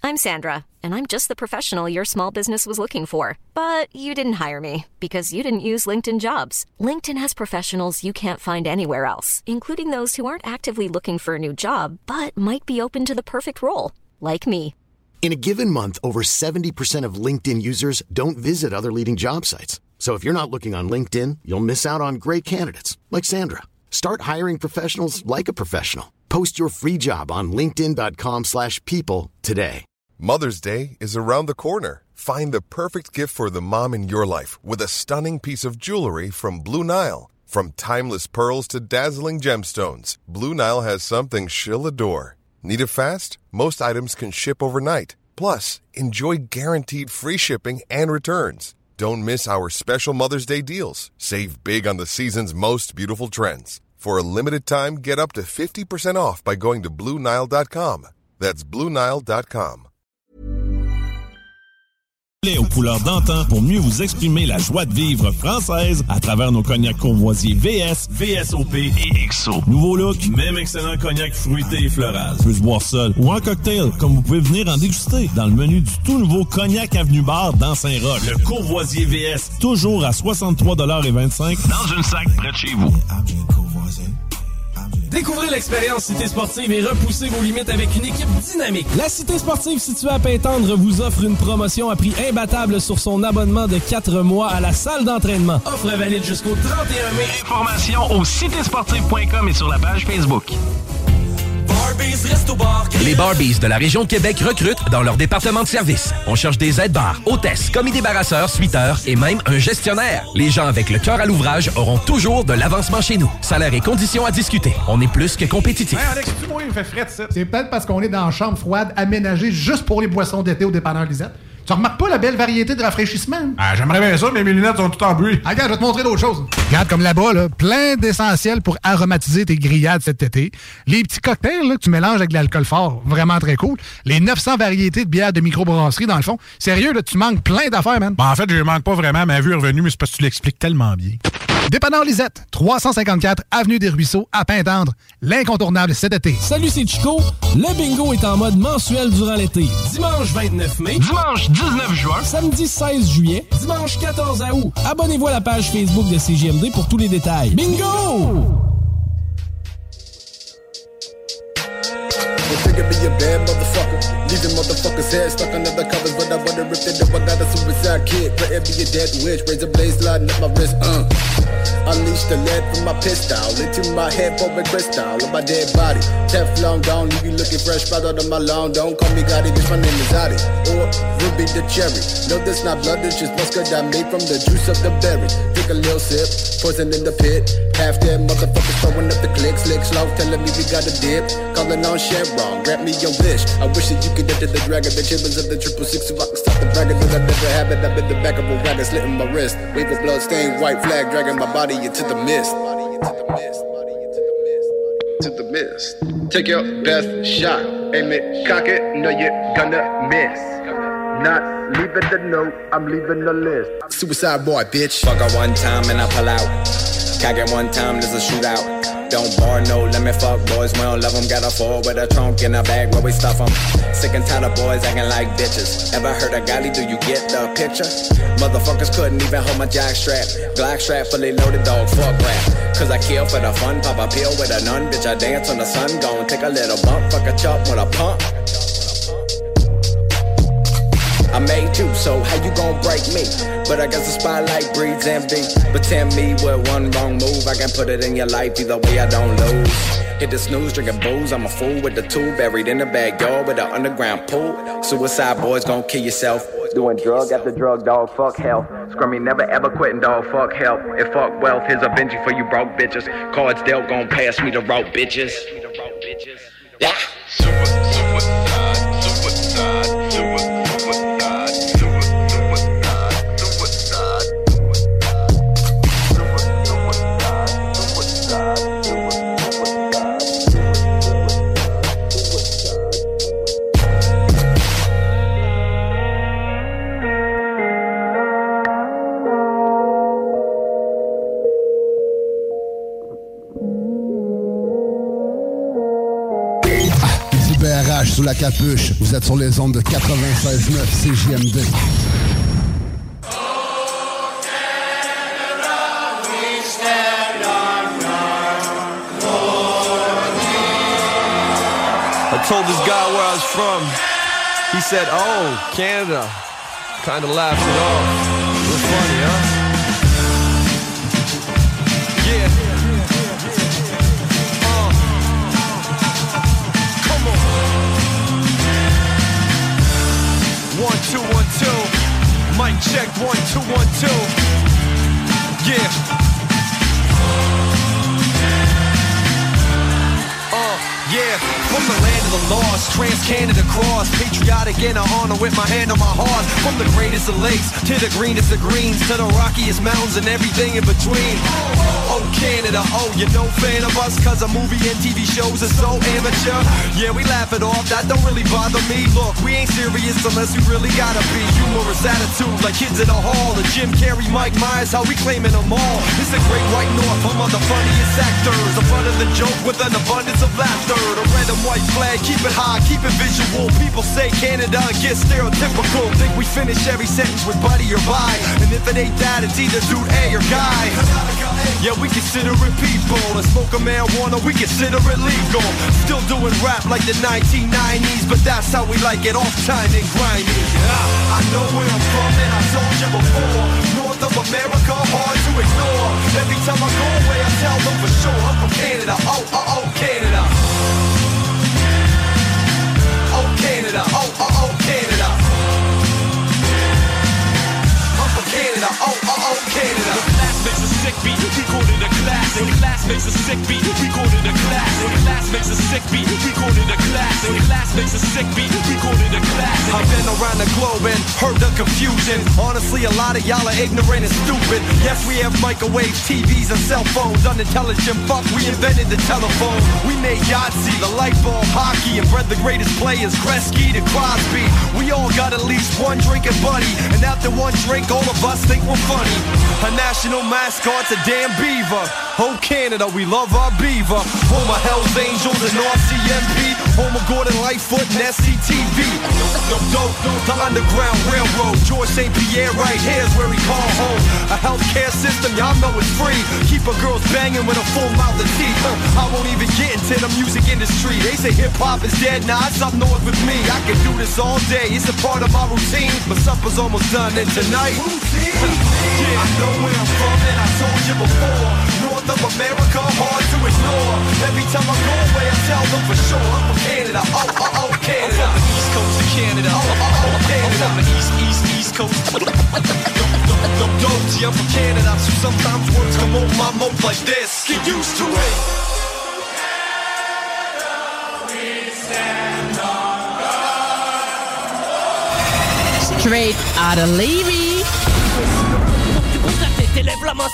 I'm Sandra, and I'm just the professional your small business was looking for. But you didn't hire me because you didn't use LinkedIn Jobs. LinkedIn has professionals you can't find anywhere else, including those who aren't actively looking for a new job, but might be open to the perfect role, like me. In a given month, over 70% of LinkedIn users don't visit other leading job sites. So if you're not looking on LinkedIn, you'll miss out on great candidates, like Sandra. Start hiring professionals like a professional. Post your free job on linkedin.com/people today. Mother's Day is around the corner. Find the perfect gift for the mom in your life with a stunning piece of jewelry from Blue Nile. From timeless pearls to dazzling gemstones, Blue Nile has something she'll adore. Need it fast? Most items can ship overnight. Plus, enjoy guaranteed free shipping and returns. Don't miss our special Mother's Day deals. Save big on the season's most beautiful trends. For a limited time, get up to 50% off by going to BlueNile.com. That's BlueNile.com. Aux couleurs d'antan pour mieux vous exprimer la joie de vivre française à travers nos cognacs Courvoisier VS, VSOP et XO. Nouveau look, même excellent cognac fruité et floral. Peut se boire seul ou en cocktail, comme vous pouvez venir en déguster dans le menu du tout nouveau Cognac Avenue Bar dans Saint-Roch. Le Courvoisier VS, toujours à 63,25$ dans une sac près de chez vous. Découvrez l'expérience Cité Sportive et repoussez vos limites avec une équipe dynamique. La Cité Sportive située à Pintendre vous offre une promotion à prix imbattable sur son abonnement de 4 mois à la salle d'entraînement. Offre valide jusqu'au 31 mai. Informations au citésportive.com et sur la page Facebook. Les Barbies de la région de Québec recrutent dans leur département de service. On cherche des aides-bars, hôtesses, commis débarrasseurs, suiteurs et même un gestionnaire. Les gens avec le cœur à l'ouvrage auront toujours de l'avancement chez nous. Salaire et conditions à discuter. On est plus que compétitifs. Hey Alex, excuse-moi, il fait frais de ça. C'est peut-être parce qu'on est dans une chambre froide aménagée juste pour les boissons d'été au dépanneur Lisette. Tu remarques pas la belle variété de rafraîchissement? Ah, j'aimerais bien ça, mais mes lunettes sont toutes en bruit. Ah, regarde, je vais te montrer d'autres choses. Regarde, comme là-bas, là, plein d'essentiels pour aromatiser tes grillades cet été. Les petits cocktails là, que tu mélanges avec de l'alcool fort, vraiment très cool. Les 900 variétés de bières de microbrasserie, dans le fond. Sérieux, là, tu manques plein d'affaires, man. Bon, en fait, je manque pas vraiment. Ma vue est revenue, mais c'est parce que tu l'expliques tellement bien. Dépanneur Lisette, 354 Avenue des Ruisseaux, à Pintendre. L'incontournable cet été. Salut, c'est Chico. Le bingo est en mode mensuel durant l'été. Dimanche 29 mai, dimanche 19 juin, samedi 16 juillet, dimanche 14 août. Abonnez-vous à la page Facebook de CJMD pour tous les détails. Bingo! Figure be a bad motherfucker. Leaving motherfuckers' heads stuck under the covers, but I wonder if they know I got a suicide kid. Better be a dead witch, razor blade sliding up my wrist. Unleash the lead from my pistol into my head for a crystal of my dead body. Teflon gone, leave you looking fresh right out of my lawn. Don't call me Gotti, bitch, my name is Adi. Or Ruby the cherry. No, this not blood, it's just mustard I made from the juice of the berry. Take a little sip, poison in the pit. Half dead motherfuckers throwing up the click, slick slow, telling me we got a dip. Calling on Chevron, grant me your wish. I wish that you could enter the dragon, the chibbins of the 666 so I can stop the bragging. Cause I never have it, I've been the back of a wagon, slitting my wrist. Wave of blood stained white flag, dragging my body into the mist. To the mist. Take your best shot, aim it, cock it, know you're gonna miss. Not leaving the note, I'm leaving the list. Suicide boy, bitch. Fuck her one time and I pull out. Cock it one time, there's a shootout. Don't bar, no limit, fuck boys, we don't love them. Got a four with a trunk in a bag where we stuff them. Sick and tired of boys acting like bitches. Ever heard of Gotti, do you get the picture? Motherfuckers couldn't even hold my jock strap. Glock strap fully loaded, dog, fuck rap. Cause I kill for the fun, pop a pill with a nun. Bitch, I dance on the sun, gon' take a little bump. Fuck a chop with a pump. I made you, so how you gon' break me? But I guess the spotlight breeds envy. But tell me what one wrong move I can put it in your life, either way I don't lose. Hit the snooze, drinking booze, I'm a fool with the two buried in the backyard with an underground pool. Suicide boys gon' kill yourself. Doing drug after drug, dog, fuck health. Scrummy never ever quitting, dog, fuck help. And fuck wealth, here's a Benji for you broke bitches. Cards dealt gon' pass me the rope, bitches. Yeah. Capuche. Vous êtes sur les ondes de 96.9 CJMD. I told this guy where I was from. He said, oh, Canada. Kind of laughed it off. It was funny, huh? Yeah. Come on. 1, 2, 1, 2. Mic check, 1, 2, 1, 2. Yeah. Yeah, from the land of the lost, trans-Canada cross, patriotic and I honor with my hand on my heart. From the greatest of lakes to the greenest of greens, to the rockiest mountains and everything in between. Oh Canada, oh you're no fan of us, cause our movie and TV shows are so amateur. Yeah, we laugh it off, that don't really bother me. Look, we ain't serious unless we really gotta be. Humorous attitude like kids in a hall. The Jim Carrey, Mike Myers, how we claiming them all. It's a great white north, home of the funniest actors. The front of the joke with an abundance of laughter. The red and white flag, keep it high, keep it visual. People say Canada and get stereotypical. Think we finish every sentence with buddy or bye. And if it ain't that, it's either dude A or guy. Yeah, we consider it people. And smoking marijuana, we consider it legal. Still doing rap like the 1990s, but that's how we like it, off time and grimy. I know where I'm from and I told you before. North of America, hard to ignore. Every time I go away, I tell them for sure I'm from Canada. Oh, oh, oh, Canada. Oh, Canada. Oh, oh, oh, Canada. I'm from Canada. Oh, oh, oh, Canada. The class makes a sick beat, we call it a classic. The class makes a sick beat, we call it a classic. The class makes a sick beat, we call it a classic. The class makes a sick beat, we call it a classic. I've been around the globe and heard the confusion. Honestly, a lot of y'all are ignorant and stupid. Yes, we have microwaves, TVs, and cell phones. Unintelligent fuck, we invented the telephone. We made Yahtzee, the light bulb, hockey, and bred the greatest players, Gretzky to Crosby. We all got at least one drinking buddy, and after one drink, all of us think we're funny. Our national mascot's a damn beaver. Oh, Canada, we love our beaver. Home of Hell's Angels and RCMP. Home of Gordon Lightfoot and SCTV. The Underground Railroad. George St. Pierre right here's where we call home. A healthcare system, y'all know it's free. Keep a girls banging with a full mouth of teeth. I won't even get into the music industry. They say hip-hop is dead, nah, it's up north with me. I can do this all day, it's a part of my routine. But supper's almost done, and tonight yeah, I know where I'm from and I told you before. North of America, hard to ignore. Every time I go away, I tell them for sure I'm from Canada. Oh, oh, oh, Canada. I'm from the East Coast of Canada. Oh, oh, oh, Canada. I'm from the East Coast. Gee, I'm from Canada, so sometimes words come over my mouth like this. Get used to it. Straight out of Levy. When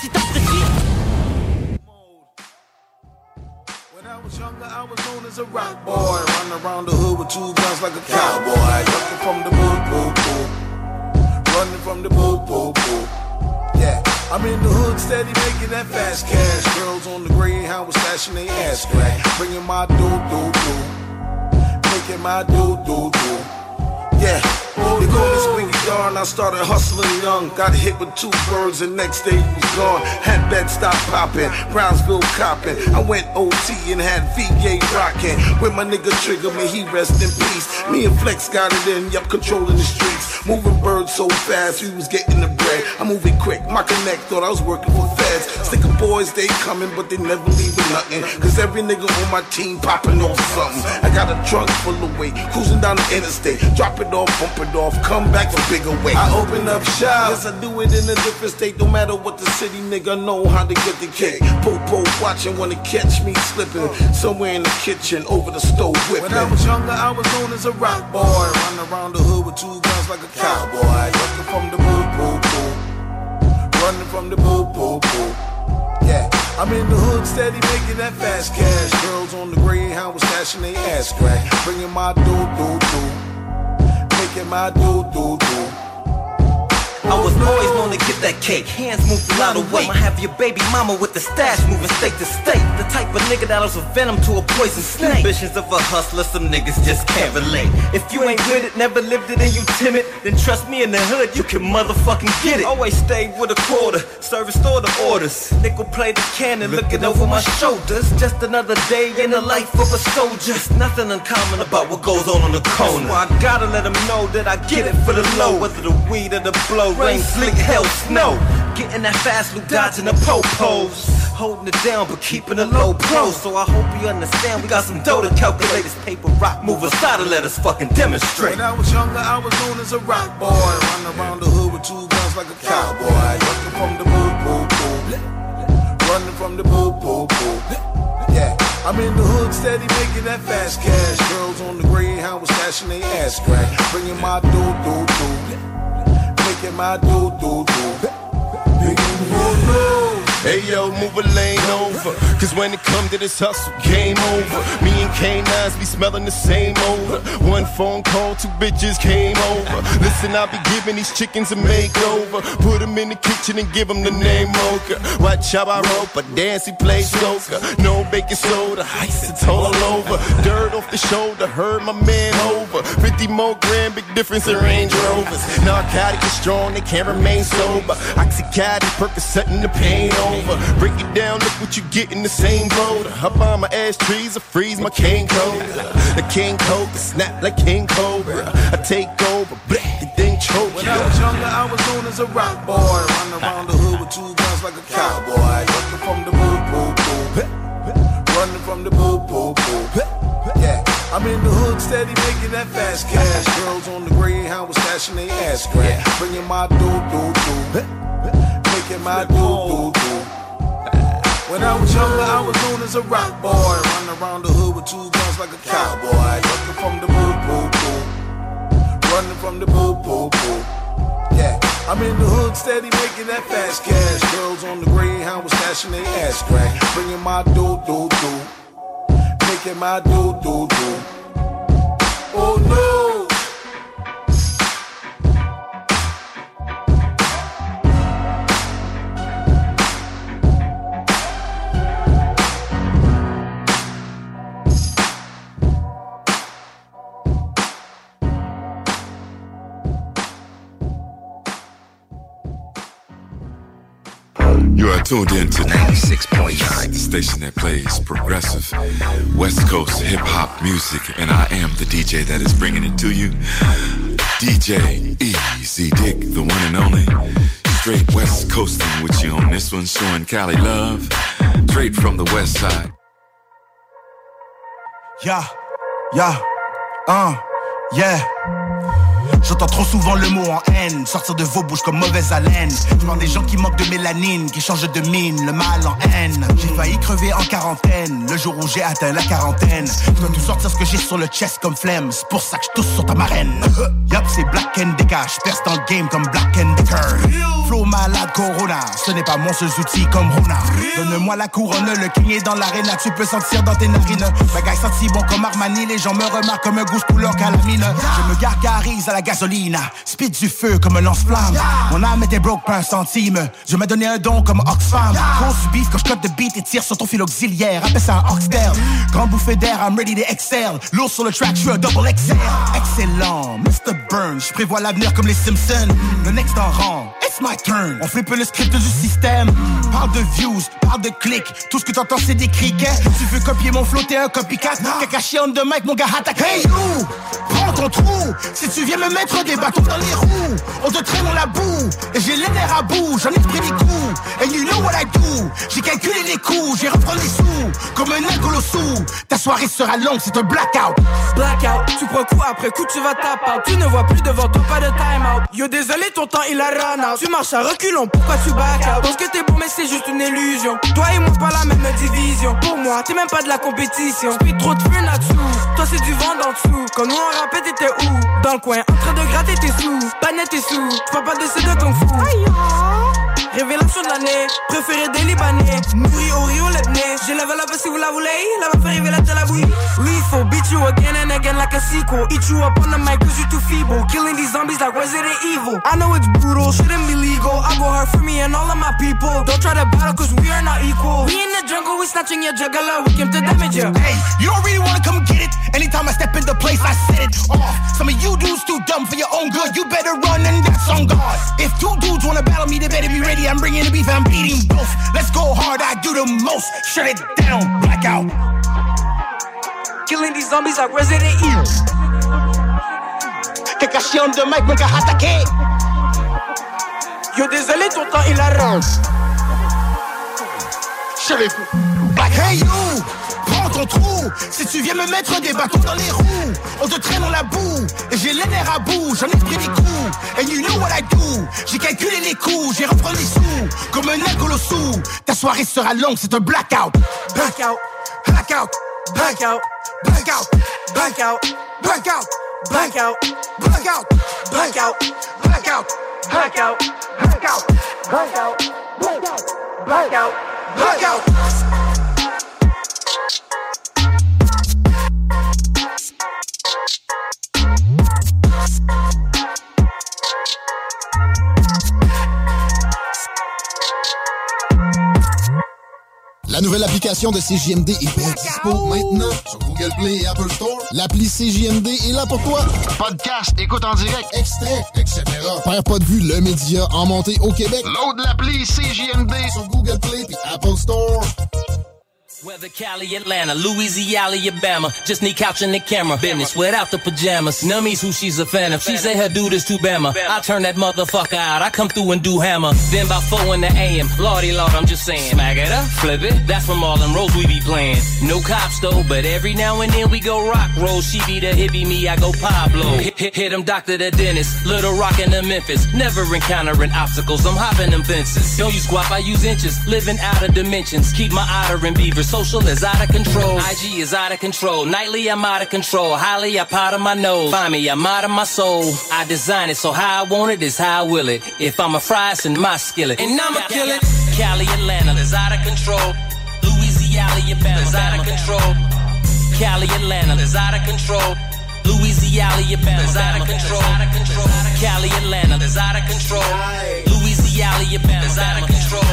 I was younger, I was known as a rock boy. Running around the hood with 2 guns like a cowboy. Running from the boo boo boo. Running from the boo boo boo. Yeah, I'm in the hood steady making that fast cash. Girls on the Greyhound was stashing they ass crack. Bringing my doo-doo-doo. Making my doo-doo-doo. Yeah, they call me Squingy Darn. I started hustling young. Got hit with 2 birds and next day he was gone. Had bed stop popping, Brownsville copping. I went OT and had VA rocking. When my nigga Trigger, may he rest in peace. Me and Flex got it in, yup, controlling the streets. Moving birds so fast, we was getting the bread. I'm moving quick, my connect thought I was working for feds. Sticker boys, they coming, but they never leaving nothing. Cause every nigga on my team popping off something. I got a trunk full of weight, cruising down the interstate. Drop it off, bump it off, come back for bigger weight. I open up shop, yes I do it in a different state. No matter what the city, nigga know how to get the cake. Popo watching, wanna catch me slipping. Somewhere in the kitchen, over the stove whipping. When I was younger, I was known as a rock boy. Running around the hood with 2 guns like a cowboy. Running from the boo boo boo. Running from the boo boo boo. Yeah, I'm in the hood steady making that fast cash. Girls on the Greyhound was stashing they ass crack. Bringing my doo-doo-doo. Making my doo-doo-doo. I was always known to get that cake, hands move a lot of weight. I'ma have your baby mama with the stash moving state to state. The type of nigga that was a venom to a poison snake. Ambitions of a hustler, some niggas just can't relate. If you ain't with it, never lived it and you timid, then trust me in the hood, you can motherfucking get it. Always stay with a quarter, service store the orders. Nickel plate the cannon, looking over my shoulders. Just another day in the life of a soldier. It's nothing uncommon about what goes on the corner. So I gotta let them know that I get it for the low. Whether the weed or the blow, rain, sleet, hell, snow. Getting that fast loot, dodging the po-pos. Holding it down but keeping a low pro. So I hope you understand we got some dough to calculate this paper rock mover side to let us fucking demonstrate. When I was younger I was known as a rock boy. Running around the hood with two guns like a cowboy. Running from the boo-boo-boo. Running from the boo-boo-boo. Yeah, I'm in the hood steady making that fast cash. Girls on the Greyhound was stashing they ass crack. Bringing my do-do-do. Making my do-do-do. Hey yo, move a lane over, cause when it come to this hustle, game over. Me and K9s be smelling the same odor. One phone call, two bitches came over. Listen, I be giving these chickens a makeover. Put them in the kitchen and give them the name Mocha. Watch how I rope, a dance, he play soca. No baking soda, ice, it's all over. Dirt off the shoulder, heard my man over. 50 more grand, big difference in Range Rovers. Narcotic is strong, they can't remain sober. Oxycontin, Percocet and the pain over. Break it down, look what you get in the same boat. I buy my ash trees, I freeze my King Cobra. The King Cobra, snap like King Cobra. I take over, bleh, the thing choke. When I was younger, I was known as a rock boy. Running around the hood with two guns like a cowboy. Running from the boo-boo-boo. Running from the boo-boo-boo. Yeah, I'm in the hood steady making that fast cash. Girls on the Greyhound was stashing they ass crack. Bringing my do-do-do. Making my do-do-do. When I was younger, I was known as a rock boy. Running around the hood with two guns like a cowboy. Running from the boo-boo-boo. Running from the boo-boo-boo. Yeah, I'm in the hood steady making that fast cash. Girls on the Greyhound was stashing they ass crack. Bringing my do-do-do. Making my do-do-do. Oh no. You are tuned in to 96.9, the station that plays progressive West Coast hip-hop music, and I am the DJ that is bringing it to you. DJ Easy Dick, the one and only. Straight West Coasting with you on this one, showing Cali love. Straight from the West Side. Yeah. J'entends trop souvent le mot en haine sortir de vos bouches comme mauvaise haleine. Je vois des gens qui manquent de mélanine, qui changent de mine, le mal en haine. J'ai failli crever en quarantaine, le jour où j'ai atteint la quarantaine. Je dois tout sortir ce que j'ai sur le chest comme flemme, c'est pour ça que je tousse sur ta marraine. Yup, c'est Black and Decker, j'perce dans le game comme Black and Decker. Flow malade Corona, ce n'est pas mon seul outil comme Rona. Donne-moi la couronne, le king est dans l'arène, tu peux sentir dans tes narines. Bagaille senti bon comme Armani, les gens me remarquent comme un goût couleur calamine. Je me gargarise à la gasoline, spit du feu comme un lance-flamme. Mon âme était broke pas un centime, je m'ai donné un don comme Oxfam. Cause du beef quand je cote de beat et tire sur ton fil auxiliaire, appelle ça un Oxtail. Grand bouffée d'air, I'm ready to excel. Lourd sur le track, je suis un double XL. Excellent, Mr. Burns, je prévois l'avenir comme les Simpsons. Le next en rang, it's my turn. On flippe le script du système. Parle de views, parle de clics, tout ce que t'entends c'est des criquets. Tu veux copier mon flow, t'es un copycat. Kakashi on the mic, mon gars attaque. Hey you, prends ton trou. Si tu viens me mettre des bâtons dans les roues, on te traîne dans la boue. Et j'ai les nerfs à bout, j'en ai pris des coups. And you know what I do, j'ai calculé les coups, j'ai reprendre les sous, comme un incolossou. Ta soirée sera longue, c'est un blackout. Blackout, tu prends coup après coup, tu vas taper out. Tu ne vois plus devant toi, pas de time out. Yo désolé, ton temps il a run out. Tu marches à reculons, pourquoi tu back out? Pense que t'es bon mais c'est juste une illusion. Toi et moi c'est pas la même division. Pour moi, t'es même pas de la compétition. J'pis trop de feu là-dessous, toi c'est du vent d'en dessous. Quand nous on rappelle t'étais où? Dans le coin, en train de gratter tes sous. Pas net tes sous, j'parle pas de ce de ton fou. révélation de l'année. Préféré des Libanais, nourri au Rio Lebné. J'ai level up si vous la voulez, la va faire révéler la bouille. Lethal, beat you again and again like a sequel. Eat you up on the mic cause you too feeble. Killing these zombies like Resident Evil. I know it's brutal, shouldn't be legal. I go hard for me and all of my people. Don't try to battle cause we are not equal. We in the jungle, we snatching your juggler. We came to damage you. Hey, you don't really wanna come get it. Anytime I step in the place, I set it off. Some of you dudes too dumb for your own good. You better run and that's on God. If two dudes wanna battle me, they better be ready. I'm bringing the beef, I'm beating both. Let's go hard, I do the most. Shut it down, blackout. Killing these zombies like Resident Evil. Que caché de mic, me attaqué. Yo désolé, ton temps il arrange. Black, hey you, prends ton trou. Si tu viens me mettre des bâtons dans les roues, on te traîne dans la boue. Et j'ai les nerfs à bout, j'en ai pris des coups. And you know what I do, j'ai calculé les coups, j'ai repris les sous, comme un alcool au sous. Ta soirée sera longue, c'est un blackout. Blackout, blackout, blackout, blackout, blackout, blackout, blackout, blackout, blackout, blackout, blackout, blackout, blackout, blackout, blackout, blackout. La nouvelle application de CJMD est bien dispo maintenant sur Google Play et Apple Store. L'appli CJMD est là pour toi. Podcast, écoute en direct, extrait, etc. Perds pas de vue, le média en montée au Québec. Load l'appli CJMD sur Google Play et Apple Store. Whether Cali, Atlanta, Louisiana, Alabama, just need couch and the camera. Business without the pajamas. Nummy's who she's a fan of. She say her dude is too Bama. I turn that motherfucker out. I come through and do hammer. Then by 4 in the AM, Lordy Lord, I'm just saying. Smack it up, flip it. That's from all them roles we be playing. No cops though, but every now and then we go rock roll. She be the hippie, me I go Pablo. Hit him Dr. the dentist. Little Rock in the Memphis. Never encountering obstacles. I'm hopping them fences. Don't use guap, I use inches. Living out of dimensions. Keep my otter and beaver. Social is out of control. IG is out of control. Nightly I'm out of control. Highly I powder my nose. Find me, I'm out of my soul. I design it so how I want it is how I will it. If I'm a fry, it's in my skillet. And I'ma kill it. Cali, Atlanta is out of control. Louisiana, Alabama is out of control. Cali, Atlanta is out of control. Louisiana, Alabama is out of control. Cali, Atlanta is out of control. Louisiana, Alabama is out of control.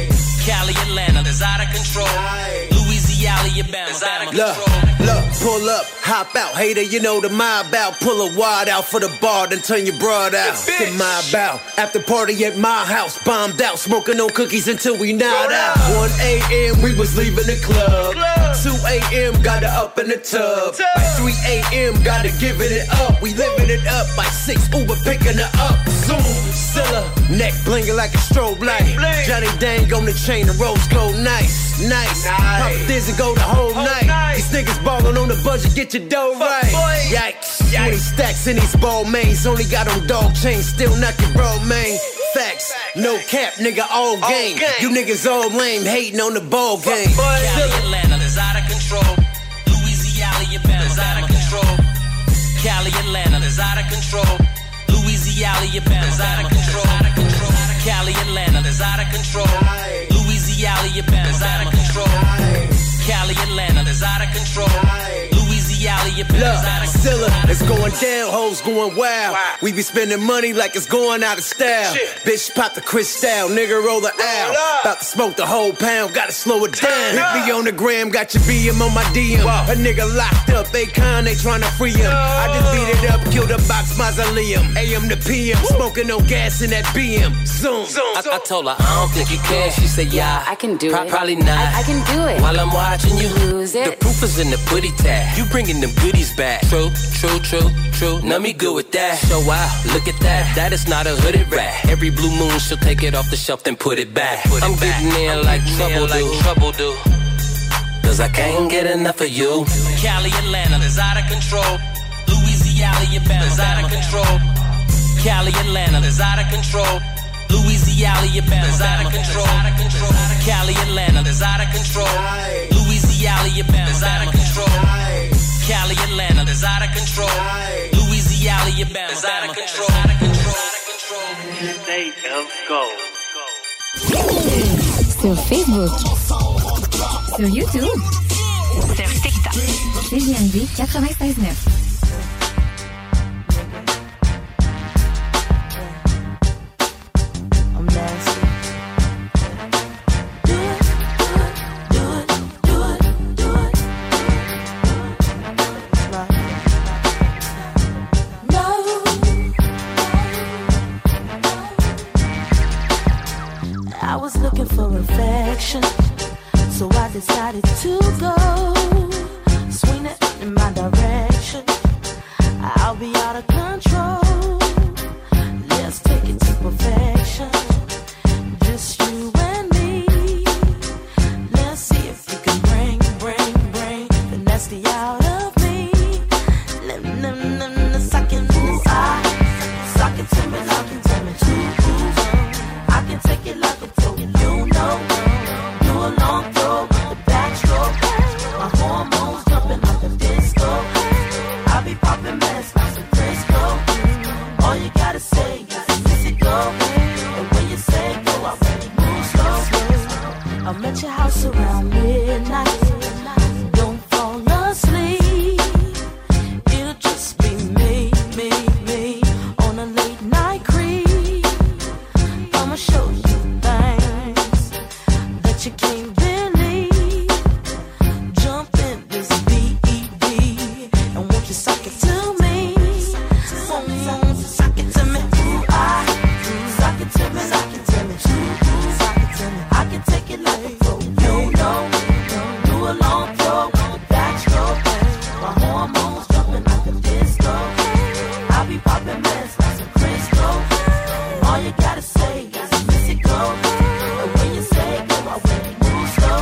Cali, Atlanta is out of control. Louisiana, Alabama is out of control. Look, pull up, hop out. Hater, you know the mob out. Pull a wad out for the bar, then turn your broad out. The mob out. After party at my house, bombed out. Smoking on cookies until we nod out. 1 a.m. we was leaving the club. 2 a.m. got her up in the tub. By 3 a.m. gotta giving it up. We living it up. By 6 Uber picking her up. Zoom, Scylla, neck blinging like a strobe light. Johnny Dang on the chain, the rose gold nice, nice. Pop this and go the whole night. These niggas ballin' on the budget, get your dough right. Yikes, 20 stacks in these ball mains. Only got on dog chains, still knockin' bro, man. Facts, no cap, nigga, all game. You niggas all lame, hating on the ball game. Cali, Atlanta is out of control. Louisiana, Alabama is out of control. Cali, Atlanta is out of control. Louisiana, Alabama is out of control. Cali, Atlanta is out of control. Louisiana, Alabama is out of control. Cali, Atlanta is out of control. Louisiana, Alabama is out of control. Scylla, it's going down, hoes going wild. We be spending money like it's going out of style. Bitch, pop the Cristal, nigga, roll the L. About to smoke the whole pound, gotta slow it down. Hit me on the gram, got your BM on my DM. A nigga locked up, Akon, they tryna free him. I just beat it up, killed a box mausoleum. AM to PM, smoking no gas in that BM. Zoom. I told her, I don't think you can. She said, yeah, I can do it. Probably not. I can do it. While I'm watching you lose it. The proof is in the booty tag. You bringing them goodies back. True, true, true, true. Now me good with that. So wow, look at that. That is not a hooded rat. Every blue moon she'll take it off the shelf then put it back. I'm getting in like trouble do. Cause I can't get enough of you. Cali, Atlanta is out of control. Louisiana, Alabama is out of control. Cali, Atlanta is out of control. Louisiana, Alabama is out of control. Cali, Atlanta is out of control. Louisiana, Alabama is out of control. Cali, Atlanta is out of control. Louisiana, Alabama is out of control. State of Gold. Sur Facebook. Sur YouTube. Sur TikTok. CJMD 96.9. So I decided to go, swing it in my direction. I'll be out of control. Let's take it to perfection. Just you and me. Let's see if you can bring the nasty out of me. Suck it to me, lock it to me. I can take it like a pro, you know. Do a long throw with the backstroke. My hormones jumping like a disco. I be popping mess like some Crisco. All you gotta say is miss it go. And when you say go, I really move slow. I'm at your house around midnight. Don't fall asleep. It'll just be me on a late night creep. I'ma show you things that you can't believe. Jump in this BED and won't you suck it to me? Suck it to me. Suck it to me. Suck it to me. I can take it like a pro. You know. Do a long throw with a backstroke. My hormones jumping like a disco. I be popping mess like some Crisco. All you gotta say is miss it go. And when you say go, I really move slow.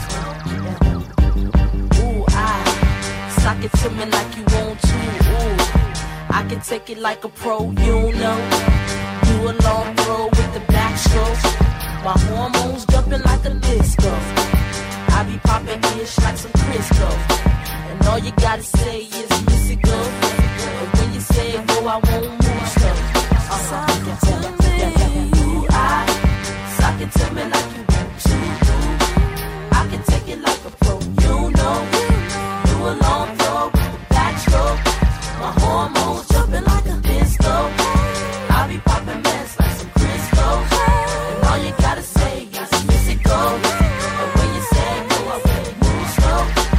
Ooh, sock it to me like you want to. Ooh, I can take it like a pro, you know. Do a long throw with the backstroke. My hormones jumping like a disco. I be popping ish like some Crisco. And all you gotta say is miss it go. And when you say go, I won't move slow. Sock it to me. Sock it to me like you want to. I can take it like a pro, you know. Do a long throw with the backstroke. My hormones jumping like a disco. I be popping mess like some Crisco. And all you gotta say is miss it go. And when you say go, I really move slow.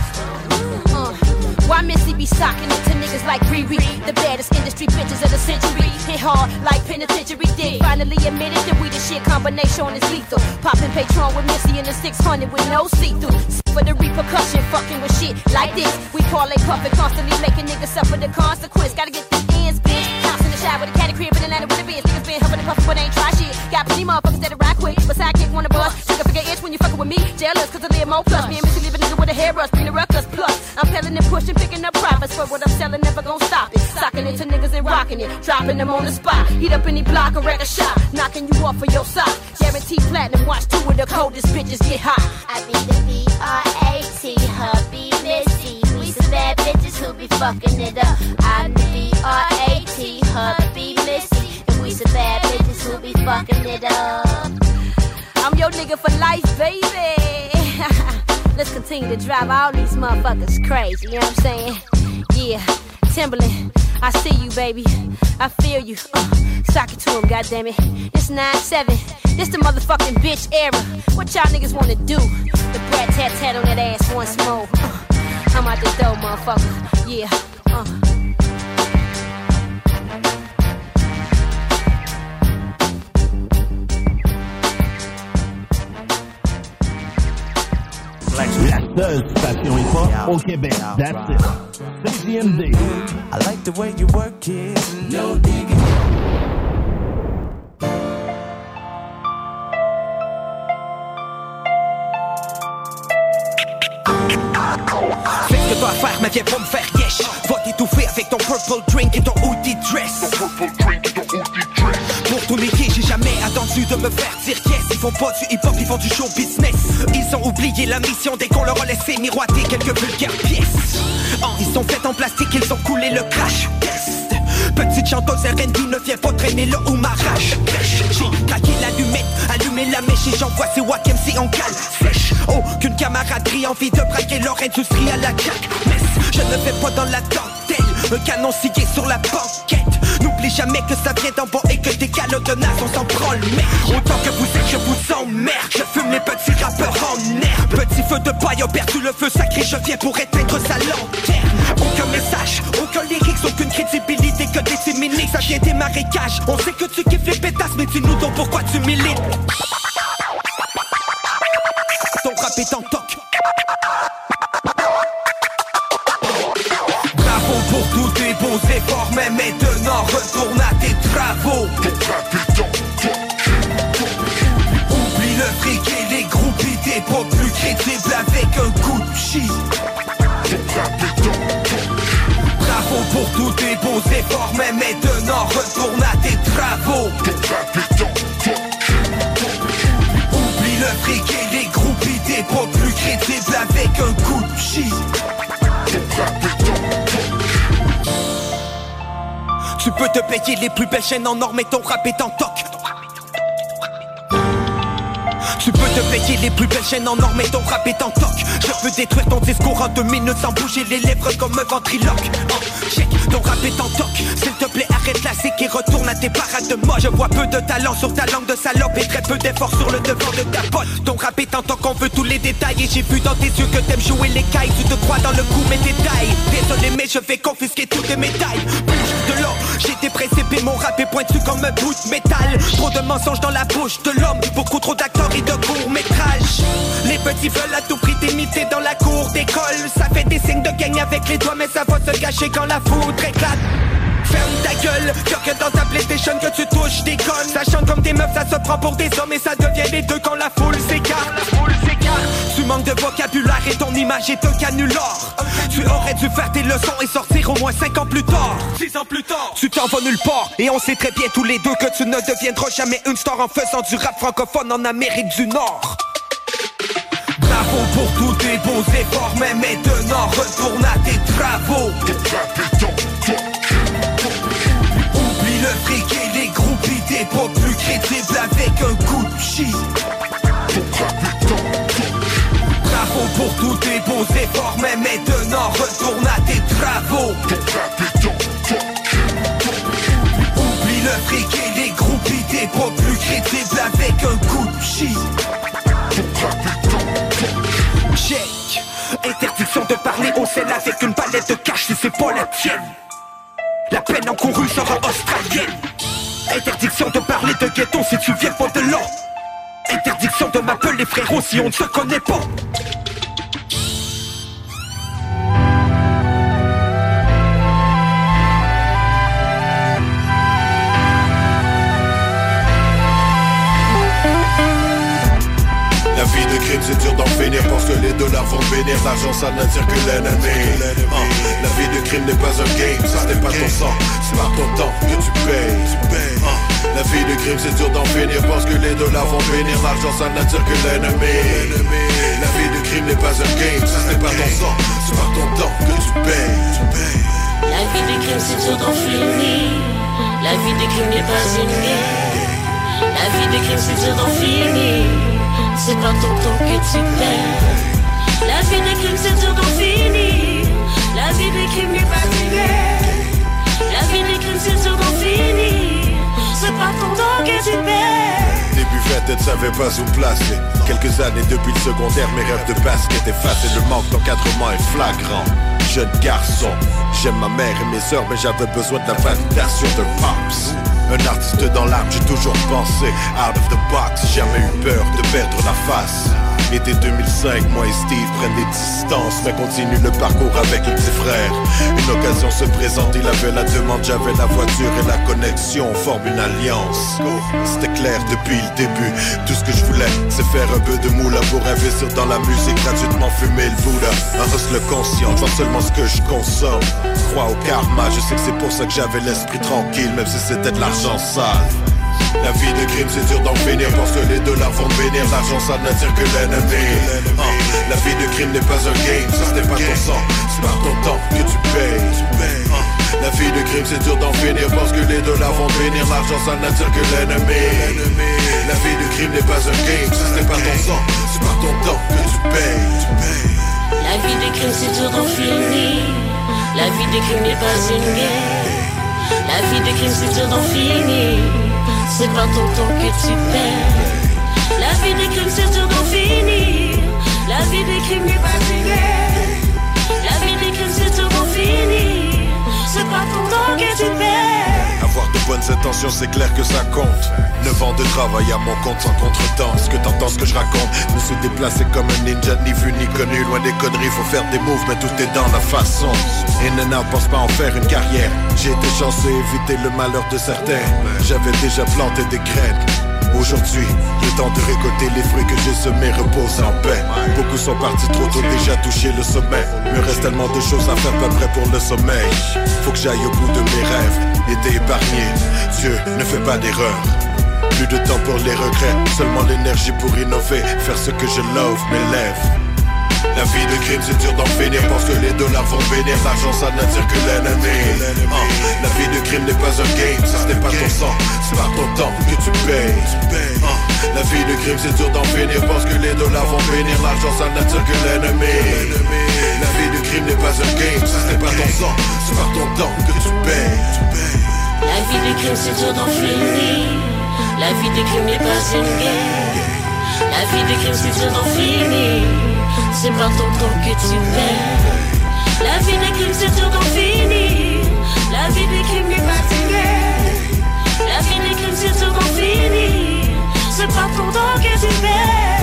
Why Missy be socking it to niggas like Riri? The baddest industry bitches of the century. Hit hard like penitentiary dick. Finally admitted that we the shit combination is lethal. Popping Patron with Missy in the 600 with no see-through. For the repercussion, fucking with shit like this. We parlay puffin', constantly making niggas suffer the consequence. Gotta get the ends, bitch. House in the shop with a caddy crib in Atlanta with a biz. Niggas been huffing and puffin' but ain't try shit. Got plenty motherfuckers that'll ride quick, but sidekick wanna bust. Trigger figure itch when you fuckin' with me. Jealous cause I live more plush. Me and Missy leave a nigga with a hairbrush, bring the ruckus plus. I'm pelling and pushing, picking up profits. For what I'm selling, never gon' stop it. Socking it to niggas and rocking it. Dropping them on the spot. Heat up any block or wreck a shot. Knocking you off of your sock. Guaranteed platinum, watch two of the coldest bitches get hot. I be the B-R-A-T, hubby Missy. We some bad bitches who be fucking it up. I'm the B-R-A-T, hubby Missy. And we some bad bitches who be fucking it up. I'm your nigga for life, baby. Let's continue to drive all these motherfuckers crazy, you know what I'm saying? Yeah, Timberland, I see you, baby. I feel you. Sock it to him, goddammit. It's 9-7. This the motherfucking bitch era. What y'all niggas wanna do? The brat tat on that ass once more. I'm out the door, motherfucker. Yeah, La seule station hip-hop au Québec. That's it. CJMD. I like the way you work it. No digging. Fais ce que t'as à faire, mais viens pas me faire yesh. Va t'étouffer avec ton purple drink et ton hoodie dress. Pour tout niquer, j'ai jamais attendu de me faire dire yes. Ils font pas du hip-hop, ils font du show business. Ils ont oublié la mission dès qu'on leur a laissé miroiter quelques vulgaires pièces. Ils sont faits en plastique, ils ont coulé le crash test. Petite chanteuse R&B, ne viens pas traîner là où m'arrache. J'ai craqué l'allumette, allumé la mèche et j'envoie ces wack MC en cale sèche. Aucune camaraderie, envie de braquer leur industrie à la Jack Mess. Je ne vais pas dans la dentelle, un canon scié sur la banquette. N'oublie jamais que ça vient d'en bas et que tes calottes de naze on s'en prend le mec. Autant que vous êtes, je vous emmerde. Je fume les petits rappeurs en herbe. Petit feu de paille a perdu le feu sacré, je viens pour éteindre sa lanterne. Aucun message, aucun lyrics, aucune crédibilité que des timiniques. Ça vient des marécages, on sait que tu kiffes les pétasses, mais dis-nous donc pourquoi tu milites. Ton rap est en toc. Bravo pour tous tes beaux efforts, mais maintenant retourne à tes travaux. Oublie le fric et les groupies, t'es pas plus crédible avec un coup de chi. Bravo pour tous tes beaux efforts, mais maintenant retourne à tes travaux. Oublie le fric et les groupies, t'es pas plus crédible avec un coup de chi. Tu peux te payer les plus belles chaînes en or, mais ton rap est en toc. Tu peux te payer les plus belles chaînes en or, mais ton rap est en toc. Je peux détruire ton discours en 2 minutes sans bouger les lèvres comme un ventriloque. Check, ton rap est en toc. S'il te plaît, arrête la séque et retourne à tes parades de moi. Je vois peu de talent sur ta langue de salope et très peu d'efforts sur le devant de ta pote. Ton rap est en toc, on veut tous les détails. Et j'ai vu dans tes yeux que t'aimes jouer les cailles. Tu te crois dans le coup, mais détails. Désolé, mais je vais confisquer toutes tes médailles. Bouge de l'or, j'ai des précipés, mon rap est pointu comme un bout de métal. Trop de mensonges dans la bouche de l'homme, beaucoup trop d'acteurs et de court-métrage. Les petits veulent à tout prix t'imiter dans la cour d'école. Ça fait des signes de gang avec les doigts, mais ça va se gâcher quand la foudre éclate. Ferme ta gueule, que dans ta PlayStation que tu touches des connes. Ça chante comme des meufs, ça se prend pour des hommes et ça devient les deux quand la foule s'écarte. Tu manques de vocabulaire et ton image est un canular. Tu aurais dû faire tes leçons et sortir au moins 5 ans plus tard. 6 ans plus tard, tu t'en vas nulle part. Et on sait très bien tous les deux que tu ne deviendras jamais une star en faisant du rap francophone en Amérique du Nord. Bravo pour tous tes beaux efforts, mais maintenant retourne à tes travaux. Oublie le fric et les groupies, t'es pas plus crédible avec un coup de chi. Bravo pour tous tes beaux efforts, mais maintenant retourne à tes travaux. Oublie le fric et les groupies, t'es pas plus crédible avec un coup de chi. Check. Interdiction de parler au sel avec une palette de cash si c'est pas la tienne. La peine encourue sera australienne. Interdiction de parler de ghetto si tu viens pas de là. Interdiction de m'appeler frérot si on ne se connaît pas. La vie de crime c'est dur d'en finir parce que les dollars vont venir. L'argent ça n'attire que l'ennemi. La vie de crime n'est pas un game, ça n'est pas ton sang, c'est par ton temps que tu payes. La vie de crime c'est dur d'en finir parce que les dollars vont venir. L'argent ça n'attire que l'ennemi. La vie de crime n'est pas un game, ça n'est pas ton sang, c'est par ton temps que tu payes. La vie de crime c'est dur d'en finir. La vie de crime n'est pas une game. La vie de crime c'est dur d'en finir. C'est pas ton temps que tu perds. La vie de crime c'est dur d'en finir. La vie de crime n'est pas une game. La vie de crime c'est dur d'en finir. C'est pas ton temps que tu perds. Début fête, ne savais pas où placer. Quelques années depuis le secondaire, mes rêves de basket effacés. Le manque d'encadrement est flagrant. Jeune garçon, j'aime ma mère et mes sœurs, mais j'avais besoin de la validation de Pops. Un artiste dans l'âme, j'ai toujours pensé out of the box, jamais eu peur de perdre la face. Été 2005, moi et Steve prennent des distances, mais continue le parcours avec le petit frère. Une occasion se présente, il avait la demande, j'avais la voiture et la connexion, on forme une alliance. C'était clair depuis le début, tout ce que je voulais, c'est faire un peu de moula pour investir dans la musique, gratuitement fumer le Bouddha. Un hustle conscient, je vois seulement ce que je consomme. Crois au karma, je sais que c'est pour ça que j'avais l'esprit tranquille, même si c'était de l'argent sale. La vie de crime c'est dur d'en finir parce que les dollars vont venir. L'argent ça n'attire que l'ennemi. La vie de crime n'est pas un game, ça ce n'est pas ton sang, c'est par ton temps que tu payes. La vie de crime c'est dur d'en finir parce que les dollars vont venir. L'argent ça n'attire que l'ennemi. La vie de crime n'est pas un game. Si ce n'est pas ton sang, c'est par ton temps que tu payes. La vie de crime c'est dur d'en finir. La vie de crime n'est pas une guerre. La vie de crime c'est dur d'en finir. C'est par ton temps que tu payes. La vie de crime c'est dur d'en finir. La vie de crime n'est pas une guerre. La vie de crime c'est dur d'en finir. C'est pas ton temps que tu payes. Avoir de bonnes intentions, c'est clair que ça compte. 9 ans de travail à mon compte sans contretemps. Ce que t'entends, ce que je raconte, me suis déplacé comme un ninja, ni vu ni connu. Loin des conneries, faut faire des moves, mais tout est dans la façon. In and out, pense pas en faire une carrière. J'ai été chanceux, éviter le malheur de certains. J'avais déjà planté des graines. Aujourd'hui, il est temps de récolter les fruits que j'ai semés, repose en paix. Beaucoup sont partis trop tôt, déjà touché le sommet. Me reste tellement de choses à faire, pas prêt pour le sommeil. Faut que j'aille au bout de mes rêves, et t'es épargné. Dieu ne fait pas d'erreur. Plus de temps pour les regrets, seulement l'énergie pour innover. Faire ce que je love, mes lèvres. La vie de crime c'est dur d'en finir parce que les dollars vont venir. L'argent ça n'attire que l'ennemi. La vie de crime n'est pas un game. Ça ce n'est pas ton sang, c'est par ton temps que tu payes. La vie de crime c'est dur d'en finir parce que les dollars vont venir. L'argent ça n'attire que l'ennemi. La vie de crime n'est pas un game. Ça ce n'est pas ton sang, c'est par ton temps que tu payes. La vie de crime c'est dur d'en finir. La vie de crime n'est pas une guerre. La vie de crime c'est dur d'en finir. C'est pas ton temps que tu payes. La vie des crimes c'est dur d'en finir. La vie des crimes n'est pas une guerre. La vie des crimes c'est dur d'en finir. C'est pas ton temps que tu payes.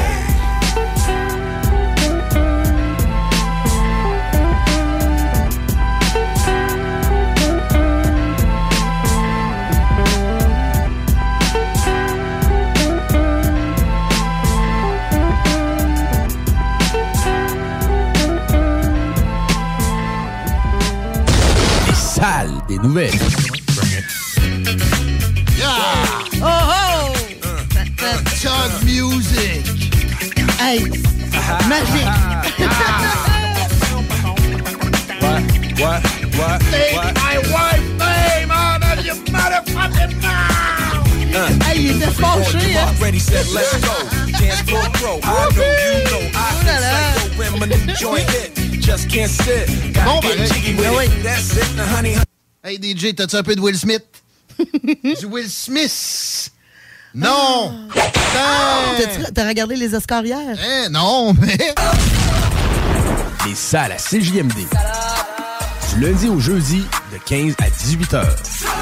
Des nouvelles. Yeah! Oh oh! Chug music! Hey! Magique! What? Take my wife's name out of your motherfucking mouth! Hey, il était fâché, hein? Ready, set, let's go. Dance floor pro. I know you know. I feel psycho when my new joint hit. Just can't sit. Bon, Gotta get jiggy with it. That's it. Now, honey. Hey DJ, t'as-tu un peu de Will Smith? Du Will Smith! Non! T'as regardé les Oscars hier? Non, mais... Les salles à CJMD. Du lundi au jeudi, de 15 à 18 heures.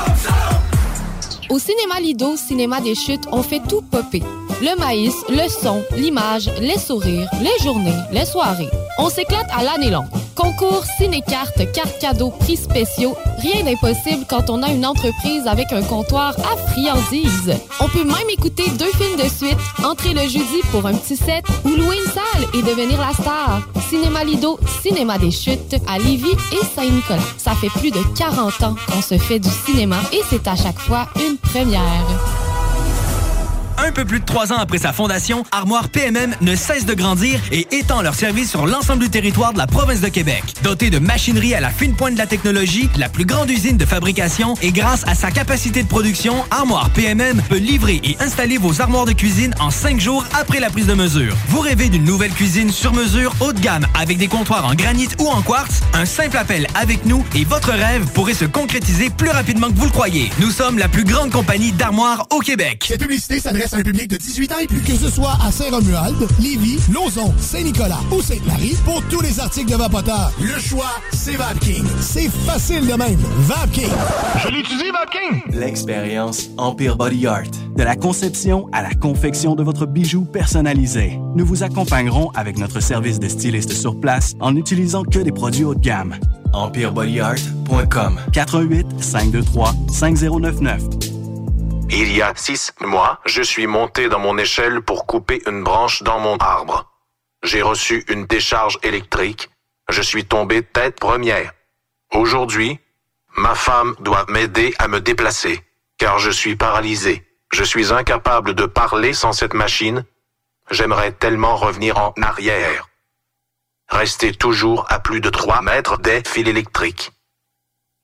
Au Cinéma Lido, Cinéma des Chutes, on fait tout popper. Le maïs, le son, l'image, les sourires, les journées, les soirées. On s'éclate à l'année longue. Concours, ciné-cartes, cartes cadeaux, prix spéciaux. Rien d'impossible quand on a une entreprise avec un comptoir à friandises. On peut même écouter 2 films de suite, entrer le jeudi pour un petit set ou louer une salle et devenir la star. Cinéma Lido, Cinéma des Chutes, à Lévis et Saint-Nicolas. Ça fait plus de 40 ans qu'on se fait du cinéma et c'est à chaque fois une première. Un peu plus de 3 ans après sa fondation, Armoire PMM ne cesse de grandir et étend leur service sur l'ensemble du territoire de la province de Québec. Dotée de machinerie à la fine pointe de la technologie, la plus grande usine de fabrication et grâce à sa capacité de production, Armoire PMM peut livrer et installer vos armoires de cuisine en 5 jours après la prise de mesure. Vous rêvez d'une nouvelle cuisine sur mesure haut de gamme avec des comptoirs en granit ou en quartz? Un simple appel avec nous et votre rêve pourrait se concrétiser plus rapidement que vous le croyez. Nous sommes la plus grande compagnie d'armoires au Québec. Cette publicité s'adresse à un public de 18 ans et plus. Que ce soit à Saint-Romuald, Lévis, Lauson, Saint-Nicolas ou Sainte-Marie, pour tous les articles de Vapoteur, le choix, c'est VapKing. C'est facile de même. VapKing. Je l'utilise, VapKing. L'expérience Empire Body Art. De la conception à la confection de votre bijou personnalisé. Nous vous accompagnerons avec notre service de styliste sur place en n'utilisant que des produits haut de gamme. EmpireBodyArt.com 418 523 5099. Il y a 6 mois, je suis monté dans mon échelle pour couper une branche dans mon arbre. J'ai reçu une décharge électrique. Je suis tombé tête première. Aujourd'hui, ma femme doit m'aider à me déplacer, car je suis paralysé. Je suis incapable de parler sans cette machine. J'aimerais tellement revenir en arrière. Rester toujours à plus de 3 mètres des fils électriques.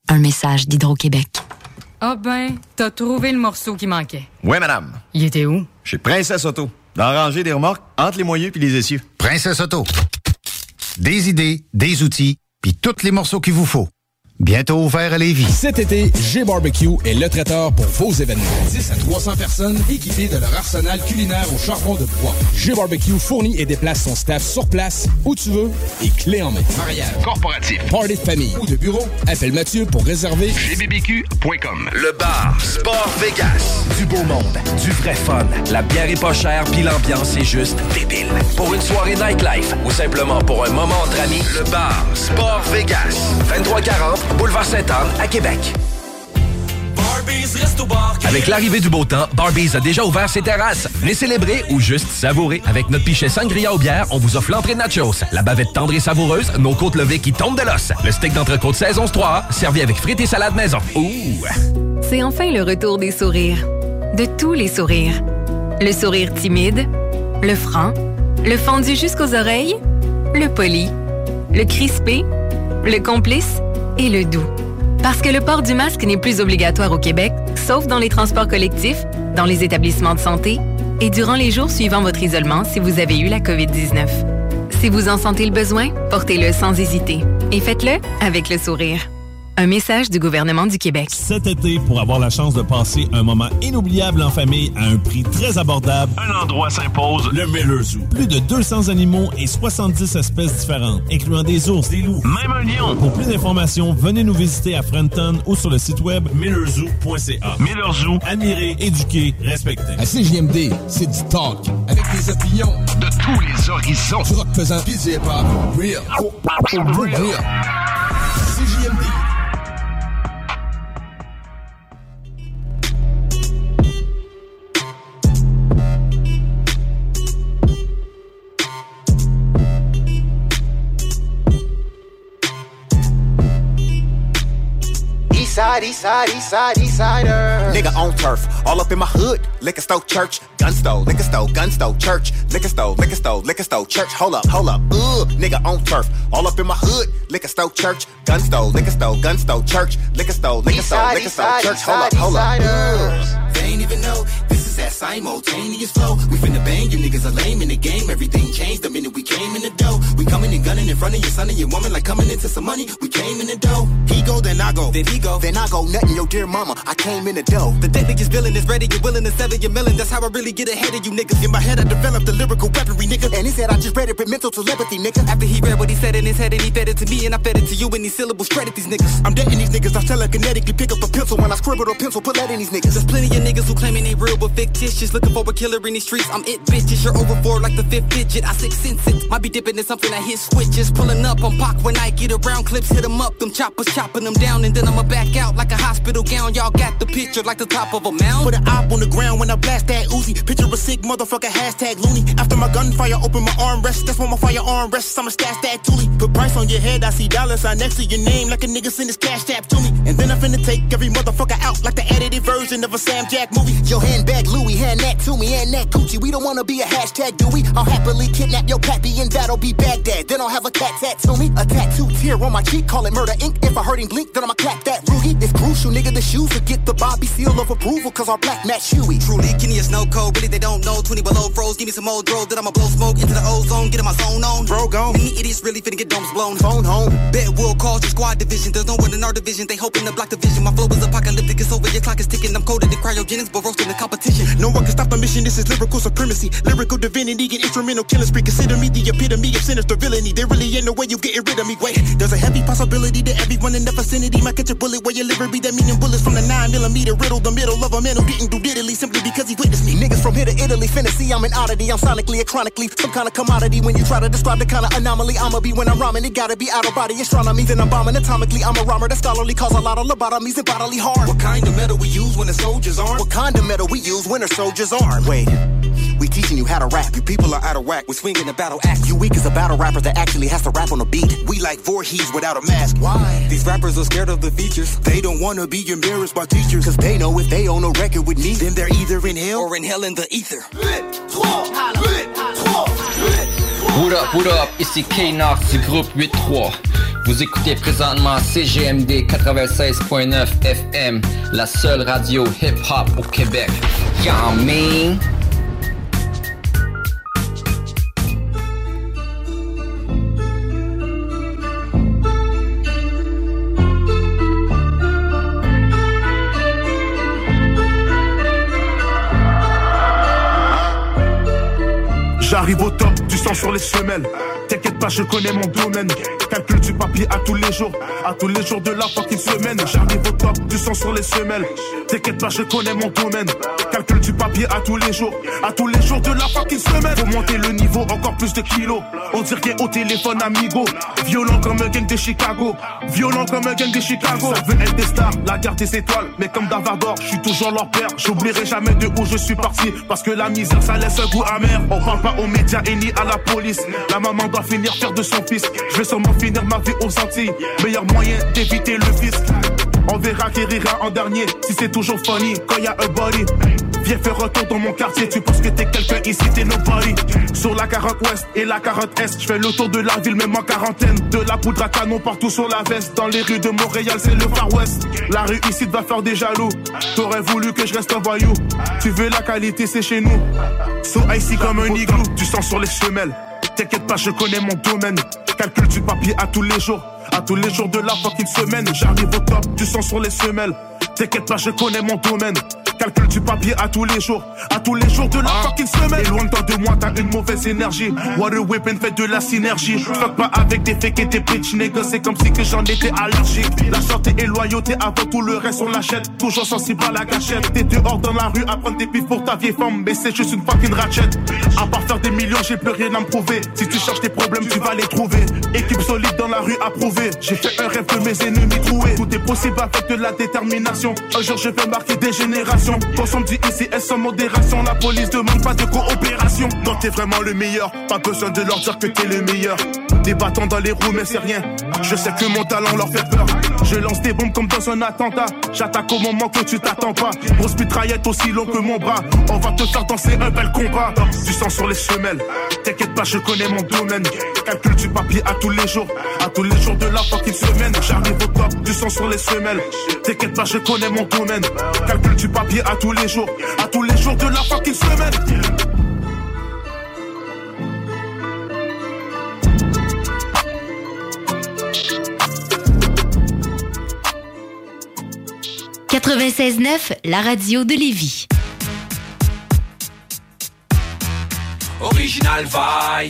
Un message d'Hydro-Québec. Ah ben, t'as trouvé le morceau qui manquait. Oui, madame. Il était où? Chez Princesse Auto. Dans la rangée des remorques, entre les moyeux puis les essieux. Princesse Auto. Des idées, des outils, puis tous les morceaux qu'il vous faut. Bientôt ouvert à Lévis. Cet été, G-Barbecue est le traiteur pour vos événements. 10 à 300 personnes équipées de leur arsenal culinaire au charbon de bois. G-Barbecue fournit et déplace son staff sur place, où tu veux, et clé en main. Mariage, corporatif, party de famille ou de bureau, appelle Mathieu pour réserver gbbq.com. Le bar Sport Vegas. Du beau monde, du vrai fun. La bière est pas chère puis l'ambiance est juste débile. Pour une soirée nightlife ou simplement pour un moment entre amis, le bar Sport Vegas. 2340 Boulevard Sainte-Anne à Québec. Avec l'arrivée du beau temps, Barbies a déjà ouvert ses terrasses. Venez célébrer ou juste savourer. Avec notre pichet sangria aux bières, on vous offre l'entrée de nachos, la bavette tendre et savoureuse, nos côtes levées qui tombent de l'os, le steak d'entrecôte saison 3A, servi avec frites et salade maison. Ouh! C'est enfin le retour des sourires. De tous les sourires. Le sourire timide, le franc, le fendu jusqu'aux oreilles, le poli, le crispé, le complice et le doux. Parce que le port du masque n'est plus obligatoire au Québec, sauf dans les transports collectifs, dans les établissements de santé et durant les jours suivant votre isolement si vous avez eu la COVID-19. Si vous en sentez le besoin, portez-le sans hésiter. Et faites-le avec le sourire. Un message du gouvernement du Québec. Cet été, pour avoir la chance de passer un moment inoubliable en famille à un prix très abordable, un endroit s'impose, le Miller Zoo. Plus de 200 animaux et 70 espèces différentes, incluant des ours, des loups, même un lion. Pour plus d'informations, venez nous visiter à Frenton ou sur le site web millerzoo.ca. Miller Zoo, admirer, éduquer, respecter. À CJMD, c'est du talk, avec des opinions de tous les horizons. Du rock pesant, pis du hip-hop. Real. Real. CJMD. Eastsider. Nigga on turf, all up in my hood. Liquor store, church, gun store, church. Liquor store, church. Hold up. Nigga on turf, all up in my hood. Liquor store, church, gun store, church. Liquor store, church. Hold up. They ain't even know this is that simultaneous flow. We finna bang, you niggas are lame in the game. Everything changed the minute we came in the dough. We coming and gunning in front of your son and your woman like coming into some money. We came in the dough. He go, then I go. Then he go. Then I go nuttin' your dear mama. I came in the dough. The deadly is villain is ready. You're willing to settle your million. That's how I really get ahead of you niggas. In my head I developed the lyrical weaponry, nigga. And he said I just read it with mental telepathy, nigga. After he read what he said in his head and he fed it to me and I fed it to you and these syllables credit these niggas. I'm dead in these niggas. I telekinetically pick up a pencil when I scribble a pencil. Put that in these niggas. There's plenty of niggas who claiming they real but fictitious. Looking for a killer in these streets. I'm it, bitches. You're over for like the fifth digit. I six sense it. Might be dipping in something that hit switches. Pulling up on Pac when I get around clips. Hit them up. Them choppers chopping them down. And then I'ma back out like a hospital gown. Y'all got the picture like the top of a mound. Put an op on the ground when I blast that Uzi. Picture a sick motherfucker, hashtag loony. After my gunfire, open my armrest. That's where my firearm rests. I'ma stash that toolie. Put price on your head. I see dollar sign next to your name like a nigga send his cash tap to me. And then I finna take every motherfucker out like the edited version of a Sam Jack movie. Your handbag Louis, hand that to me and that Gucci. We don't wanna be a hashtag, do we? I'll happily kidnap your pappy and that'll be Baghdad. Then I'll have a tat to me. A tattoo tear on my cheek, call it murder ink. If I heard him blink, then I'ma clap that Rugie. It's crucial, nigga, the shoes will get the Bobby seal of approval, cause our black match Huey. Truly, Kenny is no code, really they don't know. 20 below froze, give me some old dro, then I'ma blow smoke into the ozone, get in my zone on. Bro, gone. And the idiots really finna get domes blown. Phone home. Bet will cause your squad division. There's no one in our division, they hoping to block the vision. My flow is apocalyptic, it's over, your clock is ticking. I'm coded in cryogenics, but roasting the competition. No one can stop the mission, this is lyrical supremacy. Lyrical divinity, and instrumental killing spree. Consider me the epitome of sinister villainy. There really ain't no way you getting rid of me. Wait, there's a heavy possibility that everyone in the vicinity might catch a bullet where your liver be that meaning bullets from the 9mm riddle the middle of a man who didn't do diddly simply because he witnessed me. Niggas from here to Italy finna see I'm an oddity. I'm sonically or chronically some kind of commodity. When you try to describe the kind of anomaly I'ma be when I'm rhyming, it gotta be out of body astronomy. Then I'm bombing atomically. I'm a rhymer that scholarly cause a lot of lobotomies and bodily harm. What kind of metal we use when the soldiers armed? What kind of metal we use when a soldier's armed? Wait, we teaching you how to rap. You people are out of whack. We're swinging the battle axe. You weak as a battle rapper that actually has to rap on a beat. We like Voorhees without a mask. Why? These rappers are scared of the features. They don't wanna be embarrassed by teachers, cause they know if they own a record with me, then they're either in hell or in hell in the ether. What up, ici K-Nox du groupe 8-3. Vous écoutez présentement CGMD 96.9 FM, la seule radio hip-hop au Québec. Y'all mean? J'arrive au top, du sang sur les semelles. T'inquiète pas, je connais mon domaine. Calcul du papier à tous les jours de la fucking semaine. J'arrive au top, du sang sur les semelles. T'inquiète pas, je connais mon domaine. Calcul du papier à tous les jours de la fucking semaine. Faut monter le niveau, encore plus de kilos. On dirait au téléphone amigo. Violent comme un gang de Chicago. Ça veut être des stars, la garde des étoiles. Mais comme Davardor, je suis toujours leur père. J'oublierai jamais de où je suis parti. Parce que la misère, ça laisse un goût amer. On parle pas aux médias et ni à la police. La maman doit finir faire de son fils. Je vais sûrement finir ma vie aux Antilles. Meilleur moyen d'éviter le fisc. On verra qui rira en dernier. Si c'est toujours funny quand y a un body. Viens faire retour dans mon quartier. Tu penses que t'es quelqu'un ici, t'es nobody. Sur la 40 ouest et la 40 est, je fais le tour de la ville même en quarantaine. De la poudre à canon partout sur la veste. Dans les rues de Montréal c'est le Far West. La rue ici va faire des jaloux. T'aurais voulu que je reste un voyou. Tu veux la qualité, c'est chez nous. So icy comme un igloo. Du sang sur les semelles. T'inquiète pas, je connais mon domaine. Calcul du papier à tous les jours de la fucking semaine. J'arrive au top, du sang sur les semelles. T'inquiète pas, je connais mon domaine. Calcul du papier à tous les jours de la fucking semaine. Et loin de toi de moi, t'as une mauvaise énergie. Water whipping fait de la synergie. Fuck pas avec des fakes et des bitch niggas, c'est comme si que j'en étais allergique. La santé et loyauté avant tout le reste on l'achète. Toujours sensible à la gâchette. T'es dehors dans la rue à prendre des pifs pour ta vieille femme, mais c'est juste une fucking ratchet. À part faire des millions, j'ai plus rien à me prouver. Si tu cherches tes problèmes, tu vas les trouver. Équipe solide dans la rue approuvée. J'ai fait un rêve de mes ennemis troués. Tout est possible avec de la détermination. Un jour je vais marquer des générations. Consomme du ICS sans modération. La police demande pas de coopération. Non, t'es vraiment le meilleur. Pas besoin de leur dire que t'es le meilleur. Des bâtons dans les roues mais c'est rien. Je sais que mon talent leur fait peur. Je lance des bombes comme dans un attentat. J'attaque au moment que tu t'attends pas. Grosse mitraillette aussi long que mon bras. On va te faire danser un bel combat. Du sang sur les semelles. T'inquiète pas, je connais mon domaine. Calcul du papier à tous les jours de la fucking semaine. J'arrive au top, du sang sur les semelles. T'inquiète pas, je connais mon domaine. Calcul du papier à tous les jours de la fucking semaine. 96.9, la radio de Lévis. Original vibe.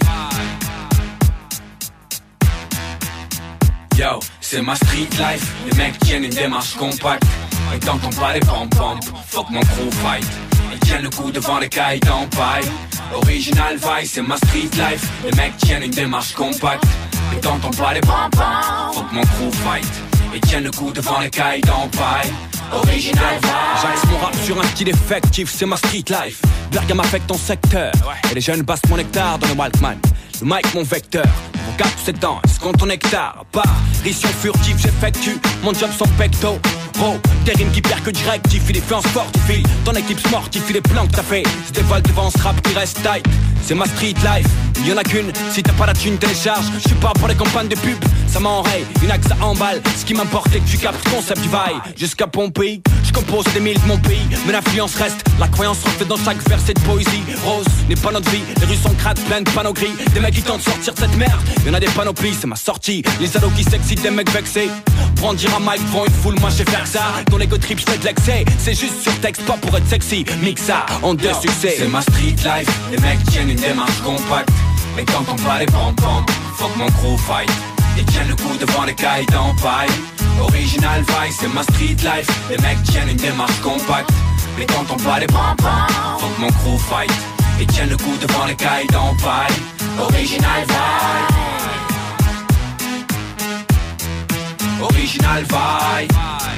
Yo, c'est ma street life. Les mecs tiennent une démarche compacte. Et t'entends pas les pom-pom, fuck mon crew fight. Ils tiennent le coup devant les cailles en paille. Original vibe, c'est ma street life. Les mecs tiennent une démarche compacte. Et t'entends pas les pom-pom, fuck mon crew fight. Ils tiennent le coup devant les cailles en paille. Original vibe. J'axe mon rap sur un style effectif, c'est ma street life. Bergame affecte ton secteur. Et les jeunes passent mon nectar dans le Walkman. Le mic mon vecteur. Mon cap c'est dents, escompte ton hectare. Apparition furtive, j'effectue mon job sans pecto. Bro, des rimes qui perdent que du rectif. Il est fait en sportif, ton équipe sportive. Il est plans que t'as fait, c'est des vols devant ce rap qui reste tight. C'est ma street life, il y en a qu'une. Si t'as pas la thune, télécharge. Je suis pas pour les campagnes de pub, ça m'enraye. Une axe à emballe, ce qui m'importe est que tu captes le concept du vaille. Jusqu'à Pompéi, je compose des milles de mon pays. Mais l'influence reste, la croyance reflète dans chaque verset de poésie. Rose n'est pas notre vie, les rues sont crades, pleines de panneaux gris. Des mecs qui tentent de sortir de cette merde, y'en a des panoplies, c'est ma sortie. Les ados qui s'excitent, des mecs vexés. Prendre dire un mic devant une foule, moi je vais faire ça. Ton ego trip, je fais de l'excès. C'est juste sur texte, pas pour être sexy. Mix ça en deux succès. C'est ma street life, les mecs tiennent une démarche compacte. Mais t'entends pas les pom-pom, fuck mon crew fight. Ils tiennent le coup devant les cailles en paille. Original vibe, c'est ma street life. Les mecs tiennent une démarche compacte. Mais t'entends pas les pom-pom, fuck mon crew fight. Ils tiennent le coup devant les cailles en paille. Original vibe. Original vibe.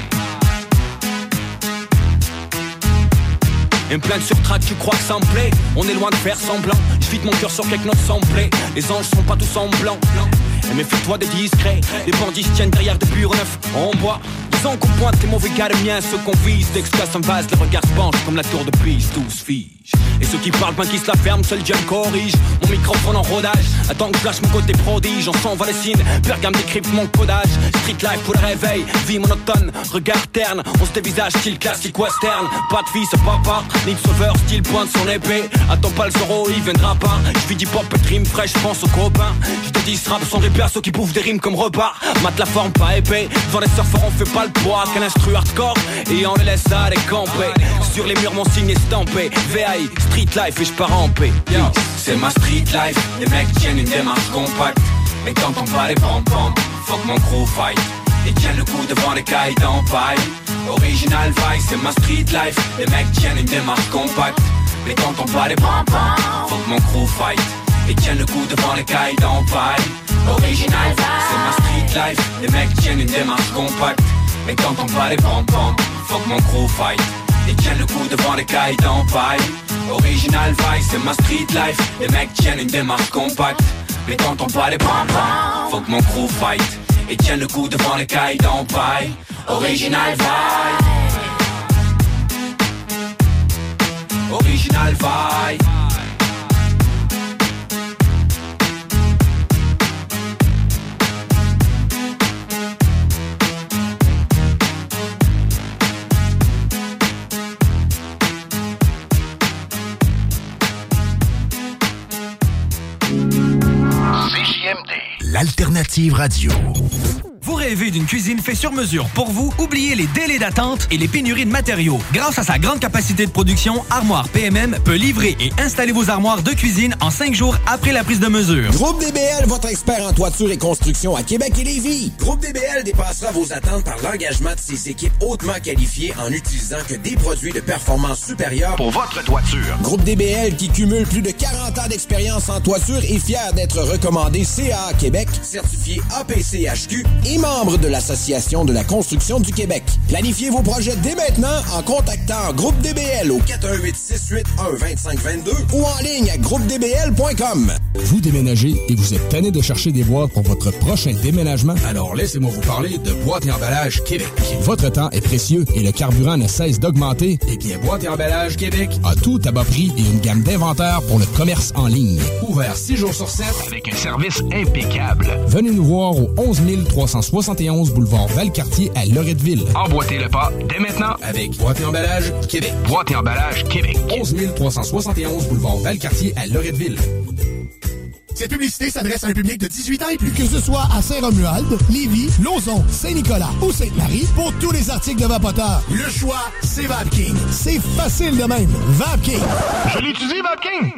Une plainte sur track, tu crois que ça me plaît? On est loin de faire semblant. Je vide mon cœur sur quelques notes samplées. Les anges sont pas tous en blanc. Et méfie-toi des discrets. Les bandits se tiennent derrière des bureaux neufs en bois. raison qu'on pointe les mauvais gars de miens, ceux qu'on vise. Dès que ça s'envase, le regard se penche comme la tour de Pise, tous fige. Et ceux qui parlent, ben qui se la ferment, seul Dieu me corrige. Mon microphone en rodage, attends que je lâche mon côté prodige. On s'en va les signes, Pergame décrypte mon codage. Street life pour le réveil, vie monotone, regard terne. On se dévisage, style classique western. Pas de fils, papa, Nick Sauveur, style pointe son épée. Attends pas le Zoro, il viendra pas. Je vis du pop et de rimes fraîches, je pense aux copains. Je te dis, ce rap sont des persos qui bouffent des rimes comme repas. Mate la forme, pas épais. Devant les surfeurs, on fait pas le poids qu'un instru hardcore. Et on les laisse à décamper. Sur les murs, mon signe est stampé. VAI, street life et je pars en paix. Yo, c'est ma street life. Les mecs tiennent une démarche compacte. Mais quand on va les pom-pom, faut que mon crew fight. Et tiennent le coup devant les cailles en paille. Original vice, c'est ma street life. Les mecs tiennent une démarche compacte. Mais quand on va les pom-pom, faut que mon crew fight. Et tiennent le coup devant les cailles en paille. Original vice, c'est ma street life. Les mecs tiennent une démarche compacte. Mais quand on va les pom-pom, faut que mon crew fight. Et tiennent le coup devant les cailles en paille. Original vice, c'est ma street life. Les mecs tiennent une démarche compacte. Mais quand on va les pom-pom, faut que mon crew fight. Et tiennent le coup devant les cailles en paille. Original vibe. Original vibe. L'alternative radio. Vous rêvez d'une cuisine faite sur mesure pour vous? Oubliez les délais d'attente et les pénuries de matériaux. Grâce à sa grande capacité de production, Armoire PMM peut livrer et installer vos armoires de cuisine en 5 jours après la prise de mesure. Groupe DBL, votre expert en toiture et construction à Québec et Lévis. Groupe DBL dépassera vos attentes par l'engagement de ses équipes hautement qualifiées en utilisant que des produits de performance supérieure pour votre toiture. Groupe DBL, qui cumule plus de 40 ans d'expérience en toiture, est fier d'être recommandé CA Québec, certifié APCHQ et membre de l'Association de la construction du Québec. Planifiez vos projets dès maintenant en contactant Groupe DBL au 418-681-2522 ou en ligne à groupedbl.com. Vous déménagez et vous êtes tanné de chercher des boîtes pour votre prochain déménagement? Alors laissez-moi vous parler de Boîte et Emballage Québec. Votre temps est précieux et le carburant ne cesse d'augmenter. Eh bien, Boîte et Emballage Québec a tout à bas prix et une gamme d'inventaires pour le commerce en ligne. Ouvert 6 jours sur 7 avec un service impeccable. Venez nous voir au 11 371 boulevard Valcartier à Loretteville. Emboîtez le pas dès maintenant avec Boîte et Emballage Québec. Boîte et Emballage Québec. 11 371 boulevard Valcartier à Loretteville. Cette publicité s'adresse à un public de 18 ans et plus. Que ce soit à Saint-Romuald, Lévis, Lauson, Saint-Nicolas ou Sainte-Marie, pour tous les articles de Vapoteur, le choix, c'est VapKing. C'est facile de même. VapKing. Je l'utilise, VapKing.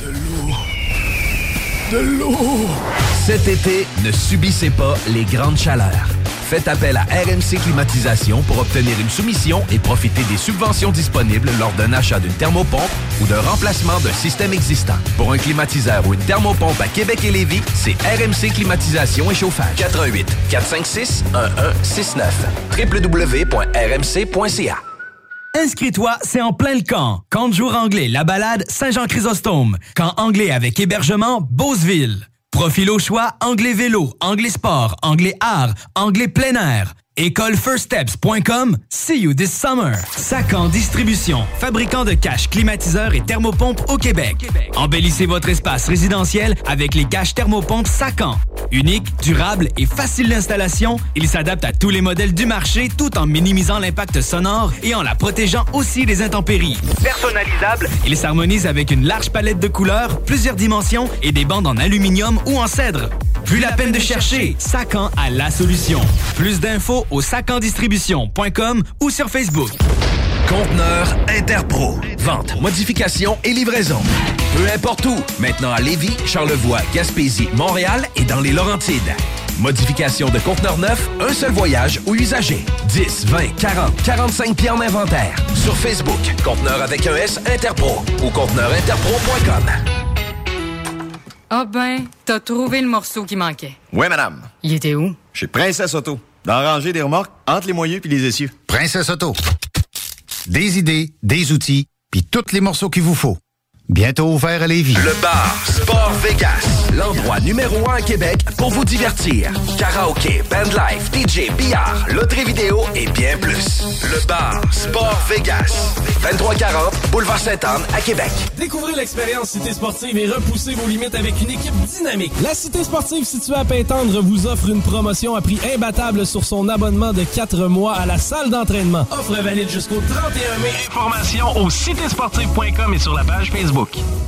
De l'eau. Cet été, ne subissez pas les grandes chaleurs. Faites appel à RMC Climatisation pour obtenir une soumission et profiter des subventions disponibles lors d'un achat d'une thermopompe ou d'un remplacement d'un système existant. Pour un climatiseur ou une thermopompe à Québec et Lévis, c'est RMC Climatisation et Chauffage. 88 456 1169 www.rmc.ca. Inscris-toi, c'est en plein le camp. Camp de jour anglais, La Balade, Saint-Jean-Chrysostome. Camp anglais avec hébergement, Beauceville. Profil au choix, anglais vélo, anglais sport, anglais art, anglais plein air. Écolefirststeps.com. See you this summer. Sacan Distribution, fabricant de caches, climatiseurs et thermopompes au Québec. Embellissez votre espace résidentiel avec les caches thermopompes Sacan. Unique, durable et facile d'installation, il s'adapte à tous les modèles du marché tout en minimisant l'impact sonore et en la protégeant aussi des intempéries. Personnalisable, il s'harmonise avec une large palette de couleurs, plusieurs dimensions et des bandes en aluminium ou en cèdre. Plus la peine de chercher, Sacan a la solution. Plus d'infos au sacandistribution.com ou sur Facebook. Conteneur Interpro. Vente, modification et livraison. Peu importe où. Maintenant à Lévis, Charlevoix, Gaspésie, Montréal et dans les Laurentides. Modification de conteneurs neufs, un seul voyage ou usager. 10, 20, 40, 45 pieds en inventaire. Sur Facebook, Conteneur avec un S Interpro ou conteneurinterpro.com. Ah ben, t'as trouvé le morceau qui manquait. Oui, madame. Il était où? Chez Princesse Auto. Dans la rangée des remorques, entre les moyeux puis les essieux. Princesse Auto. Des idées, des outils, puis tous les morceaux qu'il vous faut. Bientôt ouvert à Lévis. Le bar Sport Vegas, l'endroit numéro 1 à Québec pour vous divertir. Karaoké, bandlife, DJ, billard, loterie vidéo et bien plus. Le bar Sport Vegas, 2340 Boulevard Sainte-Anne à Québec. Découvrez l'expérience Cité Sportive et repoussez vos limites avec une équipe dynamique. La Cité Sportive située à Pintendre vous offre une promotion à prix imbattable sur son abonnement de 4 mois à la salle d'entraînement. Offre valide jusqu'au 31 mai. Informations au citésportive.com et sur la page Facebook.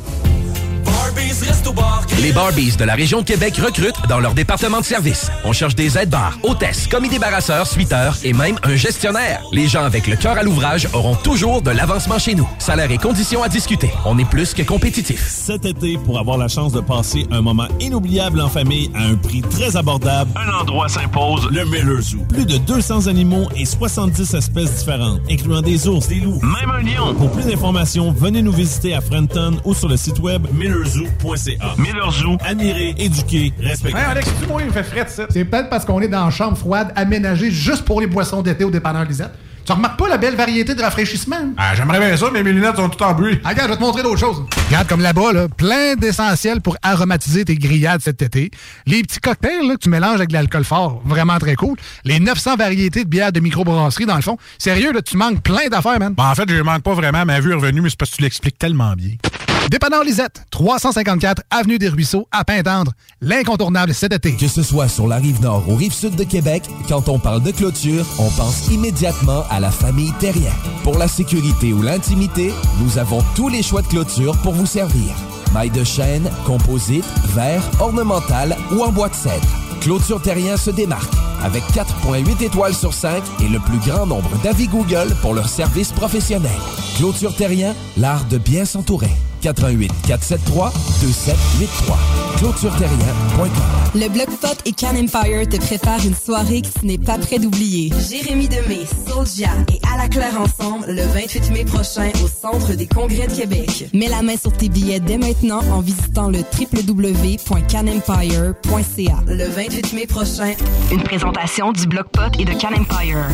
Les Barbies de la région de Québec recrutent dans leur département de service. On cherche des aides-bars, hôtesses, commis débarrasseurs, suiteurs et même un gestionnaire. Les gens avec le cœur à l'ouvrage auront toujours de l'avancement chez nous. Salaire et conditions à discuter. On est plus que compétitifs. Cet été, pour avoir la chance de passer un moment inoubliable en famille à un prix très abordable, un endroit s'impose, le Miller Zoo. Plus de 200 animaux et 70 espèces différentes, incluant des ours, des loups, même un lion. Pour plus d'informations, venez nous visiter à Frenton ou sur le site web millerzoo.ca. Miller Zoo, admirer, éduquer, respecter. Hey Alex, tu vois, il me fait fret, ça. C'est peut-être parce qu'on est dans une chambre froide aménagée juste pour les boissons d'été au dépanneur Lisette. Tu remarques pas la belle variété de rafraîchissement? Ah, j'aimerais bien ça, mais mes lunettes sont toutes en bruit. Ah, regarde, je vais te montrer d'autres choses. Regarde, comme là-bas, là, plein d'essentiels pour aromatiser tes grillades cet été. Les petits cocktails là, que tu mélanges avec de l'alcool fort, vraiment très cool. Les 900 variétés de bières de microbrasserie, dans le fond. Sérieux, là, tu manques plein d'affaires, man. En fait, je manque pas vraiment. Ma vue est revenue, mais c'est parce que tu l'expliques tellement bien. Dépanneur Lisette, 354 Avenue des Ruisseaux, à Pintendre. L'incontournable cet été. Que ce soit sur la Rive-Nord ou Rive-Sud de Québec, quand on parle de clôture, on pense immédiatement à la famille Terrien. Pour la sécurité ou l'intimité, nous avons tous les choix de clôture pour vous servir. Mailles de chêne, composite, verre, ornemental ou en bois de cèdre. Clôture Terrien se démarque avec 4,8 étoiles sur 5 et le plus grand nombre d'avis Google pour leur service professionnel. Clôture Terrien, l'art de bien s'entourer. 88 473 2783. ClôtureTerrien.com. Le Bloc-Pot et Can Empire te préparent une soirée que tu n'es pas prêt d'oublier. Jérémy Demé, Soulja et À la Claire ensemble le 28 mai prochain au Centre des Congrès de Québec. Mets la main sur tes billets dès maintenant en visitant le www.canempire.ca. Le 28 mai prochain, une présentation du Bloc-Pot et de Can Empire.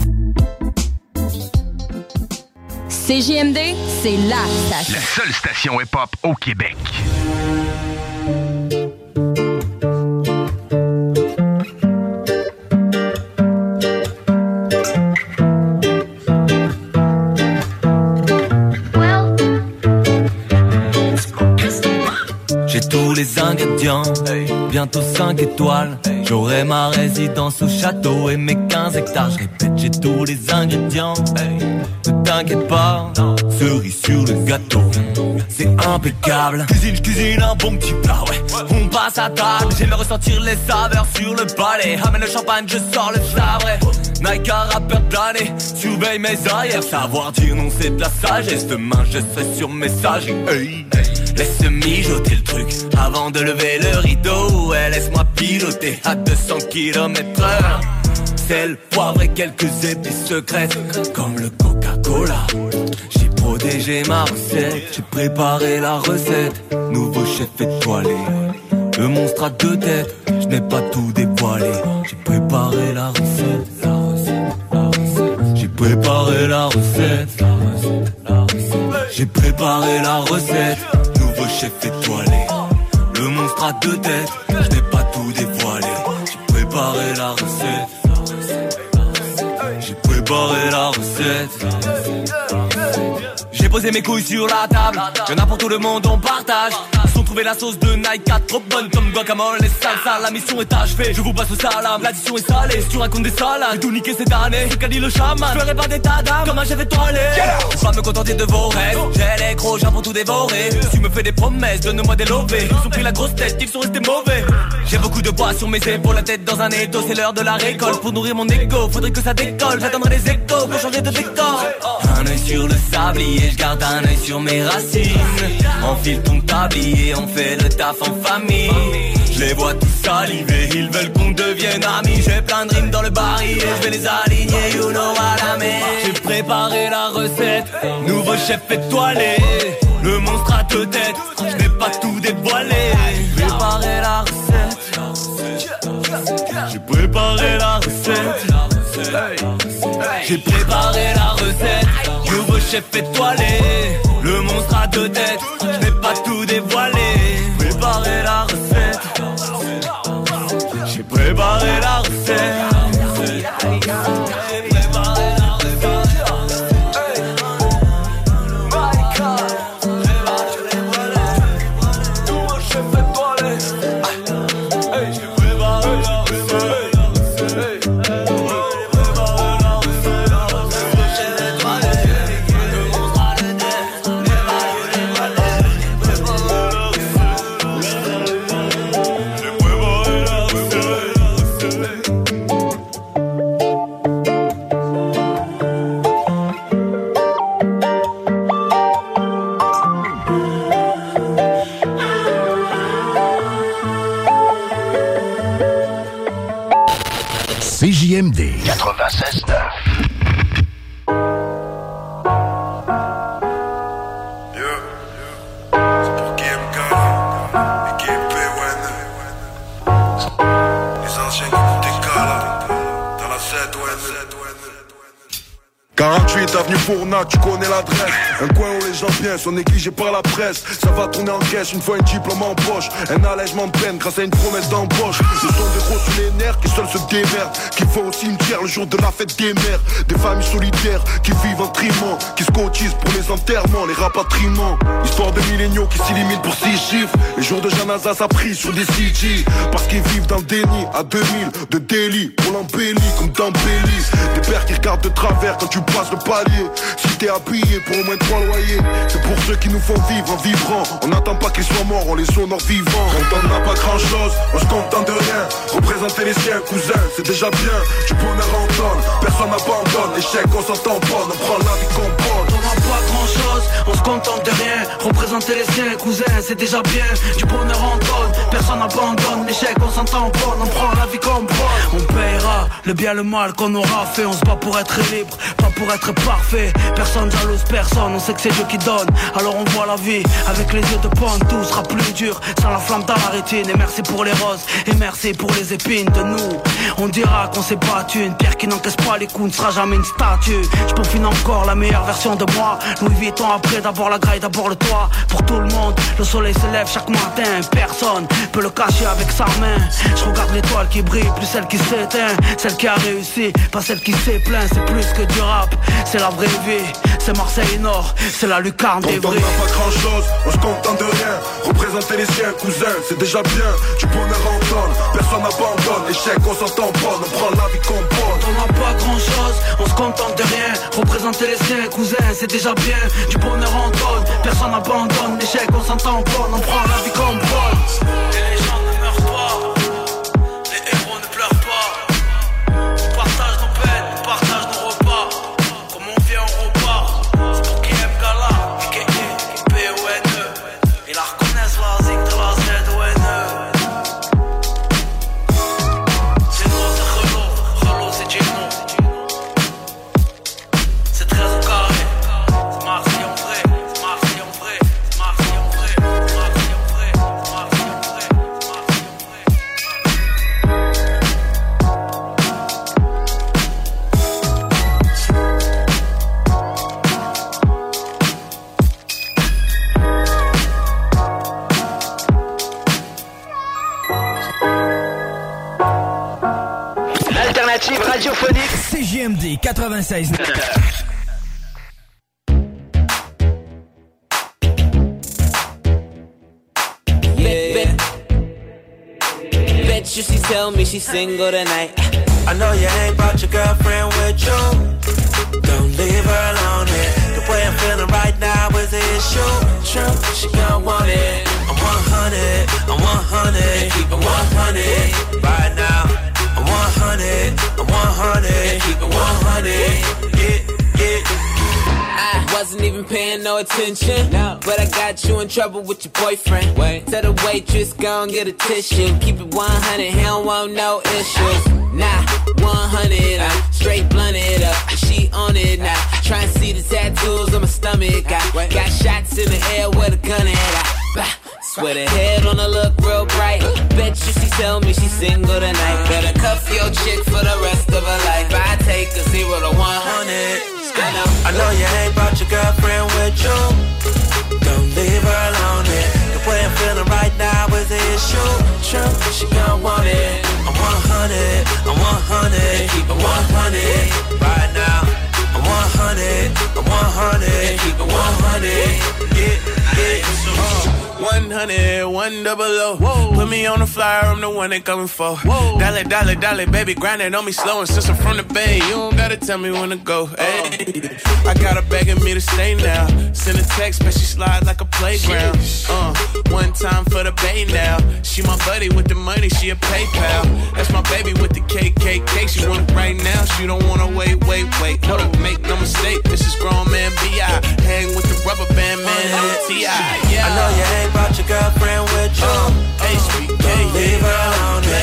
CJMD, c'est la station. La seule station hip-hop au Québec. J'ai tous les ingrédients, bientôt 5 étoiles. J'aurai ma résidence au château et mes 15 hectares. Je répète, j'ai tous les ingrédients. Ne t'inquiète pas, cerise sur le gâteau. C'est impeccable. Cuisine un bon petit plat, ouais. On passe à table, j'aime ressentir les saveurs sur le palais. Ramène le champagne, je sors le sabre. Nike, rappeur de l'année, surveille mes arrières. Savoir dire non, c'est de la sagesse. Demain, je serai sur message. Hey. Laisse mijoter le truc avant de lever le rideau. Ouais, laisse-moi piloter à 200 km/h. Sel, poivre et quelques épices secrètes, comme le Coca-Cola. J'ai protégé ma recette, j'ai préparé la recette. Nouveau chef étoilé, le monstre à 2 têtes. Je n'ai pas tout dévoilé, j'ai préparé la recette. J'ai préparé la recette. J'ai préparé la recette. Nouveau chef étoilé, le monstre à 2 têtes. Je n'ai pas tout dévoilé, j'ai préparé la recette. J'ai préparé la recette. J'ai posé mes couilles sur la table. Y'en a pour tout le monde, on partage. Ils ont trouvé la sauce de Nike, trop bonne comme guacamole et salsa. La mission est achevée, je vous passe au salam. L'addition est salée, si tu racontes des salades. J'ai tout niqué cette année, c'est qu'a dit le chaman. Je ferai pas d'état d'âme, comme un chef étoilé. Faut pas me contenter de vos rêves. J'ai les gros, j'ai pour tout dévorer. Tu me fais des promesses, donne-moi des lovés. Ils ont pris la grosse tête, ils sont restés mauvais. J'ai beaucoup de poids sur mes épaules, la tête dans un étau. C'est l'heure de la récolte, pour nourrir mon ego. Faudrait que ça décolle, j'attendrai les échos pour changer de décor. Un œil sur le sablier, je garde un œil sur mes racines. Enfile ton tablier, on fait le taf en famille. Je les vois tous saliver, ils veulent qu'on devienne amis. J'ai plein de rimes dans le baril et je vais les aligner, you know what I mean. J'ai préparé la recette, nouveau chef étoilé. Le monstre à 2 têtes, je n'ai pas tout dévoilé. J'ai préparé la recette. J'ai préparé la recette. J'ai préparé la recette. Nouveau chef étoilé, le monstre à 2 têtes. Je n'ai 96.9. Avenue Fournac, tu connais l'adresse. Un coin où les gens viennent sont négligés par la presse. Ça va tourner en caisse une fois un diplôme en poche. Un allègement de peine grâce à une promesse d'embauche. Ce sont des gros sur les nerfs qui seuls se démerdent, qui vont au cimetière le jour de la fête des mères. Des familles solitaires qui vivent en trimant, qui se cotisent pour les enterrements, les rapatriements. Histoire de milléniaux qui s'éliminent pour 6 chiffres. Les jours de janaza ça pris sur des CG. Parce qu'ils vivent dans le déni à 2000 de délit. Pour l'embellie comme dans Bélis. Des pères qui regardent de travers quand tu passes le palier. Si t'es habillé pour au moins 3 loyers. C'est pour ceux qui nous font vivre en vibrant. On n'attend pas qu'ils soient morts, on les honore vivants. Quand on n'a pas grand chose, on se contente de rien. Représenter les siens, cousins, c'est déjà bien. Du bonheur en donne, personne n'abandonne. L'échec on s'entend pas, on prend la vie qu'on prend. On n'a pas grand chose, on se contente de rien. Représenter les siens, cousins, c'est déjà bien. Du bonheur en donne, personne n'abandonne. L'échec on s'entend pas, on prend la vie qu'on prend. On paiera le bien le mal qu'on aura fait. On se bat pour être libre, pas pour être parfait. Personne jalouse personne, on sait que c'est Dieu qui donne. Alors on voit la vie avec les yeux de pointe. Tout sera plus dur sans la flamme dans la rétine. Et merci pour les roses, et merci pour les épines de nous. On dira qu'on s'est battu. Une pierre qui n'encaisse pas les coups ne sera jamais une statue. Je peaufine encore la meilleure version de moi. Louis Vuitton après, d'abord la graille, d'abord le toit. Pour tout le monde, le soleil se lève chaque matin. Personne peut le cacher avec sa main. Je regarde l'étoile qui brille, plus celle qui s'éteint. Celle qui a réussi, pas celle qui s'est plaint. C'est plus que du rap, c'est la vraie vie. C'est Marseille Nord, c'est la lucarne des vrais. On n'a pas grand chose, on se contente de rien. Représenter les siens, cousins, c'est déjà bien. Du bonheur en donne, personne n'abandonne. L'échec on s'entend pas, on prend la vie qu'on porte. On n'a pas grand chose, on se contente de rien. Représenter les siens, cousins, c'est déjà bien. Du bonheur en donne, personne n'abandonne. L'échec on s'entend pas, on prend la vie qu'on porte. Et les gens ne meurent pas, les héros ne pleurent pas. On partage nos peines, on partage nos repas. Comme on vient, on repart. C'est pour qui aime Gala, P-O-N-E. Ils la reconnaissent la zig de la Z-O-N-E. C'est nous, c'est Relo, Relo c'est Gino. C'est très au carré, c'est Marseille en vrai, c'est Marseille en vrai, c'est Marseille en vrai, c'est Marseille en vrai, c'est Marseille en vrai, c'est Marseille en vrai. L'alternative radiophonique CJMD 96.9. Bet you she tell me she's single tonight. I know you ain't brought your girlfriend with you. Don't leave her alone here. The way I'm feeling right now is the issue. True, she gon' want it. I'm 100, I'm 100, Keep it 100 right now. I'm 100, I'm 100, Keep it 100 yeah. I wasn't even paying no attention, no. But I got you in trouble with your boyfriend. Wait. Tell the waitress, gon' get a tissue. Keep it 100, he don't want no issues. Nah, 100, I'm straight blunted up. She on it now. Try and see the tattoos on my stomach. I got shots in the air with a gun at. Swear the head on her look real bright. Bet you she tell me she's single tonight. Better cuff your chick for the rest of her life. I take a 0 to 100. I know you ain't brought your girlfriend with you. Don't leave her alone here. The way I'm feeling right now is the issue. True, she gon' want it. I'm 100, I'm 100, Keep it 100 right now. I'm 100, I'm 100, Keep it 100 yeah. 100, 100. Whoa. Put me on the flyer, I'm the one they coming for. Whoa. Dale, dale, dale, baby, grind it on me slow. And since I'm from the Bay, you don't gotta tell me when to go. Hey. I got her begging me to stay now. Send a text, but she slide like a playground. One time for the Bay now. She my buddy with the money, she a PayPal. That's my baby with the KKK. She want it right now, she don't wanna wait. Hold up, make no mistake, this is grown man B.I. Hang with the rubber band man and the T.I. Yeah. I know you ain't brought your girlfriend with you. HBK, leave her alone. The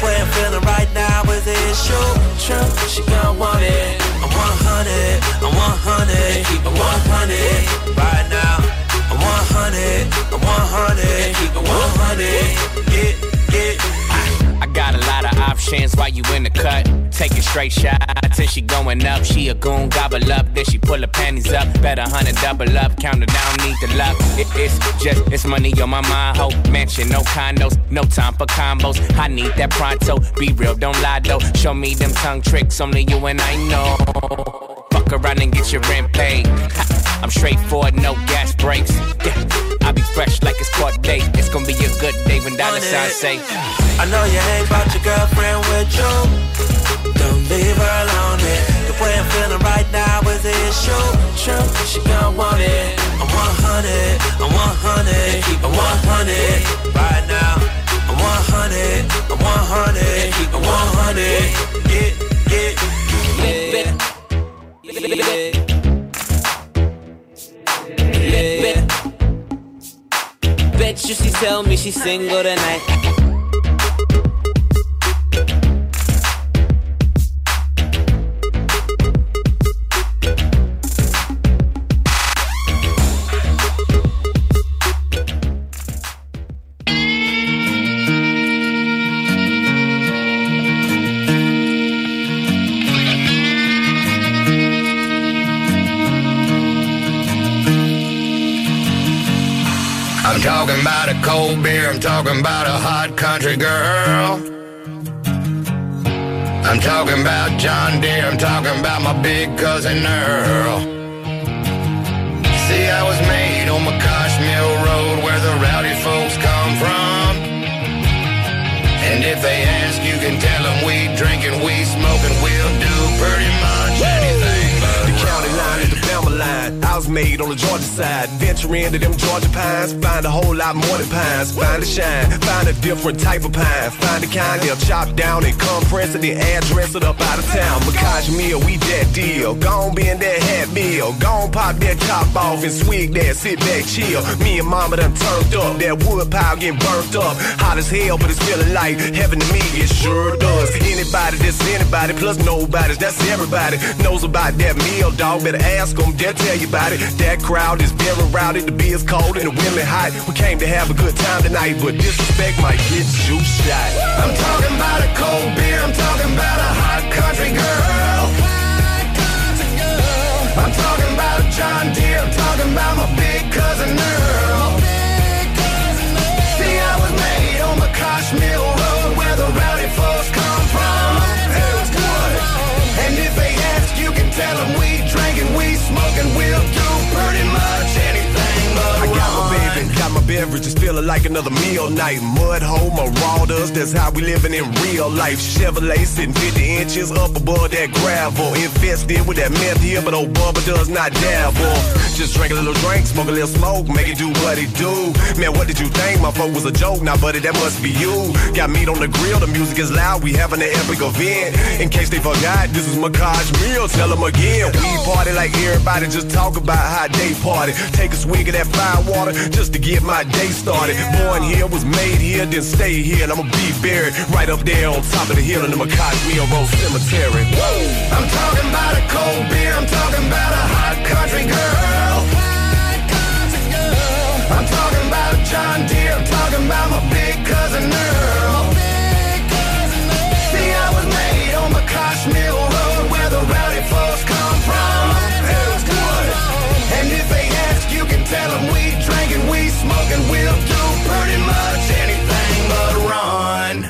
way I'm feeling right now is it true? She gon' want it. I'm 100, I'm 100, keep it 100 right now. I'm 100, I'm 100, keep it 100. Get. I got a lot of options while you in the cut. Taking straight shots and she going up. She a goon, gobble up, then she pull her panties up. Bet 100 double up, count her down, need the luck. It's money on my mind, ho. Mansion, no condos, no time for combos. I need that pronto, be real, don't lie though. Show me them tongue tricks, only you and I know. Fuck around and get your rent paid. I'm straightforward, no gas breaks. Yeah, I be fresh like it's court date. It's gonna be a good day when dollar signs say I know you ain't about your girlfriend with you. Don't leave her alone. The way I'm feeling right now is it true? She gon' want it. I'm 100, I'm 100, keep it 100 right now. I'm 100, I'm 100, keep it 100. Get. Bet you she tell me she's single tonight. I'm talking about a cold beer, I'm talking about a hot country girl. I'm talking about John Deere, I'm talking about my big cousin Earl. See, I was made on McCosh Mill Road where the rowdy folks come from. And if they ask, you can tell them we drinking, we smoking, we'll do pretty much anything. The county line is the Bama line. I was made on the Georgia side. Venture into them Georgia pines. Find a whole lot more than pines. Find a shine. Find a different type of pine. Find the kind they'll chop down and compress it and address it up out of town. Because meal, we that deal. Gon' be in that hat meal. Gon' pop that top off and swig that. Sit back, chill. Me and mama done turned up. That wood pile getting burnt up. Hot as hell, but it's feeling like heaven to me. It sure does. Anybody that's anybody plus nobody's. That's everybody. Knows about that meal, dog. Better ask them. They'll tell you about it. That crowd is very rowdy. The beer's cold and the women hot. We came to have a good time tonight, but disrespect might get you shot. I'm talking about a cold beer. I'm talking about a hot country girl. I'm talking about a John Deere. I'm talking about my big cousin Earl. See, I was made on McCosh Mill Road where the rowdy folks come from. And if they ask, you can tell them we drinking, we smoking, we'll do pretty much anything but I got my baby, got my beverages, feeling like another meal night. Mud hole, marauders, that's how we living in real life. Chevrolet sitting 50 inches up above that gravel. Infested with that meth here, but old Bubba does not dabble. Just drink a little drink, smoke a little smoke, make it do what it do. Man, what did you think? My folk was a joke, now buddy, that must be you. Got meat on the grill, the music is loud, we having an epic event. In case they forgot, this is McCosh Mill, tell them again. We party like everybody, just talk about how they party. Take a swig of that fire water, just to get my day started. Born here, was made here, then stay here, and I'ma be buried right up there on top of the hill in the McCosh Mill Road Cemetery. Whoa. I'm talking about a cold beer, I'm talking about a hot country girl. I'm talking about John Deere, I'm talking about my big cousin Earl. See, I was made on McCosh Mill Road where the rowdy folks come from. And if they ask, you can tell them we drinking, we smoking, we'll do pretty much anything but run.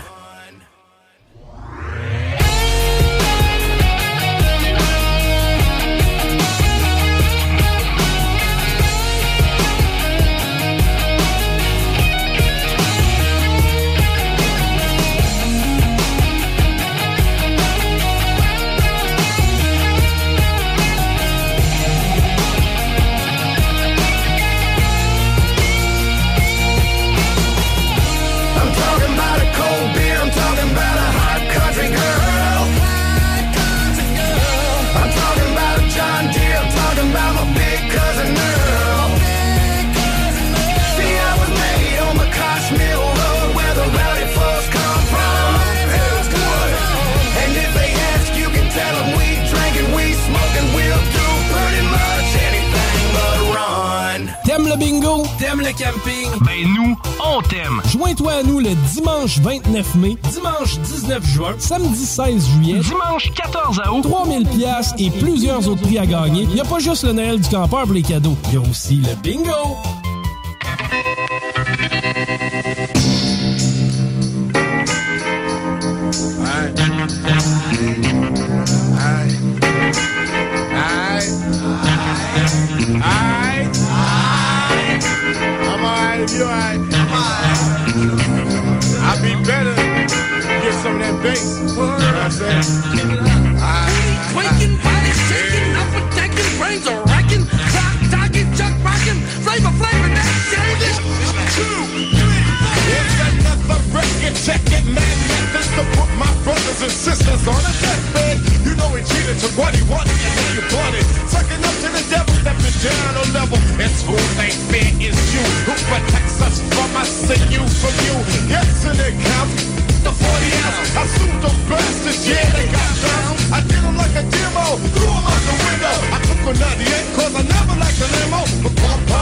Bingo! T'aimes le camping? Ben nous, on t'aime! Joins-toi à nous le dimanche 29 mai, dimanche 19 juin, samedi 16 juillet, dimanche 14 août, 3000 piastres et plusieurs autres prix à gagner. Il n'y a pas juste le Noël du campeur pour les cadeaux, il y a aussi le bingo! You alright? I'll be better. Get some of that bass. You know what I'm saying? Quaking, body shaking, up attacking, brains are racking, clock talking, chuck rocking, flavor, that shit. 2, 3, 4. It's another record, check it, man. Methods to put my brothers and sisters on a deathbed. You know he cheated, took what he wanted, and now you bought it. Sucking up to the devil, stepping down a level. It's who they fear is you, who protects us from us and you from you. Yes, and it counts. The 40 ounce, I sued those bastards, yeah, they got down. I did them like a demo, threw them out the window. I took a 98, cause I never liked the limo. But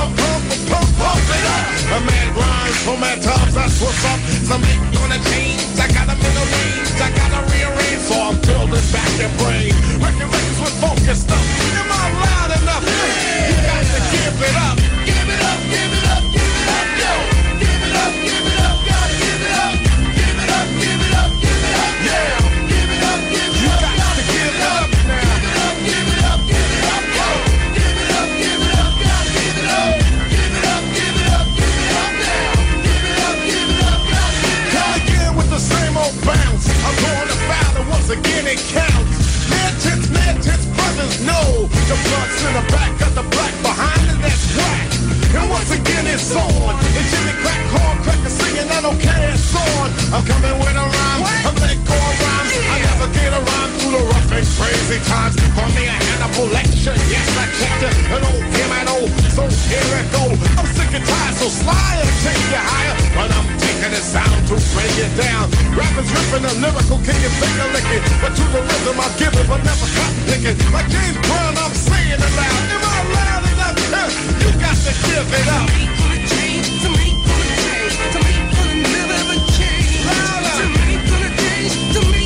pump it up. A man grinds, so mad times, that's what's up. Some ain't gonna change, I got them in the range, I gotta rearrange, so I'm building back their brain. Records with focus stuff. Am I loud enough? You got to give it up. Give it up, give it up, give it up, yo. Give it up, gotta give it up. Give it up, give it up, give it up, yeah. Give it up, you got to give it up now. Give it up, give it up, yo. Give it up, gotta give it up. Give it up, give it up, give it up now. Give it up, gotta give it up. Come again with the same old bounce. I'm going to battle once again, it counts. Mad tits, brothers know. The blood's in the back, got the black behind it, that's whack. And once again it's on. And Jimmy Crack, corn cracker singing, I don't care, it's on. I'm coming with a rhyme, I'm letting go of rhymes. I never get a rhyme through the rough and crazy times. Call me a Hannibal lecture, yes I checked it. An old him and old, so here it go. I'm sick and tired, so slide and take you higher. But I'm taking the sound to bring it down. Rappers ripping the lyrical, can you finger lick it? But to the rhythm I give it, but never cotton picking. Like James Brown, I'm saying it loud. Am I loud enough? You got to give it up. To me, gonna change. To me, gonna never change. Louder. To me, gonna change. To me,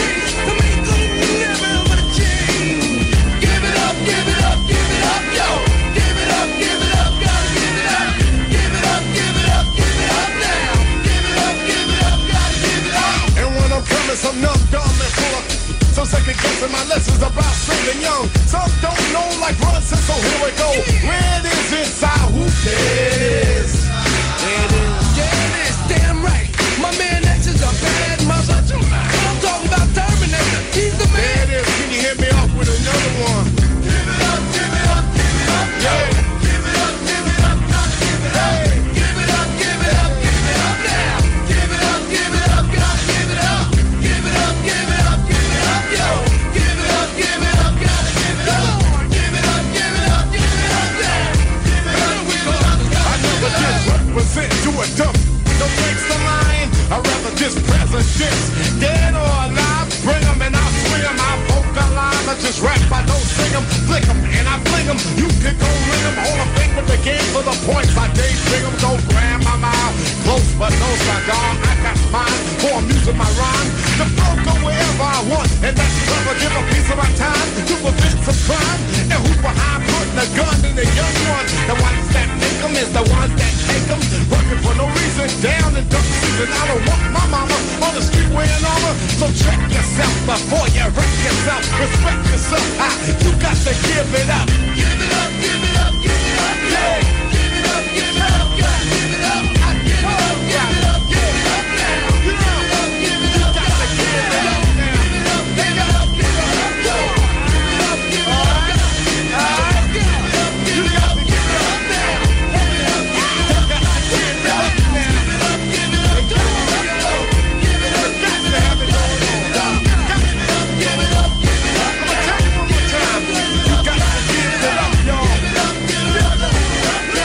gonna never change. Give it up, give it up, give it up, yo. Give it up, gotta give it up. Give it up, give it up, give it up now. Give it up, gotta give it up. And when I'm coming, some numb, dumb, and full of some second guessing my lessons about singing young. Some don't know like Brunson, so here we go. Where it is inside, who cares? There it is. Yeah, it is, damn right. My man X is a bad mother. I'm talking about Terminator. He's the man. There it is. Can you hit me up with another one? Give it up, give it up, give it up, yo. Give it up, gotta give it up. Give it up, give it up, give it up now. Give it up, gotta give it up. Give it up, give it up, give it up, yo. Give it up, gotta give it up. Give it up, give it up, give it up now. Give it up, I never just represent to a dump. No thanks to lying, I'd rather just present this. Dead or alive, bring them and I'll swing them. I vocalize, I just rap, I don't sing them. Flick them and I fling them. You can go ring them. All I think with the game for the points. I daydream them, don't grab my mouth. Close but no cigar, I got mine. For I'm using my rhyme. The flow go wherever I want. And that's clever, give a piece of my time to prevent some crime. And who's behind putting a gun in the young one? The ones that make them is the ones that take them. Working for no reason, down in duck season. I don't want my mama on the street wearing armor. So check yourself before you wreck yourself. Respect yourself, you got to give it up. Give it up, give it up, give it up, yeah. Give it up, give it up, gotta give it up. I give it up, give it up, give it up now. Give it up, give it up, gotta give it up now. Give it up, give it up, give it up, yo. Give it up, give it up, gotta give it up. Give it up, give it up, give it up now. Give it up, give it up, gotta give it up now. Give it up, give it up, gotta give it up. Give it up, got to have it going on. Give it up, give it up, give it up. I'ma tell you one more time. You got to give it up, y'all. Give it up, give it up, give it up.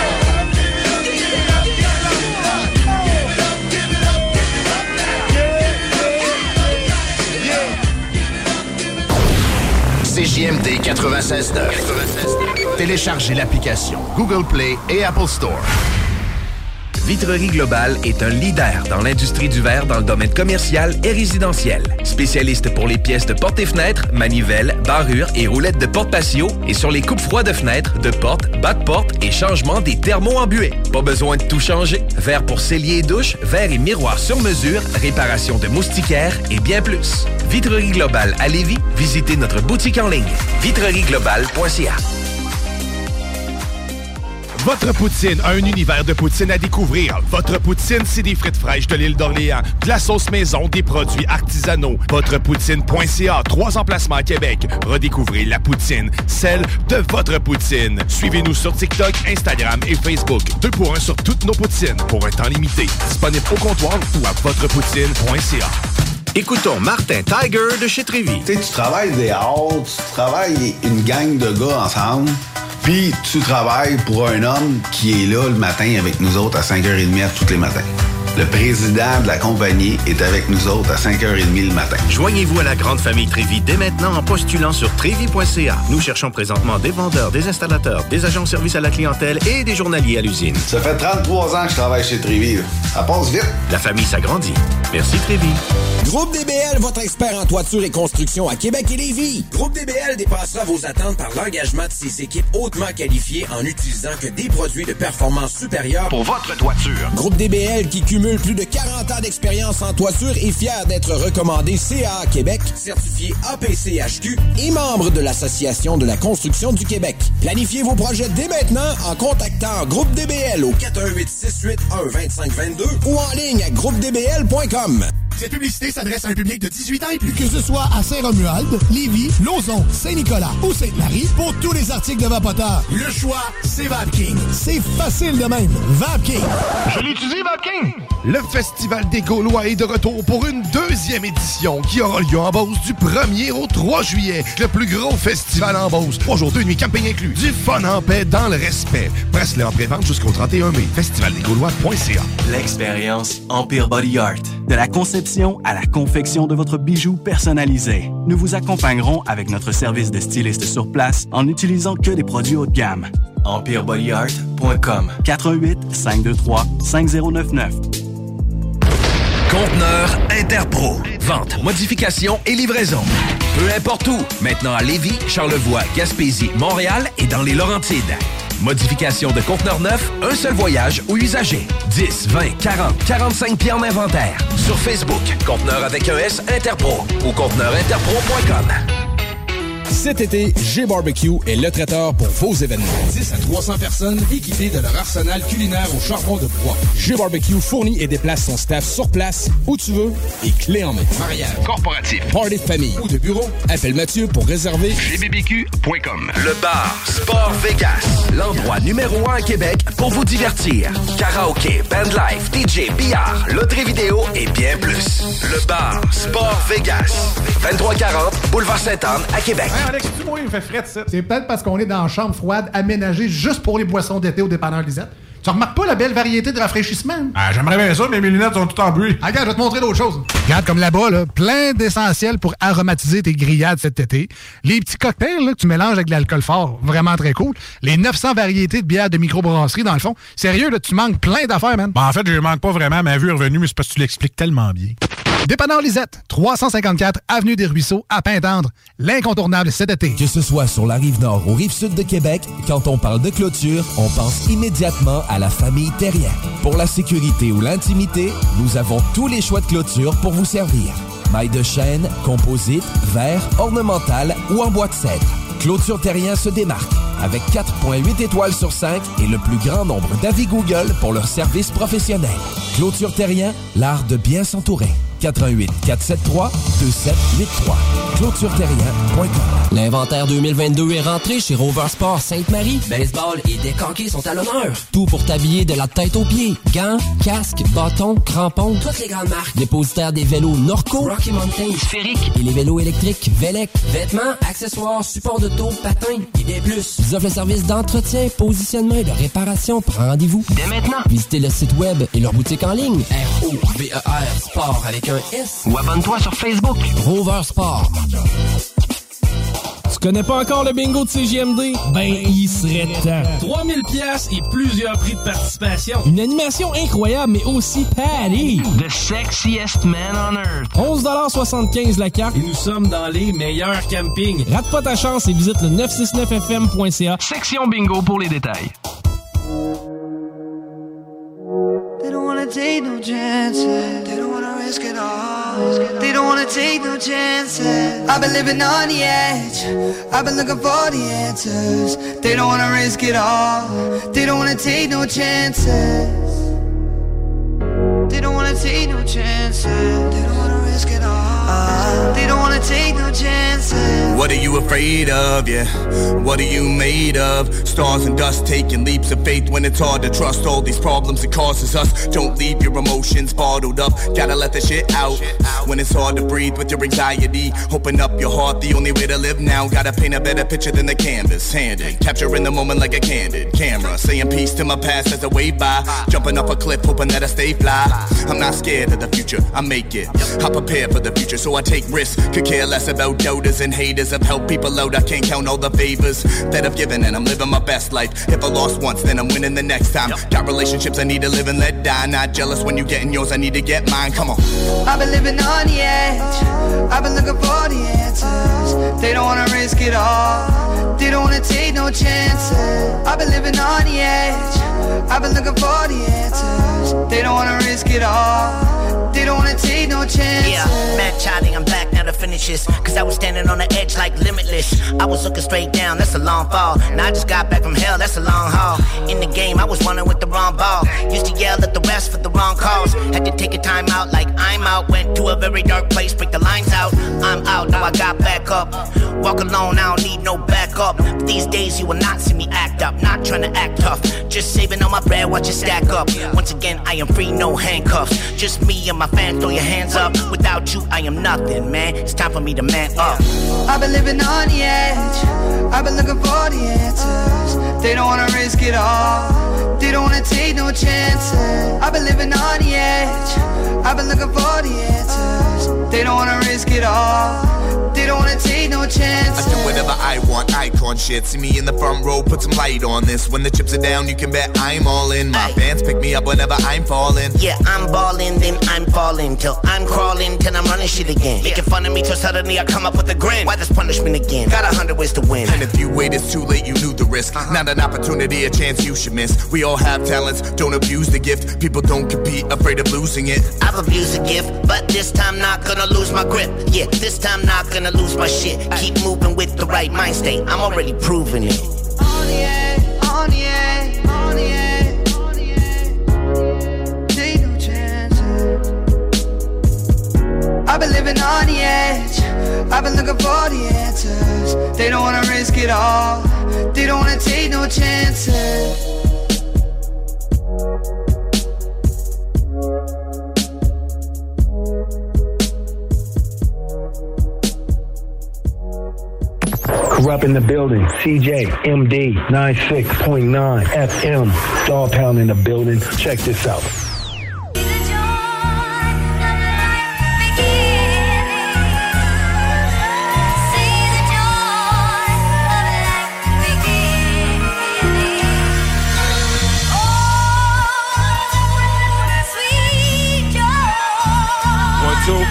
CJMD 96.9. Téléchargez l'application Google Play et Apple Store. Vitrerie Globale est un leader dans l'industrie du verre dans le domaine commercial et résidentiel. Spécialiste pour les pièces de portes et fenêtres, manivelles, barrures et roulettes de porte patio et sur les coupes froides de fenêtres, de portes, bas de porte et changement des thermos embués. Pas besoin de tout changer. Verre pour cellier et douche, verre et miroirs sur mesure, réparation de moustiquaires et bien plus. Vitrerie Globale à Lévis, visitez notre boutique en ligne vitrerieglobale.ca. Votre poutine a un univers de poutine à découvrir. Votre poutine, c'est des frites fraîches de l'île d'Orléans, de la sauce maison, des produits artisanaux. Votrepoutine.ca, 3 emplacements à Québec. Redécouvrez la poutine, celle de votre poutine. Suivez-nous sur TikTok, Instagram et Facebook. 2 pour 1 sur toutes nos poutines, pour un temps limité. Disponible au comptoir ou à votrepoutine.ca. Écoutons Martin Tiger de chez Trévis. Tu sais, tu travailles des heures, tu travailles une gang de gars ensemble, puis tu travailles pour un homme qui est là le matin avec nous autres à 5h30 tous les matins. Le président de la compagnie est avec nous autres à 5h30 le matin. Joignez-vous à la grande famille Trévis dès maintenant en postulant sur trévis.ca. Nous cherchons présentement des vendeurs, des installateurs, des agents de service à la clientèle et des journaliers à l'usine. Ça fait 33 ans que je travaille chez Trévis. Ça passe vite. La famille s'agrandit. Merci Trévis. Groupe DBL, votre expert en toiture et construction à Québec et Lévis. Groupe DBL dépassera vos attentes par l'engagement de ses équipes hautement qualifiées en utilisant que des produits de performance supérieure pour votre toiture. Groupe DBL qui cumule plus de 40 ans d'expérience en toiture est fier d'être recommandé CAA Québec, certifié APCHQ et membre de l'Association de la construction du Québec. Planifiez vos projets dès maintenant en contactant Groupe DBL au 418-681-2522 ou en ligne à groupedbl.com. Cette publicité s'adresse à un public de 18 ans et plus. Que ce soit à Saint-Romuald, Lévis, Lauson, Saint-Nicolas ou Sainte-Marie, pour tous les articles de Vapoteur, le choix, c'est Vapking. C'est facile de même. Vapking. Je l'utilise, Vapking! Le Festival des Gaulois est de retour pour une 2e édition qui aura lieu en Beauce du 1er au 3 juillet. Le plus gros festival en Beauce. 3 jours, 2 nuits, camping inclus. Du fun en paix dans le respect. Presse-le en pré-vente jusqu'au 31 mai. Festivaldesgaulois.ca. L'expérience Empire Body Art. De la conception à la confection de votre bijou personnalisé. Nous vous accompagnerons avec notre service de styliste sur place en n'utilisant que des produits haut de gamme. EmpireBodyArt.com 418-523-5099. Conteneur Interpro. Vente, modification et livraison. Peu importe où. Maintenant à Lévis, Charlevoix, Gaspésie, Montréal et dans les Laurentides. Modification de conteneurs neufs, un seul voyage ou usager. 10, 20, 40, 45 pieds en inventaire. Sur Facebook, Conteneur avec un S Interpro ou conteneurinterpro.com. Cet été, G-Barbecue est le traiteur pour vos événements. 10 à 300 personnes équipées de leur arsenal culinaire au charbon de bois. G-Barbecue fournit et déplace son staff sur place, où tu veux, et clé en main. Mariage, corporatif, party de famille ou de bureau, appelle Mathieu pour réserver gbbq.com. Le bar Sport Vegas, l'endroit numéro 1 à Québec pour vous divertir. Karaoké, bandlife, DJ, billard, loterie vidéo et bien plus. Le bar Sport Vegas, 2340 Boulevard Sainte-Anne à Québec. Hey Alex, tu vois, il me fait frais de ça. C'est peut-être parce qu'on est dans une chambre froide aménagée juste pour les boissons d'été au dépanneur Lisette. Tu remarques pas la belle variété de rafraîchissement? Ah, j'aimerais bien ça, mais mes lunettes sont toutes en bruit. Ah, regarde, je vais te montrer d'autres choses. Regarde comme là-bas, là, plein d'essentiels pour aromatiser tes grillades cet été. Les petits cocktails là, que tu mélanges avec de l'alcool fort, vraiment très cool. Les 900 variétés de bières de microbrasserie, dans le fond. Sérieux, là, tu manques plein d'affaires, man. Ben, en fait, je manque pas vraiment. Ma vue est revenue, mais c'est parce que tu l'expliques tellement bien. Dépanneur Lisette, 354 Avenue des Ruisseaux, à Pintendre. L'incontournable cet été. Que ce soit sur la Rive-Nord ou Rive-Sud de Québec, quand on parle de clôture, on pense immédiatement à la famille Terrien. Pour la sécurité ou l'intimité, nous avons tous les choix de clôture pour vous servir. Mailles de chêne, composite, verre, ornemental ou en bois de cèdre. Clôture Terrien se démarque avec 4,8 étoiles sur 5 et le plus grand nombre d'avis Google pour leur service professionnel. Clôture Terrien, l'art de bien s'entourer. 88 473 2783. ClôtureTerrien.com. L'inventaire 2022 est rentré chez Rover Sport Sainte-Marie. Baseball et deck hockey sont à l'honneur. Tout pour t'habiller de la tête aux pieds. Gants, casques, bâtons, crampons, toutes les grandes marques. Dépositaire des vélos Norco, Rocky Mountain, Sphérique et les vélos électriques Velec. Vêtements, accessoires, supports de taux, patins et des plus. Ils offrent le service d'entretien, positionnement et de réparation. Prends rendez-vous dès maintenant. Visitez le site web et leur boutique en ligne. ROVER Sport avec un S. Ou abonne-toi sur Facebook. Rover Sport. Tu connais pas encore le bingo de CJMD? Ben, il serait temps. 3000 pièces et plusieurs prix de participation. Une animation incroyable, mais aussi Patty, the sexiest man on earth. 11,75$ la carte et nous sommes dans les meilleurs campings. Rate pas ta chance et visite le 969fm.ca. Section bingo pour les détails. They don't wanna take no chances. They don't wanna risk it all. They don't wanna take no chances. I've been living on the edge. I've been looking for the answers. They don't wanna risk it all. They don't wanna take no chances. They don't wanna take no chances. They don't wanna risk it all. They don't wanna take no chances. What are you afraid of, yeah? What are you made of? Stars and dust, taking leaps of faith when it's hard to trust all these problems it causes us. Don't leave your emotions bottled up, gotta let the shit out. When it's hard to breathe with your anxiety, open up your heart, the only way to live now. Gotta paint a better picture than the canvas, handed. Capturing the moment like a candid camera. Saying peace to my past as I wave by. Jumping off a cliff, hoping that I stay fly. I'm not scared of the future, I make it. I prepare for the future, so I take risks. Could care less about doubters and haters. I've helped people out, I can't count all the favors that I've given, and I'm living my best life. If I lost once, then I'm winning the next time. Got relationships I need to live and let die. Not jealous when you getting yours, I need to get mine. Come on. I've been living on the edge. I've been looking for the answers. They don't wanna risk it all. They don't wanna take no chances. I've been living on the edge. I've been looking for the answers. They don't wanna risk it all. They don't wanna take no chances. Yeah, mad Charlie, I'm back now to finish this. Cause I was standing on the edge like limitless. I was looking straight down, that's a long fall. Now I just got back from hell, that's a long haul. In the game, I was running with the wrong ball. Used to yell at the rest for the wrong calls. Had to take a time out like I'm out. Went to a very dark place, break the lines out. I'm out, now I got back up. Walk alone, I don't need no backup. But these days you will not see me act up. Not trying to act tough, just saving all my bread, watch it stack up. Once again, I am free, no handcuffs. Just me and my fans, throw your hands up. Without you, I am nothing, man. It's time for me to man up. I've been living on the edge. I've been looking for the answers. They don't wanna risk it all. They don't wanna take no chances. I've been living on the edge. I've been looking for the answers. They don't wanna risk it all. They don't wanna take no chances. I do whatever I want, icon shit. See me in the front row, put some light on this. When the chips are down, you can bet I'm all in. My fans pick me up whenever I'm falling. Yeah, I'm balling, then I'm falling. Till I'm crawling, till I'm running shit again. Making fun of me till suddenly I come up with a grin. Why this punishment again? Got 100 ways to win. And if you wait, it's too late, you knew the risk. Not an opportunity, a chance you should miss. We all have talents, don't abuse the gift. People don't compete, afraid of losing it. I've abused the gift, but this time not gonna lose my grip. Yeah, this time not gonna lose my shit. Keep moving with the right mind state. I'm already proving it. On the edge, on the edge, on the edge, on the edge. Take no chances. I've been living on the edge. I've been looking for the answers. They don't wanna risk it all. They don't wanna take no chances. Corrupt in the building. CJ, MD, 96.9 FM. Dog Pound in the building. Check this out. One, two.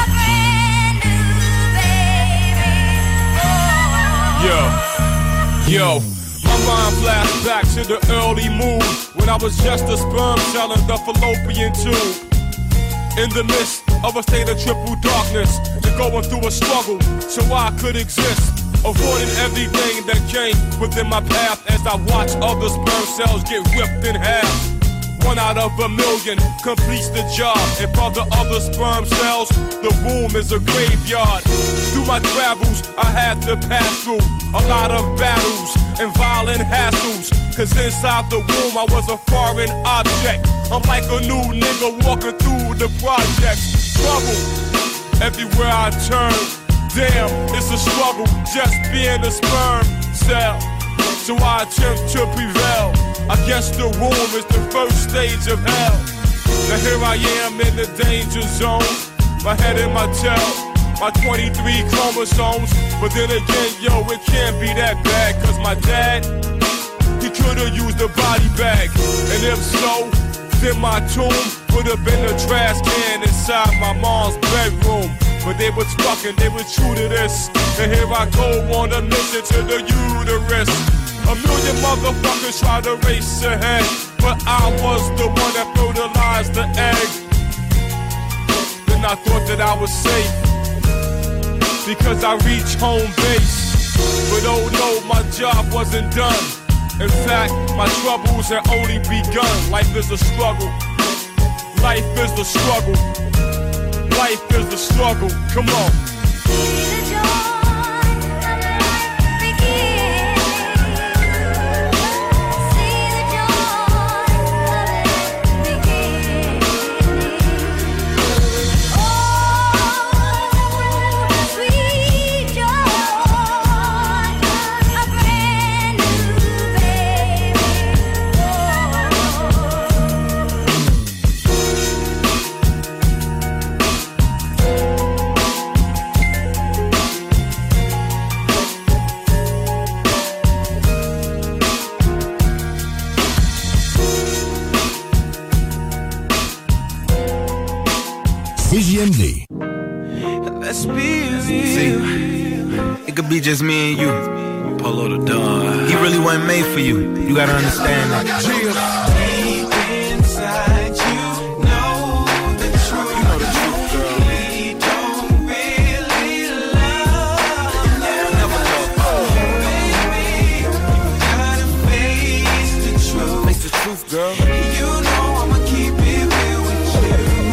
Yo, my mind flashed back to the early moon when I was just a sperm cell in the fallopian tube. In the midst of a state of triple darkness, to going through a struggle so I could exist. Avoiding everything that came within my path as I watched other sperm cells get ripped in half. 1 out of a million completes the job. And for the other sperm cells, the womb is a graveyard. Through my travels, I had to pass through a lot of battles and violent hassles. Cause inside the womb I was a foreign object. I'm like a new nigga walking through the projects. Trouble everywhere I turn. Damn, it's a struggle just being a sperm cell. So I attempt to prevail. I guess the womb is the first stage of hell. Now here I am in the danger zone. My head in my tail, my 23 chromosomes. But then again, yo, it can't be that bad, cause my dad, he could've used a body bag. And if so, then my tomb would've been a trash can inside my mom's bedroom. But they was fucking, they was true to this. And here I go on a mission to the uterus. A million motherfuckers try to race ahead, but I was the one that fertilized the egg. Then I thought that I was safe, because I reached home base. But oh no, my job wasn't done. In fact, my troubles had only begun. Life is a struggle. Life is the struggle. Life is the struggle. Come on. CJMD. Let's be real. See, it could be just me and you. Polo the Don. He really wasn't made for you. You gotta understand that. Deep inside, you know the truth. You know the truth, girl. We don't really love you. Never love. Oh, baby, you gotta face the truth. Face the truth, girl. You know I'ma keep it real with you.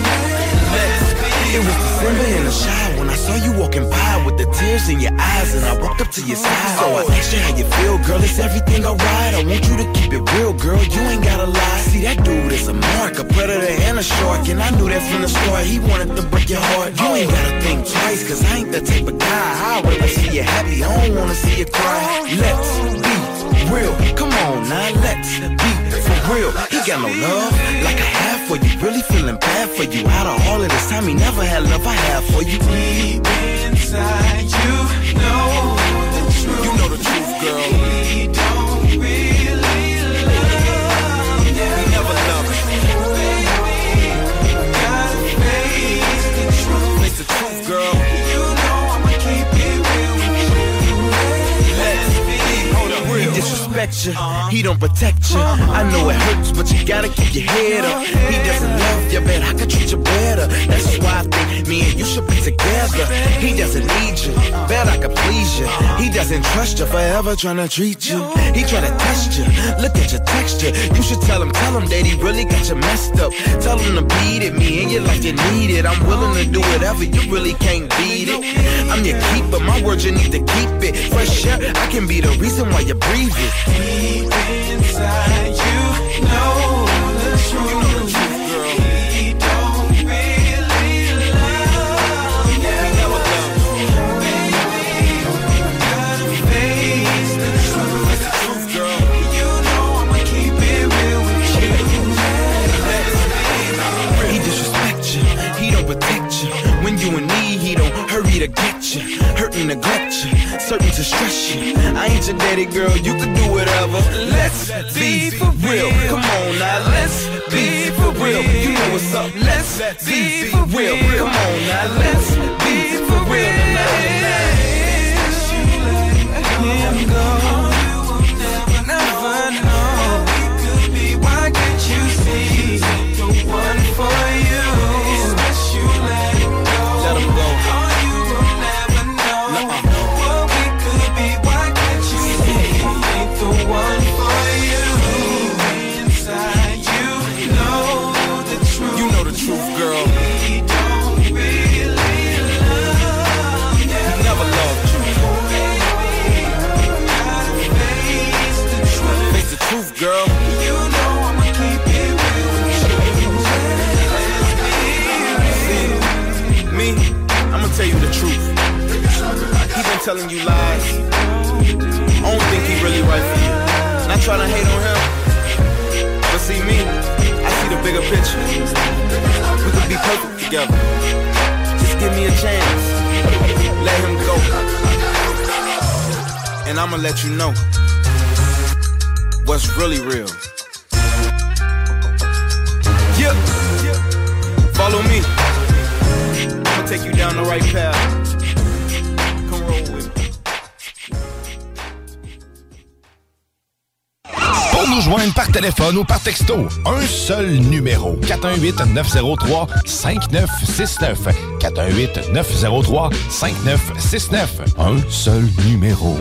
It was December in the shower when I saw you walking by with the tears in your eyes, and I walked up to your side. So I asked you how you feel, girl. Is everything alright? I want you to keep it real, girl. You ain't gotta lie. See, that dude is a mark, a predator and a shark, and I knew that from the start. He wanted to break your heart. You ain't gotta think twice, cause I ain't the type of guy. I'd rather see you happy. I don't wanna see you cry. Let's be real. Come on now, let's be for real. He got no love like I have for you. Really feeling bad for you. Out of all of this time, he never had love I have for you. Deep inside, you know the truth. You know the truth, girl. We don't really love you. We never loved you. Baby, gotta face the truth. Face the truth, girl. You know I'ma keep it real with you. Let's be real. He disrespect you. He don't protect you. I know it hurts, but you gotta keep your head up. He doesn't love you, man. I could treat you better. That's why I think me and you should be together. He doesn't need you, bet I could please you. He doesn't trust you, forever trying to treat you. He try to test you, look at your texture. You should tell him that he really got you messed up. Tell him to beat it, me in your life you need it. I'm willing to do whatever, you really can't beat it. I'm your keeper, my word you need to keep it. Fresh air, I can be the reason why you breathe it. Deep inside, you know the truth. You know the truth, girl. We don't really love you. We never loved you. Baby, gotta face the truth. Face the truth, girl. You know I'ma keep it real with you. He disrespect you. He don't protect you. When you in need, he don't hurry to get you. Hurt and neglect you. Certain to stress you. I ain't your daddy, girl. You can do whatever. Let's be for real. Come on now, let's be for real. You know what's up. Let's be for real. Come on now, let's be for real tonight. Him go. You will never know. We could be. Why can't you see the one for you? You let him go. Let him go. Oh, you will never know what we could be. Why can't you see the one for you? Inside you know the truth. You know the truth, girl. We don't really love you. Never loved you. Gotta face the truth. Face the truth, girl. You know I'ma keep it real with you. Me, I'ma tell you the truth. He been telling you lies. I don't think he really right for you. Not trying to hate on him, but see me, I see the bigger picture. We could be perfect together. Just give me a chance. Let him go. And I'ma let you know what's really real. Yeah. Follow me. I'ma take you down the right path. Come roll with me. Pour nous joindre par téléphone ou par texto, un seul numéro. 418-903-5969. 418-903-5969. Un seul numéro.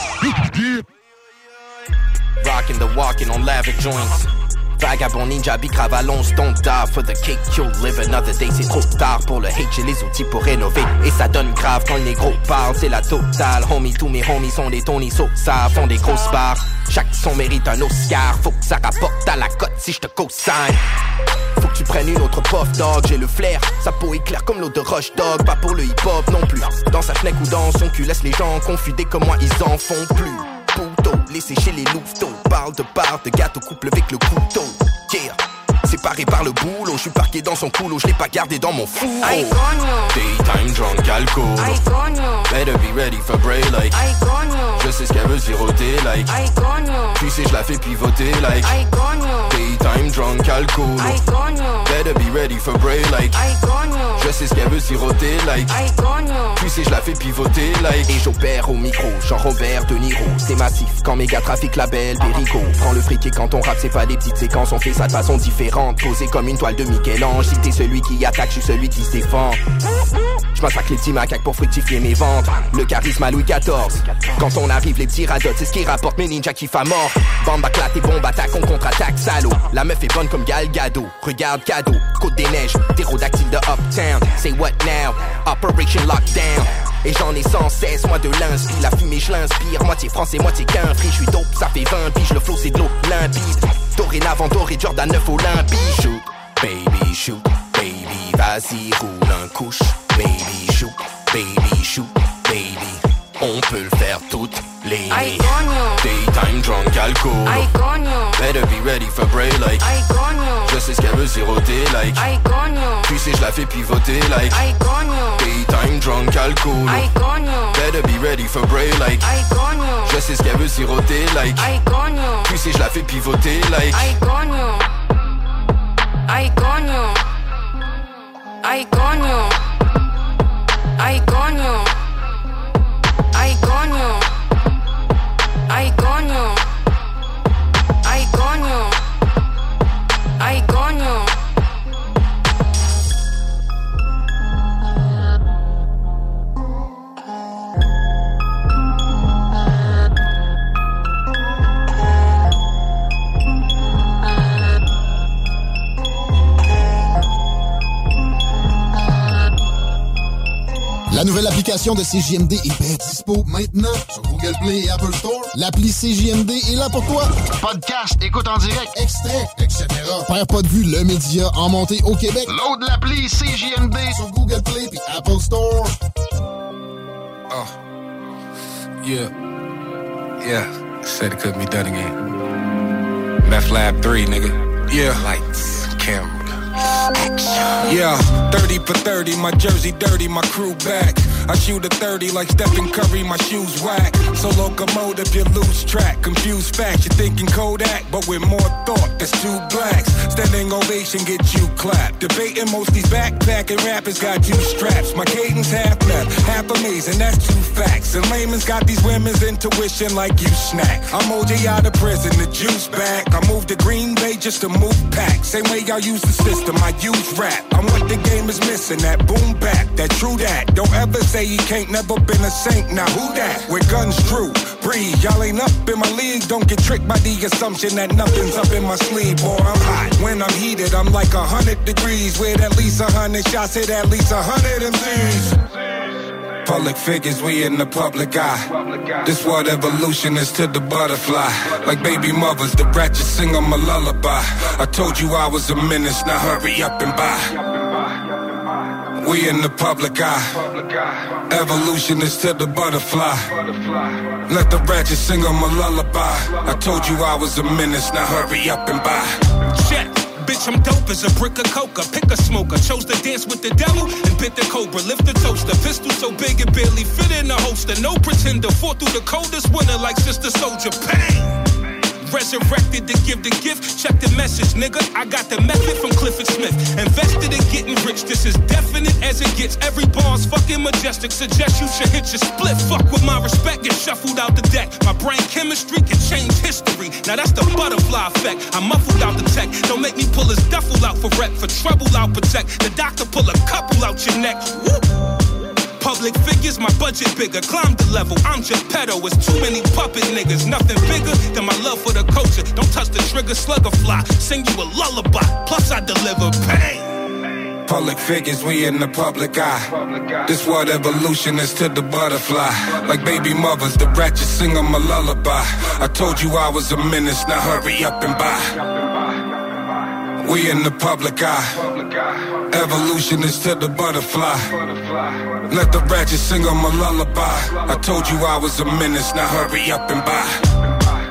Rockin' the walking on lavish joints. Vagabond ninja, bicrave à l'once, don't die for the cake, you'll live another day. C'est trop tard pour le hate, j'ai les outils pour rénover. Et ça donne grave quand le négro parle, c'est la totale. Homie, tous mes homies sont des Tony Sosa, font des grosses barres. Chaque son mérite un Oscar, faut que ça rapporte à la cote si je te co-sign. Faut que tu prennes une autre puff dog, j'ai le flair. Sa peau est claire comme l'eau de Rush Dog. Pas pour le hip-hop non plus. Dans sa fenêtre ou dans son cul, laisse les gens confidés comme moi, ils en font plus. Pouto, laissez chez les louveteaux. Parle de part, de gâteau, couple avec le couteau. Yeah, séparé par le boulot. J'suis parqué dans son couloir, j'l'ai pas gardé dans mon four. Ay, coño. Daytime drunk alcool. Ay, coño. Better be ready for break like. Ay, coño. Je sais ce qu'elle veut siroter like. Ay, coño. Tu sais, j'la fais pivoter like. Ay, coño. Daytime drunk alcool. Ay, coño. Better be ready for break like. Ay, coño. Je sais ce qu'elle veut siroter like. Ay, coño. Tu sais, j'la fais pivoter like. Et j'opère au micro, Jean-Robert De Niro. C'est massif quand méga trafic label Perico. Prends le fric et quand on rappe c'est pas des petites séquences. On fait ça de façon différente, posé comme une toile de Michel-Ange. Si t'es celui qui attaque, je suis celui qui se défend. J'massacre les petits macaques pour fructifier mes ventes. Le charisme à Louis XIV. Quand on arrive les petits radotes, c'est ce qui rapporte mes ninjas qui fa mort. Bande baclate et bombe attaque, on contre-attaque, salaud. La meuf est bonne comme Gal Gadot. Regarde cadeau, Côte des Neiges, ptérodactyle de Uptown. Say what now? Operation Lockdown. Et j'en ai sans cesse, moi de l'inspi. La fumée je l'inspire, moitié français, moitié qu'un free. J'suis dope, ça fait 20 piges, le flow c'est de l'eau limpide. Dorénavant doré, Jordan 9 Olympique. Shoot, baby, shoot, baby, vas-y, roule un couche. Baby, shoot, baby, on peut le faire toutes les Ay, coño. Daytime drunk alcool. Ay, coño. Better be ready for break like. Ay, coño. Je sais ce qu'elle veut siroter like. Ay, coño. Tu sais, j'la fais pivoter like. Ay, coño. Daytime drunk alcool. Ay, coño. Better be ready for break like. Ay, coño. Je sais ce qu'elle veut siroter like. Ay, coño. Tu sais, j'la fais pivoter like. Ay, coño. Ay, coño. Ay, coño. Ay, coño. Ay, coño. Ay, coño. Ay, coño. Ay, coño. La nouvelle application de CJMD est bien dispo maintenant sur Google Play et Apple Store. L'appli CJMD est là pour toi. Podcast, écoute en direct, extrait, etc. Perds pas de vue, le média en montée au Québec. Load l'appli CJMD sur Google Play et Apple Store. Oh. Yeah. Yeah. Said it couldn't be done again. Meth Lab 3, nigga. Yeah. Lights, camera. Yeah, 30 for 30, my jersey dirty, my crew back. I shoot a 30 like Stephen Curry, my shoes whack. So locomotive, you lose track. Confused facts, you're thinking Kodak, but with more thought, there's two blacks. Standing ovation, get you clapped. Debating most these backpacking rappers got you straps. My cadence half left, half amazing, that's two facts. And layman's got these women's intuition like you snack. I'm OJ out of prison, the juice back. I moved to Green Bay just to move back. Same way y'all use the system, I use rap. I'm what the game is missing, that boom back, that true that. Don't ever say he can't, never been a saint, now who that? With guns drew, breathe, y'all ain't up in my league. Don't get tricked by the assumption that nothing's up in my sleeve. Boy, I'm hot, when I'm heated, I'm like 100 degrees. With at least 100 shots, hit at least 100 MCs. Public figures, we in the public eye. This what evolution is to the butterfly. Like baby mothers, the brat just sing on my lullaby. I told you I was a menace, now hurry up and buy. We in the public eye. Evolution is to the butterfly. Let the ratchet sing on my lullaby. I told you I was a menace, now hurry up and buy. Check. Bitch, I'm dope as a brick of coca. Pick a smoker. Chose to dance with the devil and bit the cobra. Lift the toaster. Pistol so big it barely fit in the holster. No pretender. Fought through the coldest winter like Sister Soldier. Pain. Resurrected to give the gift. Check the message, nigga. I got the method from Clifford Smith. Invested in getting rich. This is definite as it gets. Every bar's fucking majestic. Suggest you should hit your split. Fuck with my respect. Get shuffled out the deck. My brain chemistry can change history. Now that's the butterfly effect. I muffled out the tech. Don't make me pull his duffel out for rep. For trouble I'll protect. The doctor pull a couple out your neck. Woo! Public figures, my budget bigger. Climb the level, I'm just pedo. It's too many puppet niggas. Nothing bigger than my love for the culture. Don't touch the trigger, slugger fly. Sing you a lullaby, plus I deliver pain. Public figures, we in the public eye. This what evolution is to the butterfly. Like baby mothers, the ratchet sing them a lullaby. I told you I was a menace, now hurry up and buy. We in the public eye. Evolution is to the butterfly. Let the ratchet sing them a lullaby. I told you I was a menace, now hurry up and buy.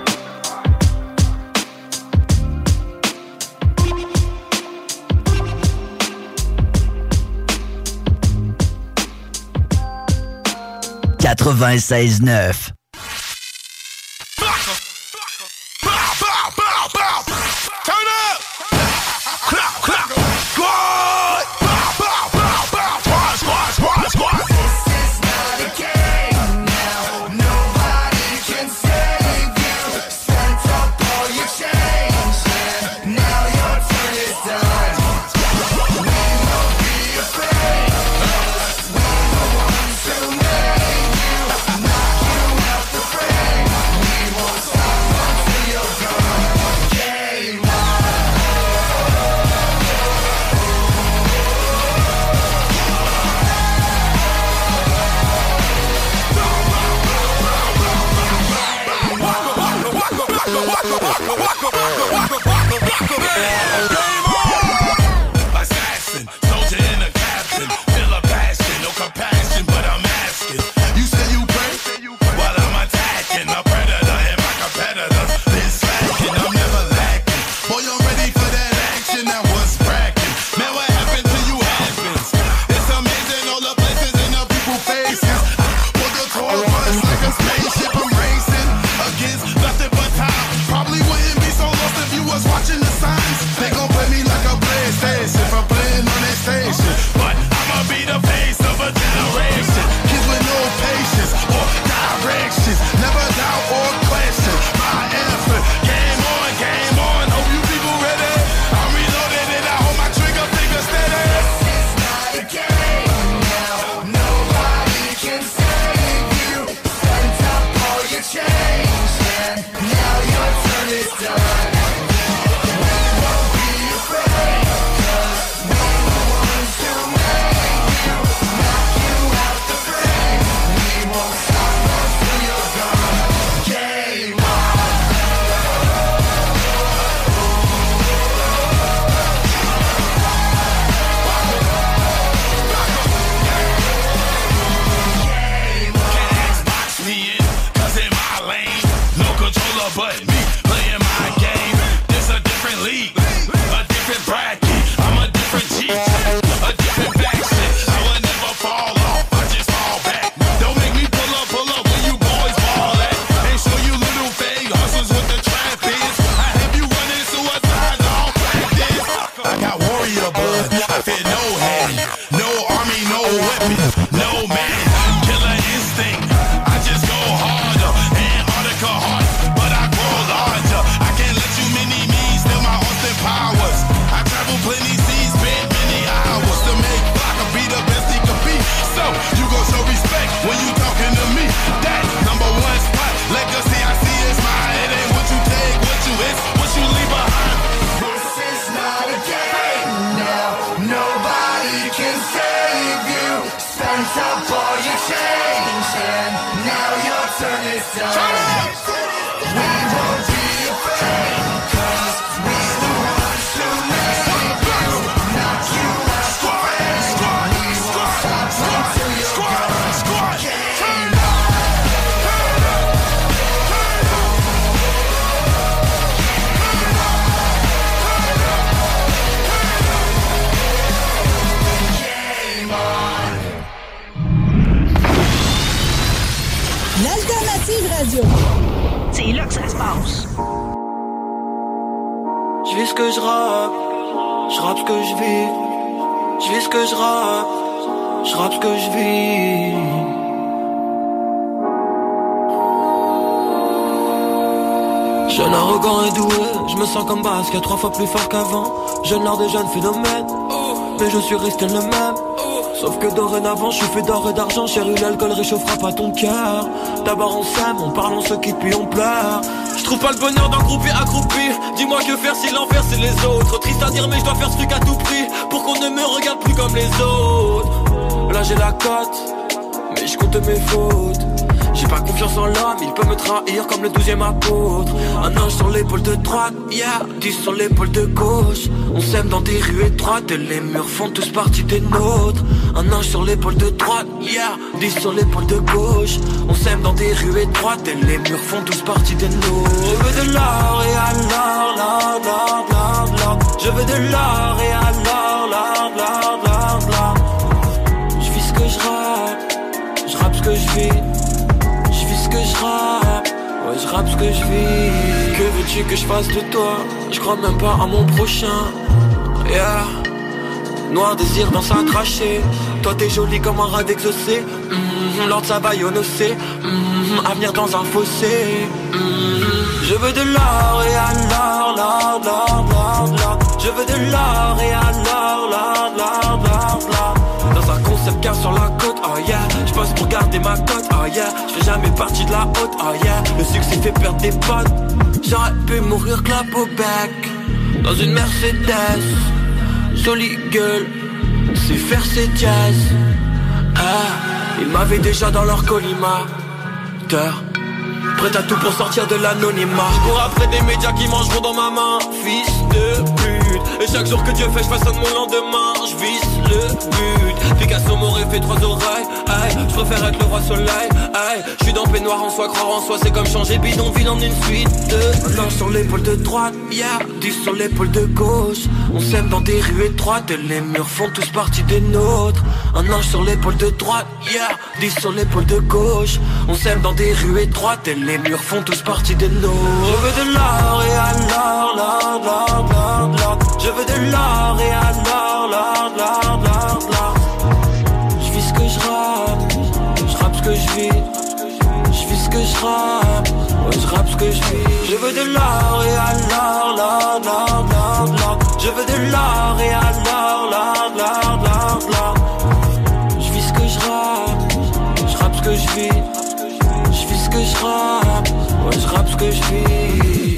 Assassin, soldier and a captain. Feel a passion, no compassion, but I'm asking. You say you pray? While I'm attacking a predator and my competitors been slacking. I'm never lacking. Boy, I'm ready for that action. That was cracking. Man, what happened to you happens. It's amazing all the places and the people faces. Pull the tour bus like a spaceship. I'm racing against nothing but time. Probably wouldn't be so lost if you was watching the signs. They gon' play me like a PlayStation for playing on that station. But I'ma be the face of a generation. Kids with no patience or directions. Never doubt or question my answer. Game on. Hope you people ready. I'm reloaded and I hold my trigger finger steady. This is not a game now. Nobody can save you. Send up all your change and now your turn is done. But me playing my game, this a different league, a different bracket. I'm a different G, a different faction. I will never fall off, I just fall back. Don't make me pull up where you boys ball at. And show you little fake hustlers with the trap is. I have you running suicide all practice. I got warrior blood, I fear no hand, no army, no weapon, no man. Killer instinct, I just go harder, Antarctica hard. Powers. I travel plenty seas, spent many hours to make Flocka be the best he could be. So you gon' show respect when you talking to me. That number one spot, legacy I see is mine. It ain't what you take, what you is, what you leave behind. This is not a game. Je vis ce que je rappe ce que je vis. Je vis ce que je rappe ce que je vis. Jeune arrogant et doué, je me sens comme basket 3 fois plus fort qu'avant. Jeune art des jeunes phénomènes, mais je suis resté le même. Sauf que dorénavant je suis fait d'or et d'argent. Chérie, l'alcool réchauffera pas ton cœur. D'abord on s'aime, on parle, on se quitte puis on pleure. Je trouve pas le bonheur d'un groupe accroupi. Dis-moi que faire si l'enfer c'est les autres. Triste à dire mais je dois faire ce truc à tout prix pour qu'on ne me regarde plus comme les autres. Là j'ai la cote, mais je compte mes fautes. J'ai pas confiance en l'homme, il peut me trahir comme le 12e apôtre. Un ange sur l'épaule de droite, yeah, 10 sur l'épaule de gauche. On s'aime dans des rues étroites et les murs font tous partie des nôtres. Un ange sur l'épaule de droite, yeah, 10 sur l'épaule de gauche. On s'aime dans des rues étroites et les murs font tous partie des nôtres. Je veux de l'or et alors, l'or. Je veux de l'or et alors, l'or. Je vis ce que je rappe ce que je vis. Que je rappe, ouais je rappe ce que je vis. Que veux-tu que je fasse de toi? Je crois même pas à mon prochain. Yeah. Noir désir dans sa trachée. Toi t'es jolie comme un rat d'exaucé. Lord ça va yonocé. Avenir dans un fossé. Je veux de l'or et alors, l'or. Je veux de l'or et alors, l'or. Dans un concept car sur la côte, oh yeah. Je passe pour garder ma cote, oh yeah. Je fais jamais partie de la haute, oh yeah. Le succès fait perdre des potes. J'aurais pu mourir clap au bec dans une Mercedes. Jolie gueule, c'est faire ses jazz. Ah, ils m'avaient déjà dans leur collimateur. Prêt à tout pour sortir de l'anonymat. Je cours après des médias qui mangeront dans ma main. Fils de pute. Et chaque jour que Dieu fait, je façonne mon lendemain. Je vise le but. Picasso m'aurait fait 3 oreilles. Aïe, je préfère être le roi soleil. Aïe, je suis dans peignoir en soi, croire en soi. C'est comme changer bidonville en une suite de. Un ange sur l'épaule de droite, yeah, 10 sur l'épaule de gauche. On s'aime dans des rues étroites et les murs font tous partie des nôtres. Un ange sur l'épaule de droite, yeah, 10 sur l'épaule de gauche. On s'aime dans des rues étroites et les murs font tous partie des nôtres. Je veux de l'or et alors, l'or. Je veux de l'or et alors, l'or. Je vis ce que je rappe ce que je vis. Je vis ce que je rappe, ouais je rappe ce que je vis. Je veux de l'or et alors, l'or. Je veux de l'or et alors, l'or. Je vis ce que je rappe ce que je vis. Je vis ce que je rappe, ouais je rappe ce que je vis.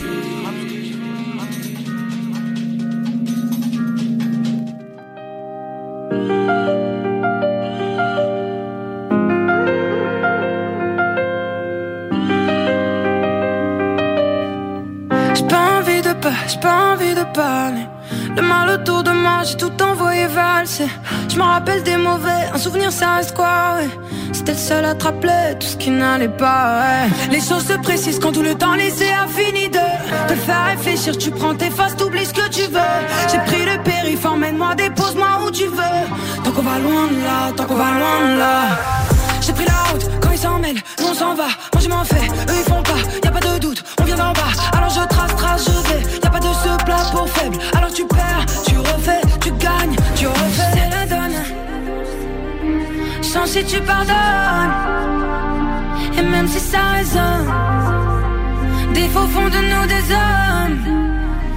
J'ai pas envie de parler. Le mal autour de moi, j'ai tout envoyé valser. Je me rappelle des mauvais, un souvenir ça reste quoi, ouais. C'était le seul à te rappeler tout ce qui n'allait pas, ouais. Les choses se précisent quand tout le temps laissé a fini de te faire réfléchir. Tu prends tes faces, t'oublies ce que tu veux. J'ai pris le périph', emmène-moi, dépose-moi où tu veux. Tant qu'on va loin de là, J'ai pris la route, quand ils s'en mêlent, nous on s'en va. Moi je m'en fais, eux ils font pas, y'a pas de doute, on vient d'en bas. Alors je trace, je vais, y'a pas de ce plat pour faible. Alors tu perds, tu refais, tu gagnes, tu refais. C'est la donne, sans si tu pardonnes. Et même si ça résonne, des faux font de nous des hommes.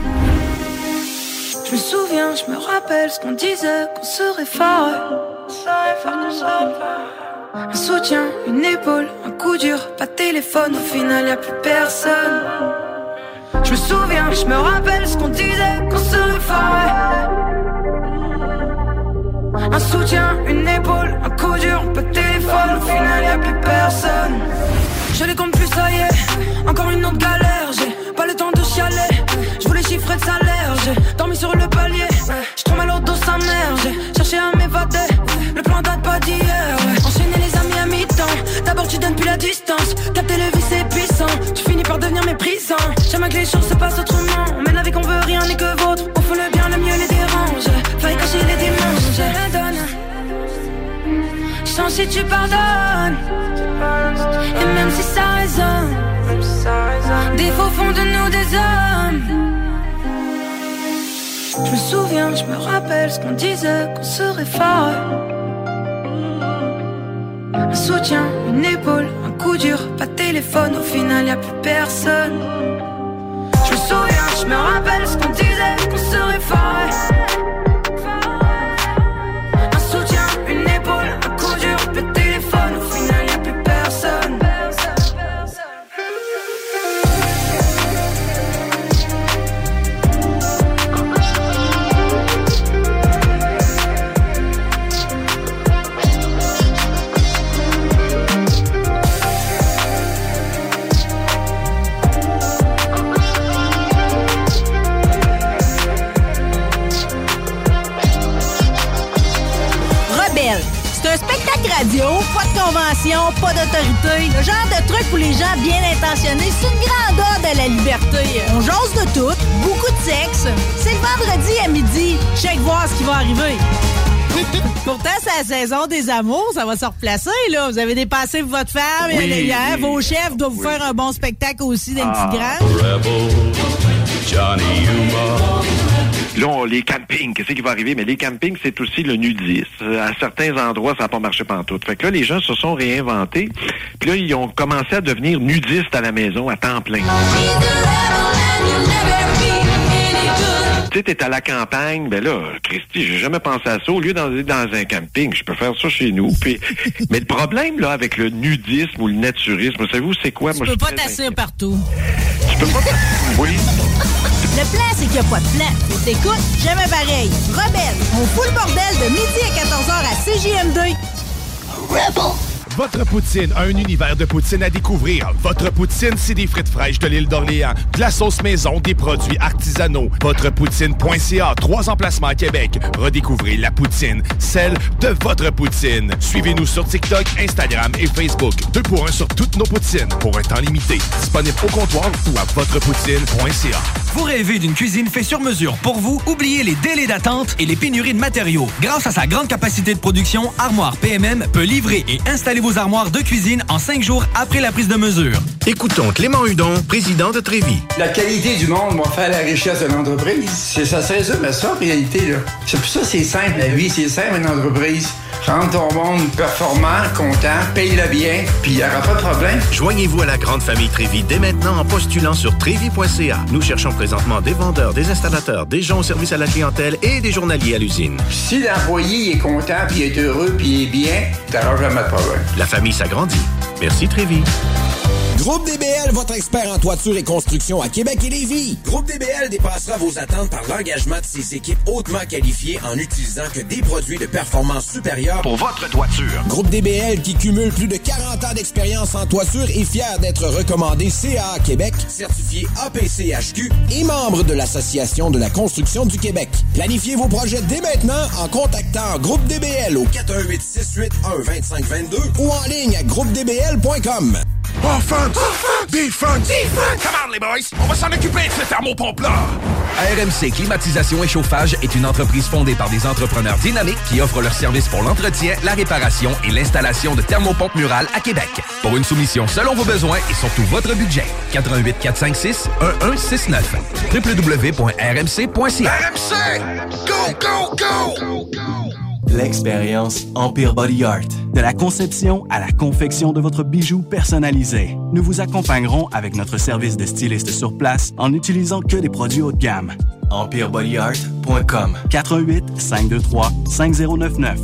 Je me souviens, je me rappelle ce qu'on disait, qu'on serait fort. Un soutien, une épaule, un coup dur, pas de téléphone, au final y'a plus personne. Je me souviens, je me rappelle ce qu'on disait, qu'on serait fort. Un soutien, une épaule, un coup dur, pas de téléphone, au final y'a plus personne. Je les compte plus, ça y est, encore une autre galère. J'ai pas le temps de chialer, je voulais chiffrer de salaire. J'ai dormi sur le palier, je trouve mal au dos sa mère. J'ai cherché à m'évader, le plan date pas d'hier, ouais. Enchaîner les amis à mi-temps, d'abord tu donnes plus la distance. Capter le vice c'est puissant, tu finis par devenir méprisant. Jamais que les choses se passent autrement, on mène la vie qu'on veut, rien n'est que vôtre. Au fond le bien, le mieux les dérange, faille cacher les dimanches. Je la donne, sans si tu pardonnes. Et même si ça résonne, Des faux fond de nous des hommes. Je me souviens, je me rappelle ce qu'on disait, qu'on serait fort. Un soutien, une épaule, un coup dur, pas de téléphone, au final y'a plus personne. Je me souviens, je me rappelle ce qu'on disait, qu'on serait fort. Un soutien, une épaule, un coup dur, pas de téléphone, au final y'a plus personne. C'est un spectacle radio, pas de convention, pas d'autorité. Le genre de truc pour les gens bien intentionnés. C'est une grande ode à la liberté. On jase de tout, beaucoup de sexe. C'est le vendredi à midi. Check voir ce qui va arriver. Pourtant, c'est la saison des amours. Ça va se replacer, là. Vous avez dépassé votre femme hier. Vos chefs doivent vous faire un bon spectacle aussi dans une petite grande. Rebel, Johnny Humor. Là, les campings, qu'est-ce qui va arriver? Mais les campings, c'est aussi le nudisme. À certains endroits, ça n'a pas marché pantoute. Fait que là, les gens se sont réinventés. Puis là, ils ont commencé à devenir nudistes à la maison à temps plein. Tu sais, t'es à la campagne, ben là, Christy, j'ai jamais pensé à ça. Au lieu d'aller dans un camping, je peux faire ça chez nous. Puis, mais le problème, là, avec le nudisme ou le naturisme, savez-vous, c'est quoi? Tu peux pas t'asseoir partout. Tu peux pas Oui. Le plan, c'est qu'il n'y a pas de plan. T'écoutes, jamais pareil. Rebelle, on fout le bordel de midi à 14h à CJMD. Rebel. Votre poutine, un univers de poutine à découvrir. Votre poutine, c'est des frites fraîches de l'île d'Orléans, de la sauce maison, des produits artisanaux. Votrepoutine.ca, 3 emplacements à Québec. Redécouvrez la poutine, celle de votre poutine. Suivez-nous sur TikTok, Instagram et Facebook. 2 pour 1 sur toutes nos poutines, pour un temps limité. Disponible au comptoir ou à votrepoutine.ca. Vous rêvez d'une cuisine faite sur mesure pour vous? Oubliez les délais d'attente et les pénuries de matériaux. Grâce à sa grande capacité de production, Armoire PMM peut livrer et installer vos armoires de cuisine en 5 jours après la prise de mesure. Écoutons Clément Hudon, président de Trévis. La qualité du monde va faire la richesse de l'entreprise. Ça se résume à ça, en réalité. Là. C'est pour ça que c'est simple, la vie. C'est simple, une entreprise. Rendre ton monde performant, content, paye-le bien, puis il n'y aura pas de problème. Joignez-vous à la grande famille Trévis dès maintenant en postulant sur trévis.ca. Nous cherchons présentement des vendeurs, des installateurs, des gens au service à la clientèle et des journaliers à l'usine. Si l'employé est content, puis est heureux, puis est bien, t'auras jamais de problème. La famille s'agrandit. Merci Trévis. Groupe DBL, votre expert en toiture et construction à Québec et Lévis. Groupe DBL dépassera vos attentes par l'engagement de ses équipes hautement qualifiées en utilisant que des produits de performance supérieure pour votre toiture. Groupe DBL qui cumule plus de 40 ans d'expérience en toiture est fier d'être recommandé CAA Québec, certifié APCHQ et membre de l'Association de la construction du Québec. Planifiez vos projets dès maintenant en contactant Groupe DBL au 418-681-2522 ou en ligne à groupedbl.com. Offense! Defense! Come on, les boys! On va s'en occuper de ce thermopompe-là! RMC Climatisation et Chauffage est une entreprise fondée par des entrepreneurs dynamiques qui offrent leurs services pour l'entretien, la réparation et l'installation de thermopompes murales à Québec. Pour une soumission selon vos besoins et surtout votre budget. 88 456 1169 www.rmc.ca. RMC! Go, go, go! L'expérience Empire Body Art. De la conception à la confection de votre bijou personnalisé. Nous vous accompagnerons avec notre service de styliste sur place en n'utilisant que des produits haut de gamme. EmpireBodyArt.com 418 523 5099.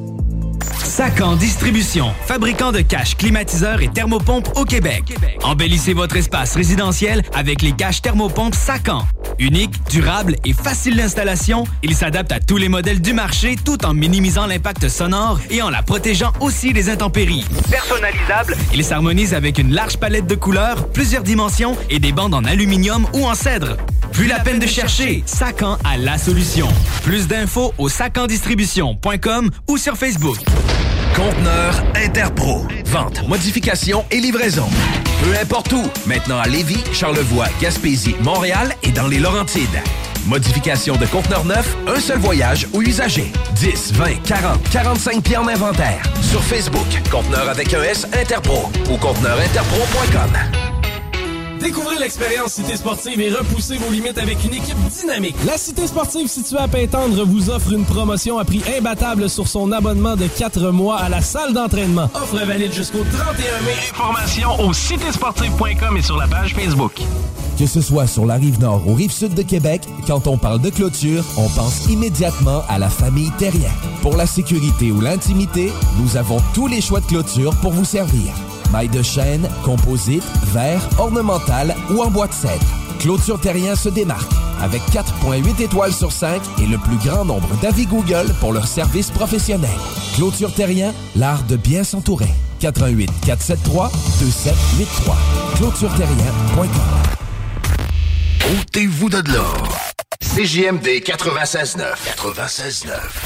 Sacan Distribution, fabricant de caches, climatiseurs et thermopompes au Québec. Embellissez votre espace résidentiel avec les caches thermopompes Sacan. Unique, durable et facile d'installation, il s'adapte à tous les modèles du marché tout en minimisant l'impact sonore et en la protégeant aussi des intempéries. Personnalisable, il s'harmonise avec une large palette de couleurs, plusieurs dimensions et des bandes en aluminium ou en cèdre. Plus la peine de chercher, Sacan a la solution. Plus d'infos au sacandistribution.com ou sur Facebook. Conteneur Interpro. Vente, modification et livraison. Peu importe où. Maintenant à Lévis, Charlevoix, Gaspésie, Montréal et dans les Laurentides. Modification de conteneurs neufs, un seul voyage ou usager. 10, 20, 40, 45 pieds en inventaire. Sur Facebook, Conteneur avec un S Interpro ou conteneurinterpro.com. Découvrez l'expérience Cité Sportive et repoussez vos limites avec une équipe dynamique. La Cité Sportive située à Pintendre vous offre une promotion à prix imbattable sur son abonnement de 4 mois à la salle d'entraînement. Offre valide jusqu'au 31 mai. Informations au citésportive.com et sur la page Facebook. Que ce soit sur la Rive-Nord ou Rive-Sud de Québec, quand on parle de clôture, on pense immédiatement à la famille Terrien. Pour la sécurité ou l'intimité, nous avons tous les choix de clôture pour vous servir. Mailles de chêne, composite, verre, ornemental ou en bois de cèdre. Clôture Terrien se démarque avec 4,8 étoiles sur 5 et le plus grand nombre d'avis Google pour leur service professionnel. Clôture Terrien, l'art de bien s'entourer. 88 473 2783. ClôtureTerrien.com. Ôtez-vous de l'or. CJMD 96.9. 96.9.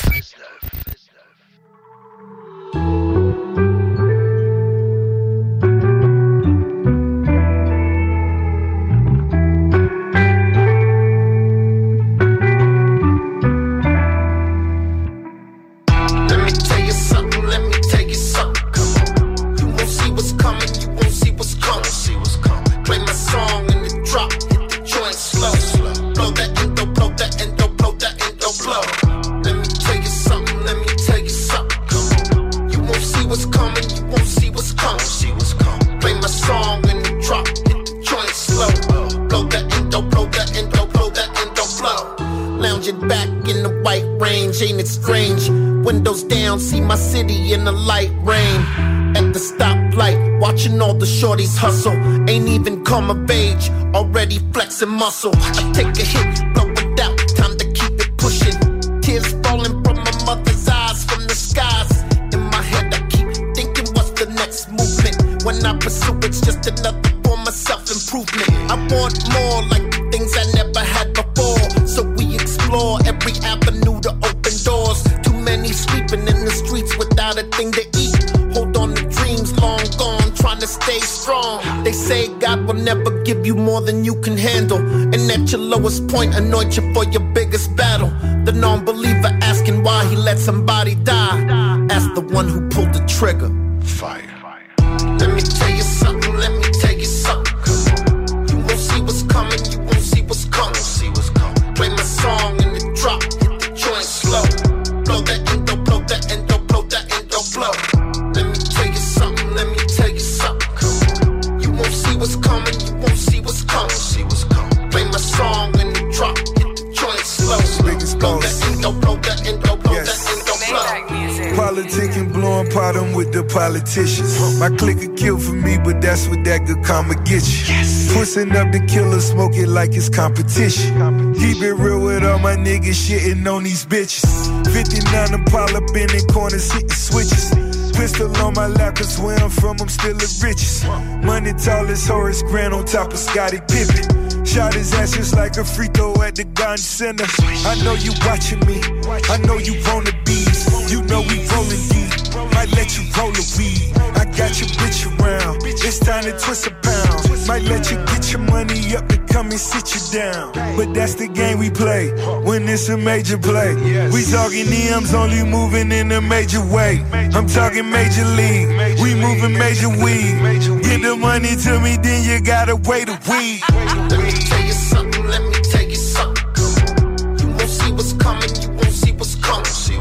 Ain't it strange? Windows down, see my city in the light rain. At the stoplight, watching all the shorties hustle. Ain't even come of age, already flexing muscle. I take a hit, blow it out, time to keep it pushing. Tears falling from my mother's eyes, from the skies. In my head I keep thinking what's the next movement. When I pursue it's just another form of self-improvement. I want more, like the things I never had before. So we explore every avenue to open doors. Too many sleeping in the streets without a thing to eat. Hold on to dreams long gone, trying to stay strong. They say God will never give you more than you can handle, and at your lowest point anoint you for your biggest battle. The non-believer asking why he let somebody die. Ask the one who pulled the trigger. Fire. Let me tell you something, let me tell you something. You won't see what's coming, you won't see what's coming. Play my song and it drop, hit the joint slow. Blow that endo, blow that endo, blow that endo, blow. Let me tell you something, let me tell you something. You won't see what's coming, you won't see what's coming. Play my song and it drop, hit the joint slow. Blow that endo, blow that endo, blow that endo, blow. Politicking, blowing bottom with the politicians. My clique a kill for me, but that's what that good karma get you. Pussing up the killer, smoke it like it's competition. Keep it real with all my niggas shitting on these bitches. 59 Impala bending corners, hitting switches. Pistol on my lap, cause where I'm from, I'm still the richest. Money tall as Horace Grant on top of Scottie Pippen. Shot his ass just like a free throw at the gun center. I know you watching me, I know you want the bees. You know we rolling deep, might let you roll a weed. I got your bitch around, it's time to twist a pound. Might let you get your money up and come and sit you down. But that's the game we play, when it's a major play. We talking EMs, only moving in a major way. I'm talking major league, we moving major weed. Get the money to me, then you gotta wait a week. Let me tell you something, let me tell you something. You won't see what's coming, you won't see what's coming.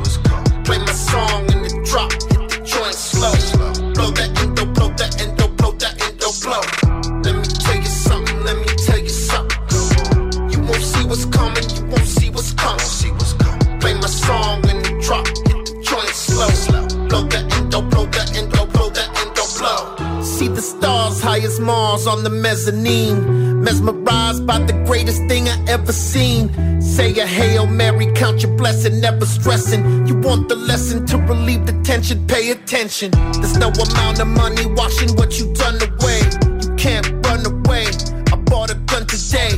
Play my song and it drop, hit the joint slow. Blow that endo, blow that endo, blow that endo, blow. Let me tell you something, let me tell you something. You won't see what's coming, you won't see what's coming. Play my song and it drop, hit the joint slow. Blow that endo, blow that endo, blow that endo, blow. See the stars high as Mars on the mezzanine. Mesmerized by the greatest thing I ever seen. Say a Hail Mary, count your blessing, never stressing. You want the lesson to relieve the tension, pay attention. There's no amount of money washing what you done away. You can't run away. I bought a gun today.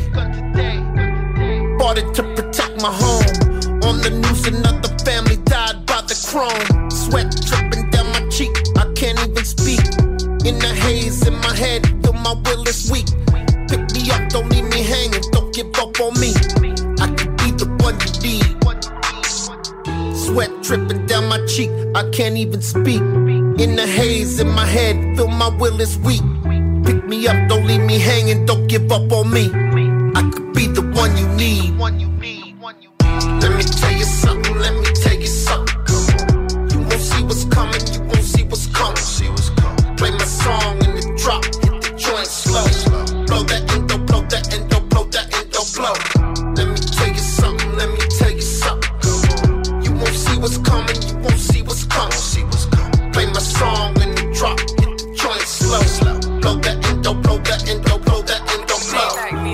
Bought it to protect my home. On the news another family died by the chrome. Sweat dripping down my cheek, I can't even speak. In the haze in my head, feel my will is weak. Pick me up, don't leave me hanging, don't give up on me. I could be the one you need. Sweat dripping down my cheek, I can't even speak. In the haze in my head, feel my will is weak. pick me up, don't leave me hanging, don't give up on me. I could be the one you need. Let me tell you something, let me tell you something. You won't see what's coming, you won't see what's coming. Play my song in the drop, hit the joint slow. Blow that endo, blow that endo, blow that endo, blow. Let me tell you something, let me tell you something. You won't see what's coming, you won't see what's coming. Play my song in the drop, hit the joint slow. Blow that endo, blow that endo, blow that endo, blow.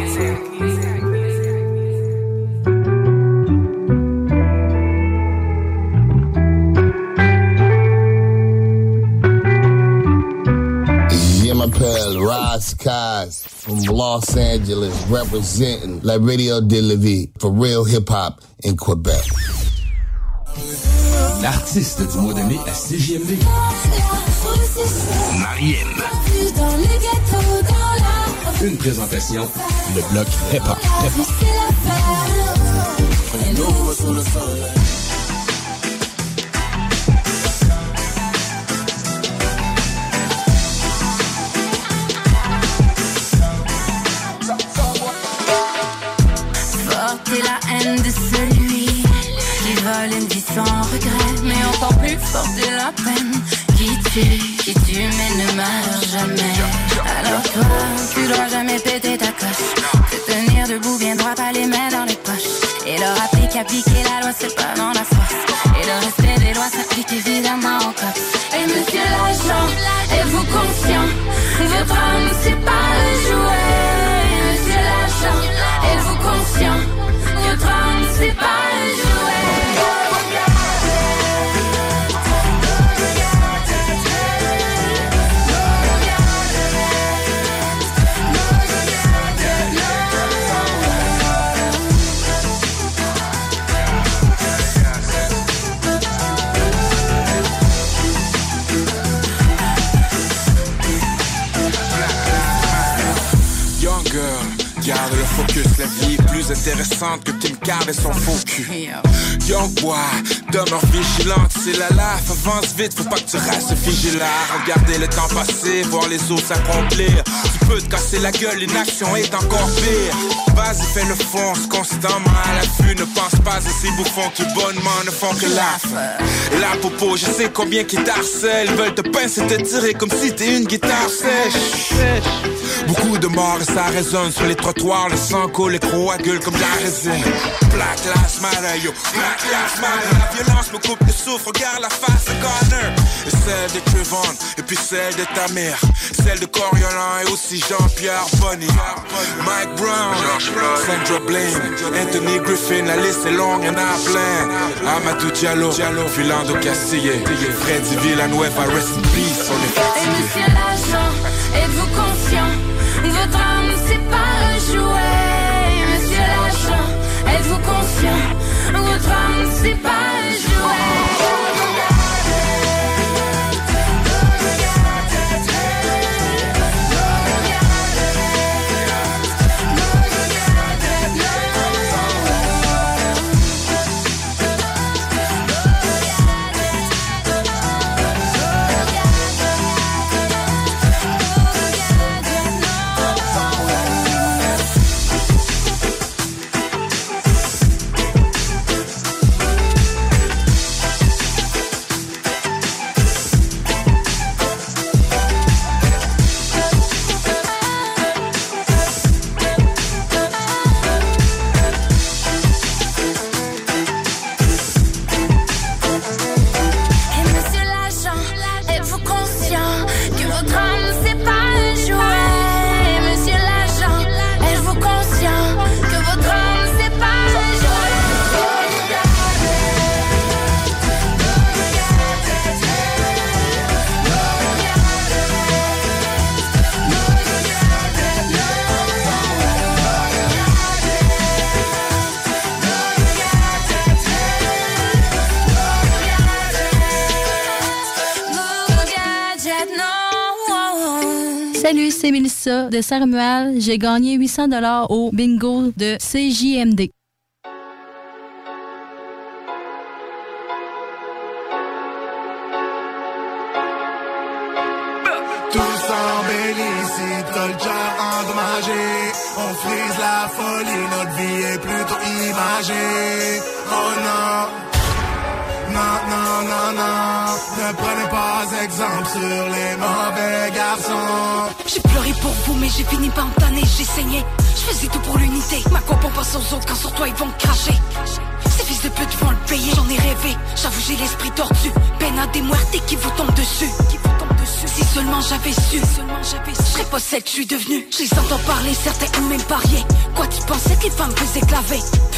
Pal Ross Kaz from Los Angeles representing La Radio de la Vie for real hip-hop in Quebec. L'artiste du mois de mai à CJMD. Mariem. Une présentation, le bloc hip-hop. Porter la haine de celui qui vole une vie sans regret, mais encore plus porter la peine qui tue mais ne meurt jamais. Alors toi, tu dois jamais péter ta coche, te tenir debout bien droit, pas les mains dans les poches, et leur rappeler qu'appliquer la loi c'est pas dans la force, et le respect des lois s'applique évidemment au code. Et monsieur l'agent, êtes-vous conscient, votre âme c'est pas le jouet. Monsieur l'agent, êtes-vous conscient, votre âme c'est pas le jouet. Garde le focus, la vie est plus intéressante que Kim Card et son faux cul. Young boy, demeure vigilante, c'est la laf, avance vite, faut pas que tu restes vigilant. Regarder le temps passer, voir les autres s'accomplir. Tu peux te casser la gueule, l'inaction est encore pire. Vas-y, fais le fonce, constamment à l'affût. Ne pense pas à ces bouffons qui bonnement ne font que laf. Et la popo, je sais combien qui t'harcèlent, veulent te pincer, te tirer comme si t'es une guitare sèche. Beaucoup de morts et ça résonne sur les trottoirs, le sang coule, les crocs à gueule comme de la résine. Black Lives Matter, yo, Black Lives Matter. La violence me coupe le souffle, regarde la face de Connor. Et celle de Trayvon, et puis celle de ta mère. Celle de Coriolan et aussi Jean-Pierre Bonny. Mike Brown, Sandra Bland, Anthony Griffin, la liste est longue, y'en a plein. Amadou Diallo, Philando Castille, Freddy Villanueva, rest in peace, on est fatigué. Et monsieur l'agent, êtes-vous conscient, votre âme c'est pas un jouet. Monsieur l'agent, êtes-vous conscient, votre âme c'est pas un jouet. Salut, c'est Mélissa de Saint-Romuald. J'ai gagné 800$ au bingo de CJMD. Tout s'embellit si t'as le cœur endommagé. On frise la folie, notre vie est plutôt imagée. Oh non, non, non, non, non. Ne prenez pas exemple sur les mauvais garçons. J'ai pleuré pour vous, mais j'ai fini par me tanner, j'ai saigné. Je faisais tout pour l'unité. Ma coupe on passe aux autres quand sur toi ils vont me cracher. Ces fils de pute vont le payer, j'en ai rêvé. J'avoue j'ai l'esprit tordu. Peine à des muertes qui vous tombent dessus. Si seulement j'avais su, je serais pas celle que je suis devenue. Je les entends parler, certains ont même parié. Quoi tu pensais que les femmes faisaient claver?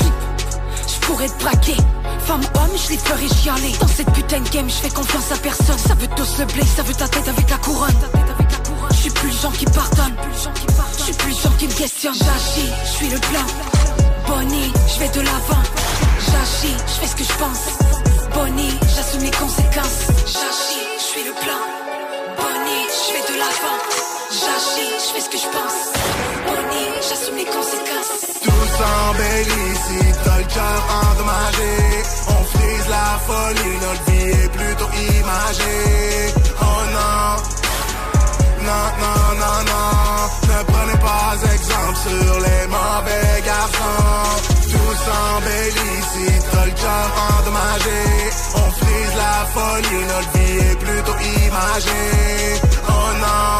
Je pourrais te braquer. Femme, homme, je les ferais chialer. Dans cette putain de game, je fais confiance à personne. Ça veut tous le blé, ça veut ta tête avec la couronne. Je suis plus le genre qui pardonne. Je suis plus le genre qui me questionne. J'agis, je suis le plan. Bonnie, je vais de l'avant. J'agis, je fais ce que je pense. Bonnie, j'assume les conséquences. J'agis, je suis le plan. Bonnie, je vais de l'avant. J'agis, je fais ce que je pense. Bonnie, j'assume les conséquences. Tout s'embellit si t'as le cœur endommagé. On frise la folie, notre vie est plutôt imagée. Oh non, non, non, non, non. Ne prenez pas exemple sur les mauvais garçons. Tout s'embellit si t'as le cœur endommagé. On frise la folie, notre vie est plutôt imagée. Oh non,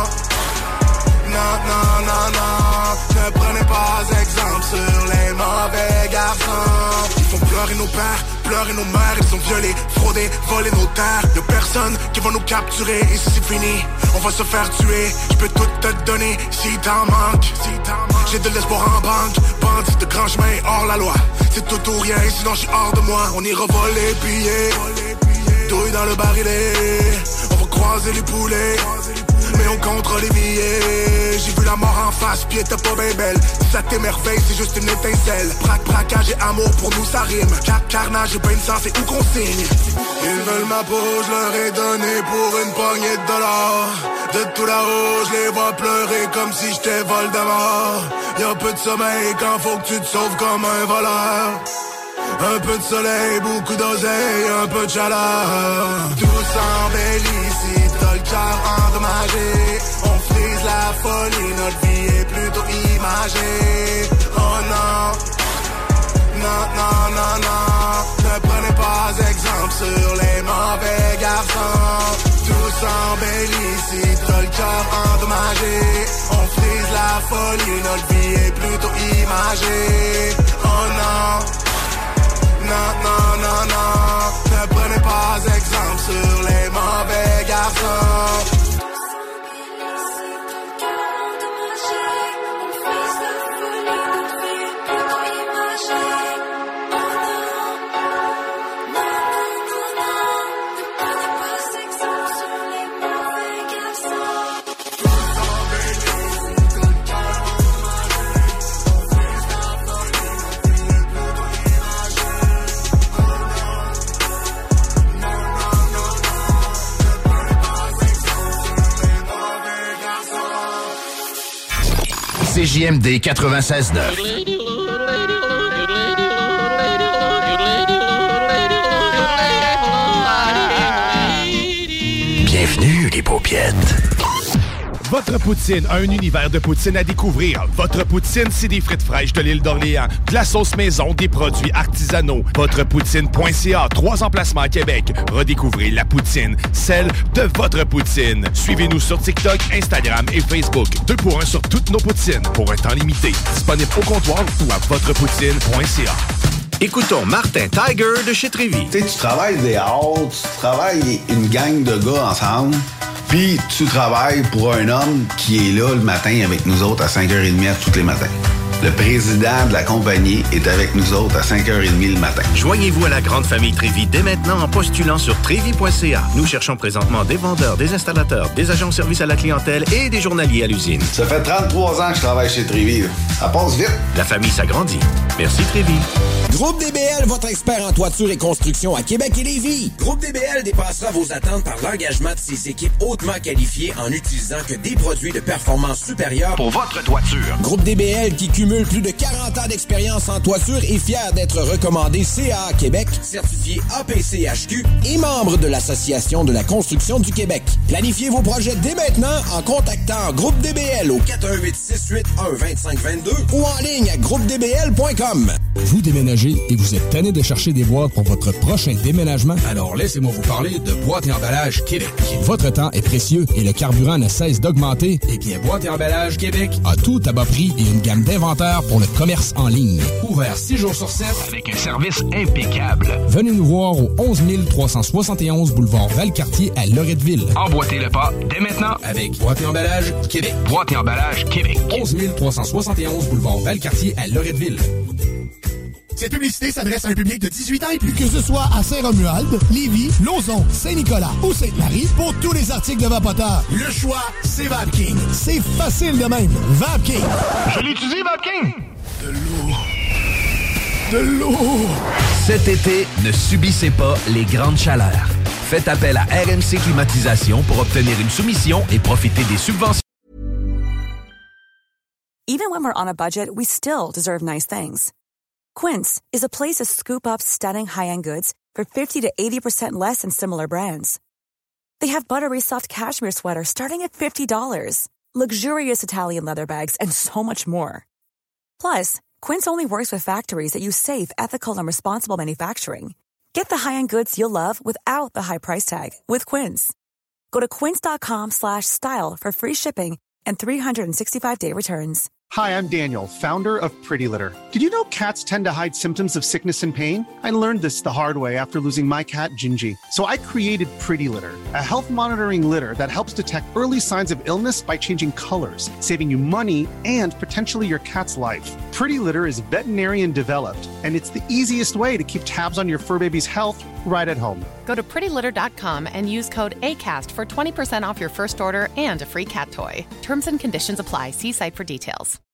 non, non, non, non. Ne prenez pas exemple sur les mauvais garçons. Ils font pleurer nos pères, pleurer nos mères. Ils sont violés, fraudés, volés nos terres. Y'a personne qui va nous capturer. Et si c'est fini, on va se faire tuer. Je peux tout te donner si t'en manques. J'ai de l'espoir en banque. Bandit de grand chemin hors la loi. C'est tout ou rien, sinon je suis hors de moi. On ira voler billets, douille dans le barillet. On va croiser les poulets, mais on comptera les billets. J'ai vu la mort en face, puis elle était pas bien belle. Si ça t'émerveille, c'est juste une étincelle. Braquage et amour, pour nous ça rime. Carnage et peine sang, c'est où qu'on signe. Ils veulent ma peau, je leur ai donné pour une poignée de dollars. De tout là-haut, je les vois pleurer comme si j'étais Voldemort. Y'a peu de sommeil quand faut que tu te sauves comme un voleur. Un peu de soleil, beaucoup d'oseille, un peu de chaleur. Tout s'embellit si t'as le cœur endommagé. On frise la folie, notre vie est plutôt imagée. Oh non, non, non, non, non. Ne prenez pas exemple sur les mauvais garçons. Tout s'embellit si t'as le cœur endommagé. On frise la folie, notre vie est plutôt imagée. Oh non, non, non, non, non. Ne prenez pas exemple sur les mauvais garçons. CJMD 96.9. Bienvenue, les paupiettes. Votre poutine, un univers de poutine à découvrir. Votre poutine, c'est des frites fraîches de l'île d'Orléans, de la sauce maison, des produits artisanaux. Votrepoutine.ca, 3 emplacements à Québec. Redécouvrez la poutine, celle de votre poutine. Suivez-nous sur TikTok, Instagram et Facebook. 2 pour 1 sur toutes nos poutines, pour un temps limité. Disponible au comptoir ou à Votrepoutine.ca. Écoutons Martin Tiger de chez Trévy. Tu sais, tu travailles des heures, tu travailles une gang de gars ensemble. Puis tu travailles pour un homme qui est là le matin avec nous autres à 5h30 tous les matins. Le président de la compagnie est avec nous autres à 5h30 le matin. Joignez-vous à la grande famille Trévy dès maintenant en postulant sur trévy.ca. Nous cherchons présentement des vendeurs, des installateurs, des agents de service à la clientèle et des journaliers à l'usine. Ça fait 33 ans que je travaille chez Trévy. Ça passe vite. La famille s'agrandit. Merci Trévy. Groupe DBL, votre expert en toiture et construction à Québec et Lévis. Groupe DBL dépassera vos attentes par l'engagement de ses équipes hautement qualifiées en n'utilisant que des produits de performance supérieure pour votre toiture. Groupe DBL qui cumule cumule plus de 40 ans d'expérience en toiture et fier d'être recommandé CAA Québec, certifié APCHQ et membre de l'Association de la construction du Québec. Planifiez vos projets dès maintenant en contactant Groupe DBL au 418-681-2522 ou en ligne à groupedbl.com. Vous déménagez et vous êtes tanné de chercher des boîtes pour votre prochain déménagement? Alors laissez-moi vous parler de Boîte et Emballage Québec. Votre temps est précieux et le carburant ne cesse d'augmenter. Eh bien, Boîte et Emballage Québec a tout à bas prix et une gamme d'inventaires pour le commerce en ligne. Ouvert 6 jours sur 7 avec un service impeccable. Venez nous voir au 11 371 boulevard Valcartier à Loretteville. Emboîtez le pas dès maintenant avec Boîte et Emballage Québec. Boîte et Emballage Québec. 11 371 boulevard Valcartier à Loretteville. Cette publicité s'adresse à un public de 18 ans et plus. Que ce soit à Saint-Romuald, Lévis, Lauson, Saint-Nicolas ou Sainte-Marie, pour tous les articles de Vapoteur, le choix, c'est VapKing. C'est facile de même. VapKing. Je l'utilise, VapKing. De l'eau. De l'eau. Cet été, ne subissez pas les grandes chaleurs. Faites appel à RMC Climatisation pour obtenir une soumission et profiter des subventions. Even when we're on a budget, we still deserve nice things. Quince is a place to scoop up stunning high-end goods for 50 to 80% less than similar brands. They have buttery soft cashmere sweaters starting at $50, luxurious Italian leather bags, and so much more. Plus, Quince only works with factories that use safe, ethical, and responsible manufacturing. Get the high-end goods you'll love without the high price tag with Quince. Go to quince.com/style for free shipping and 365-day returns. Hi, I'm Daniel, founder of Pretty Litter. Did you know cats tend to hide symptoms of sickness and pain? I learned this the hard way after losing my cat, Gingy. So I created Pretty Litter, a health monitoring litter that helps detect early signs of illness by changing colors, saving you money and potentially your cat's life. Pretty Litter is veterinarian developed, and it's the easiest way to keep tabs on your fur baby's health right at home. Go to prettylitter.com and use code ACAST for 20% off your first order and a free cat toy. Terms and conditions apply. See site for details.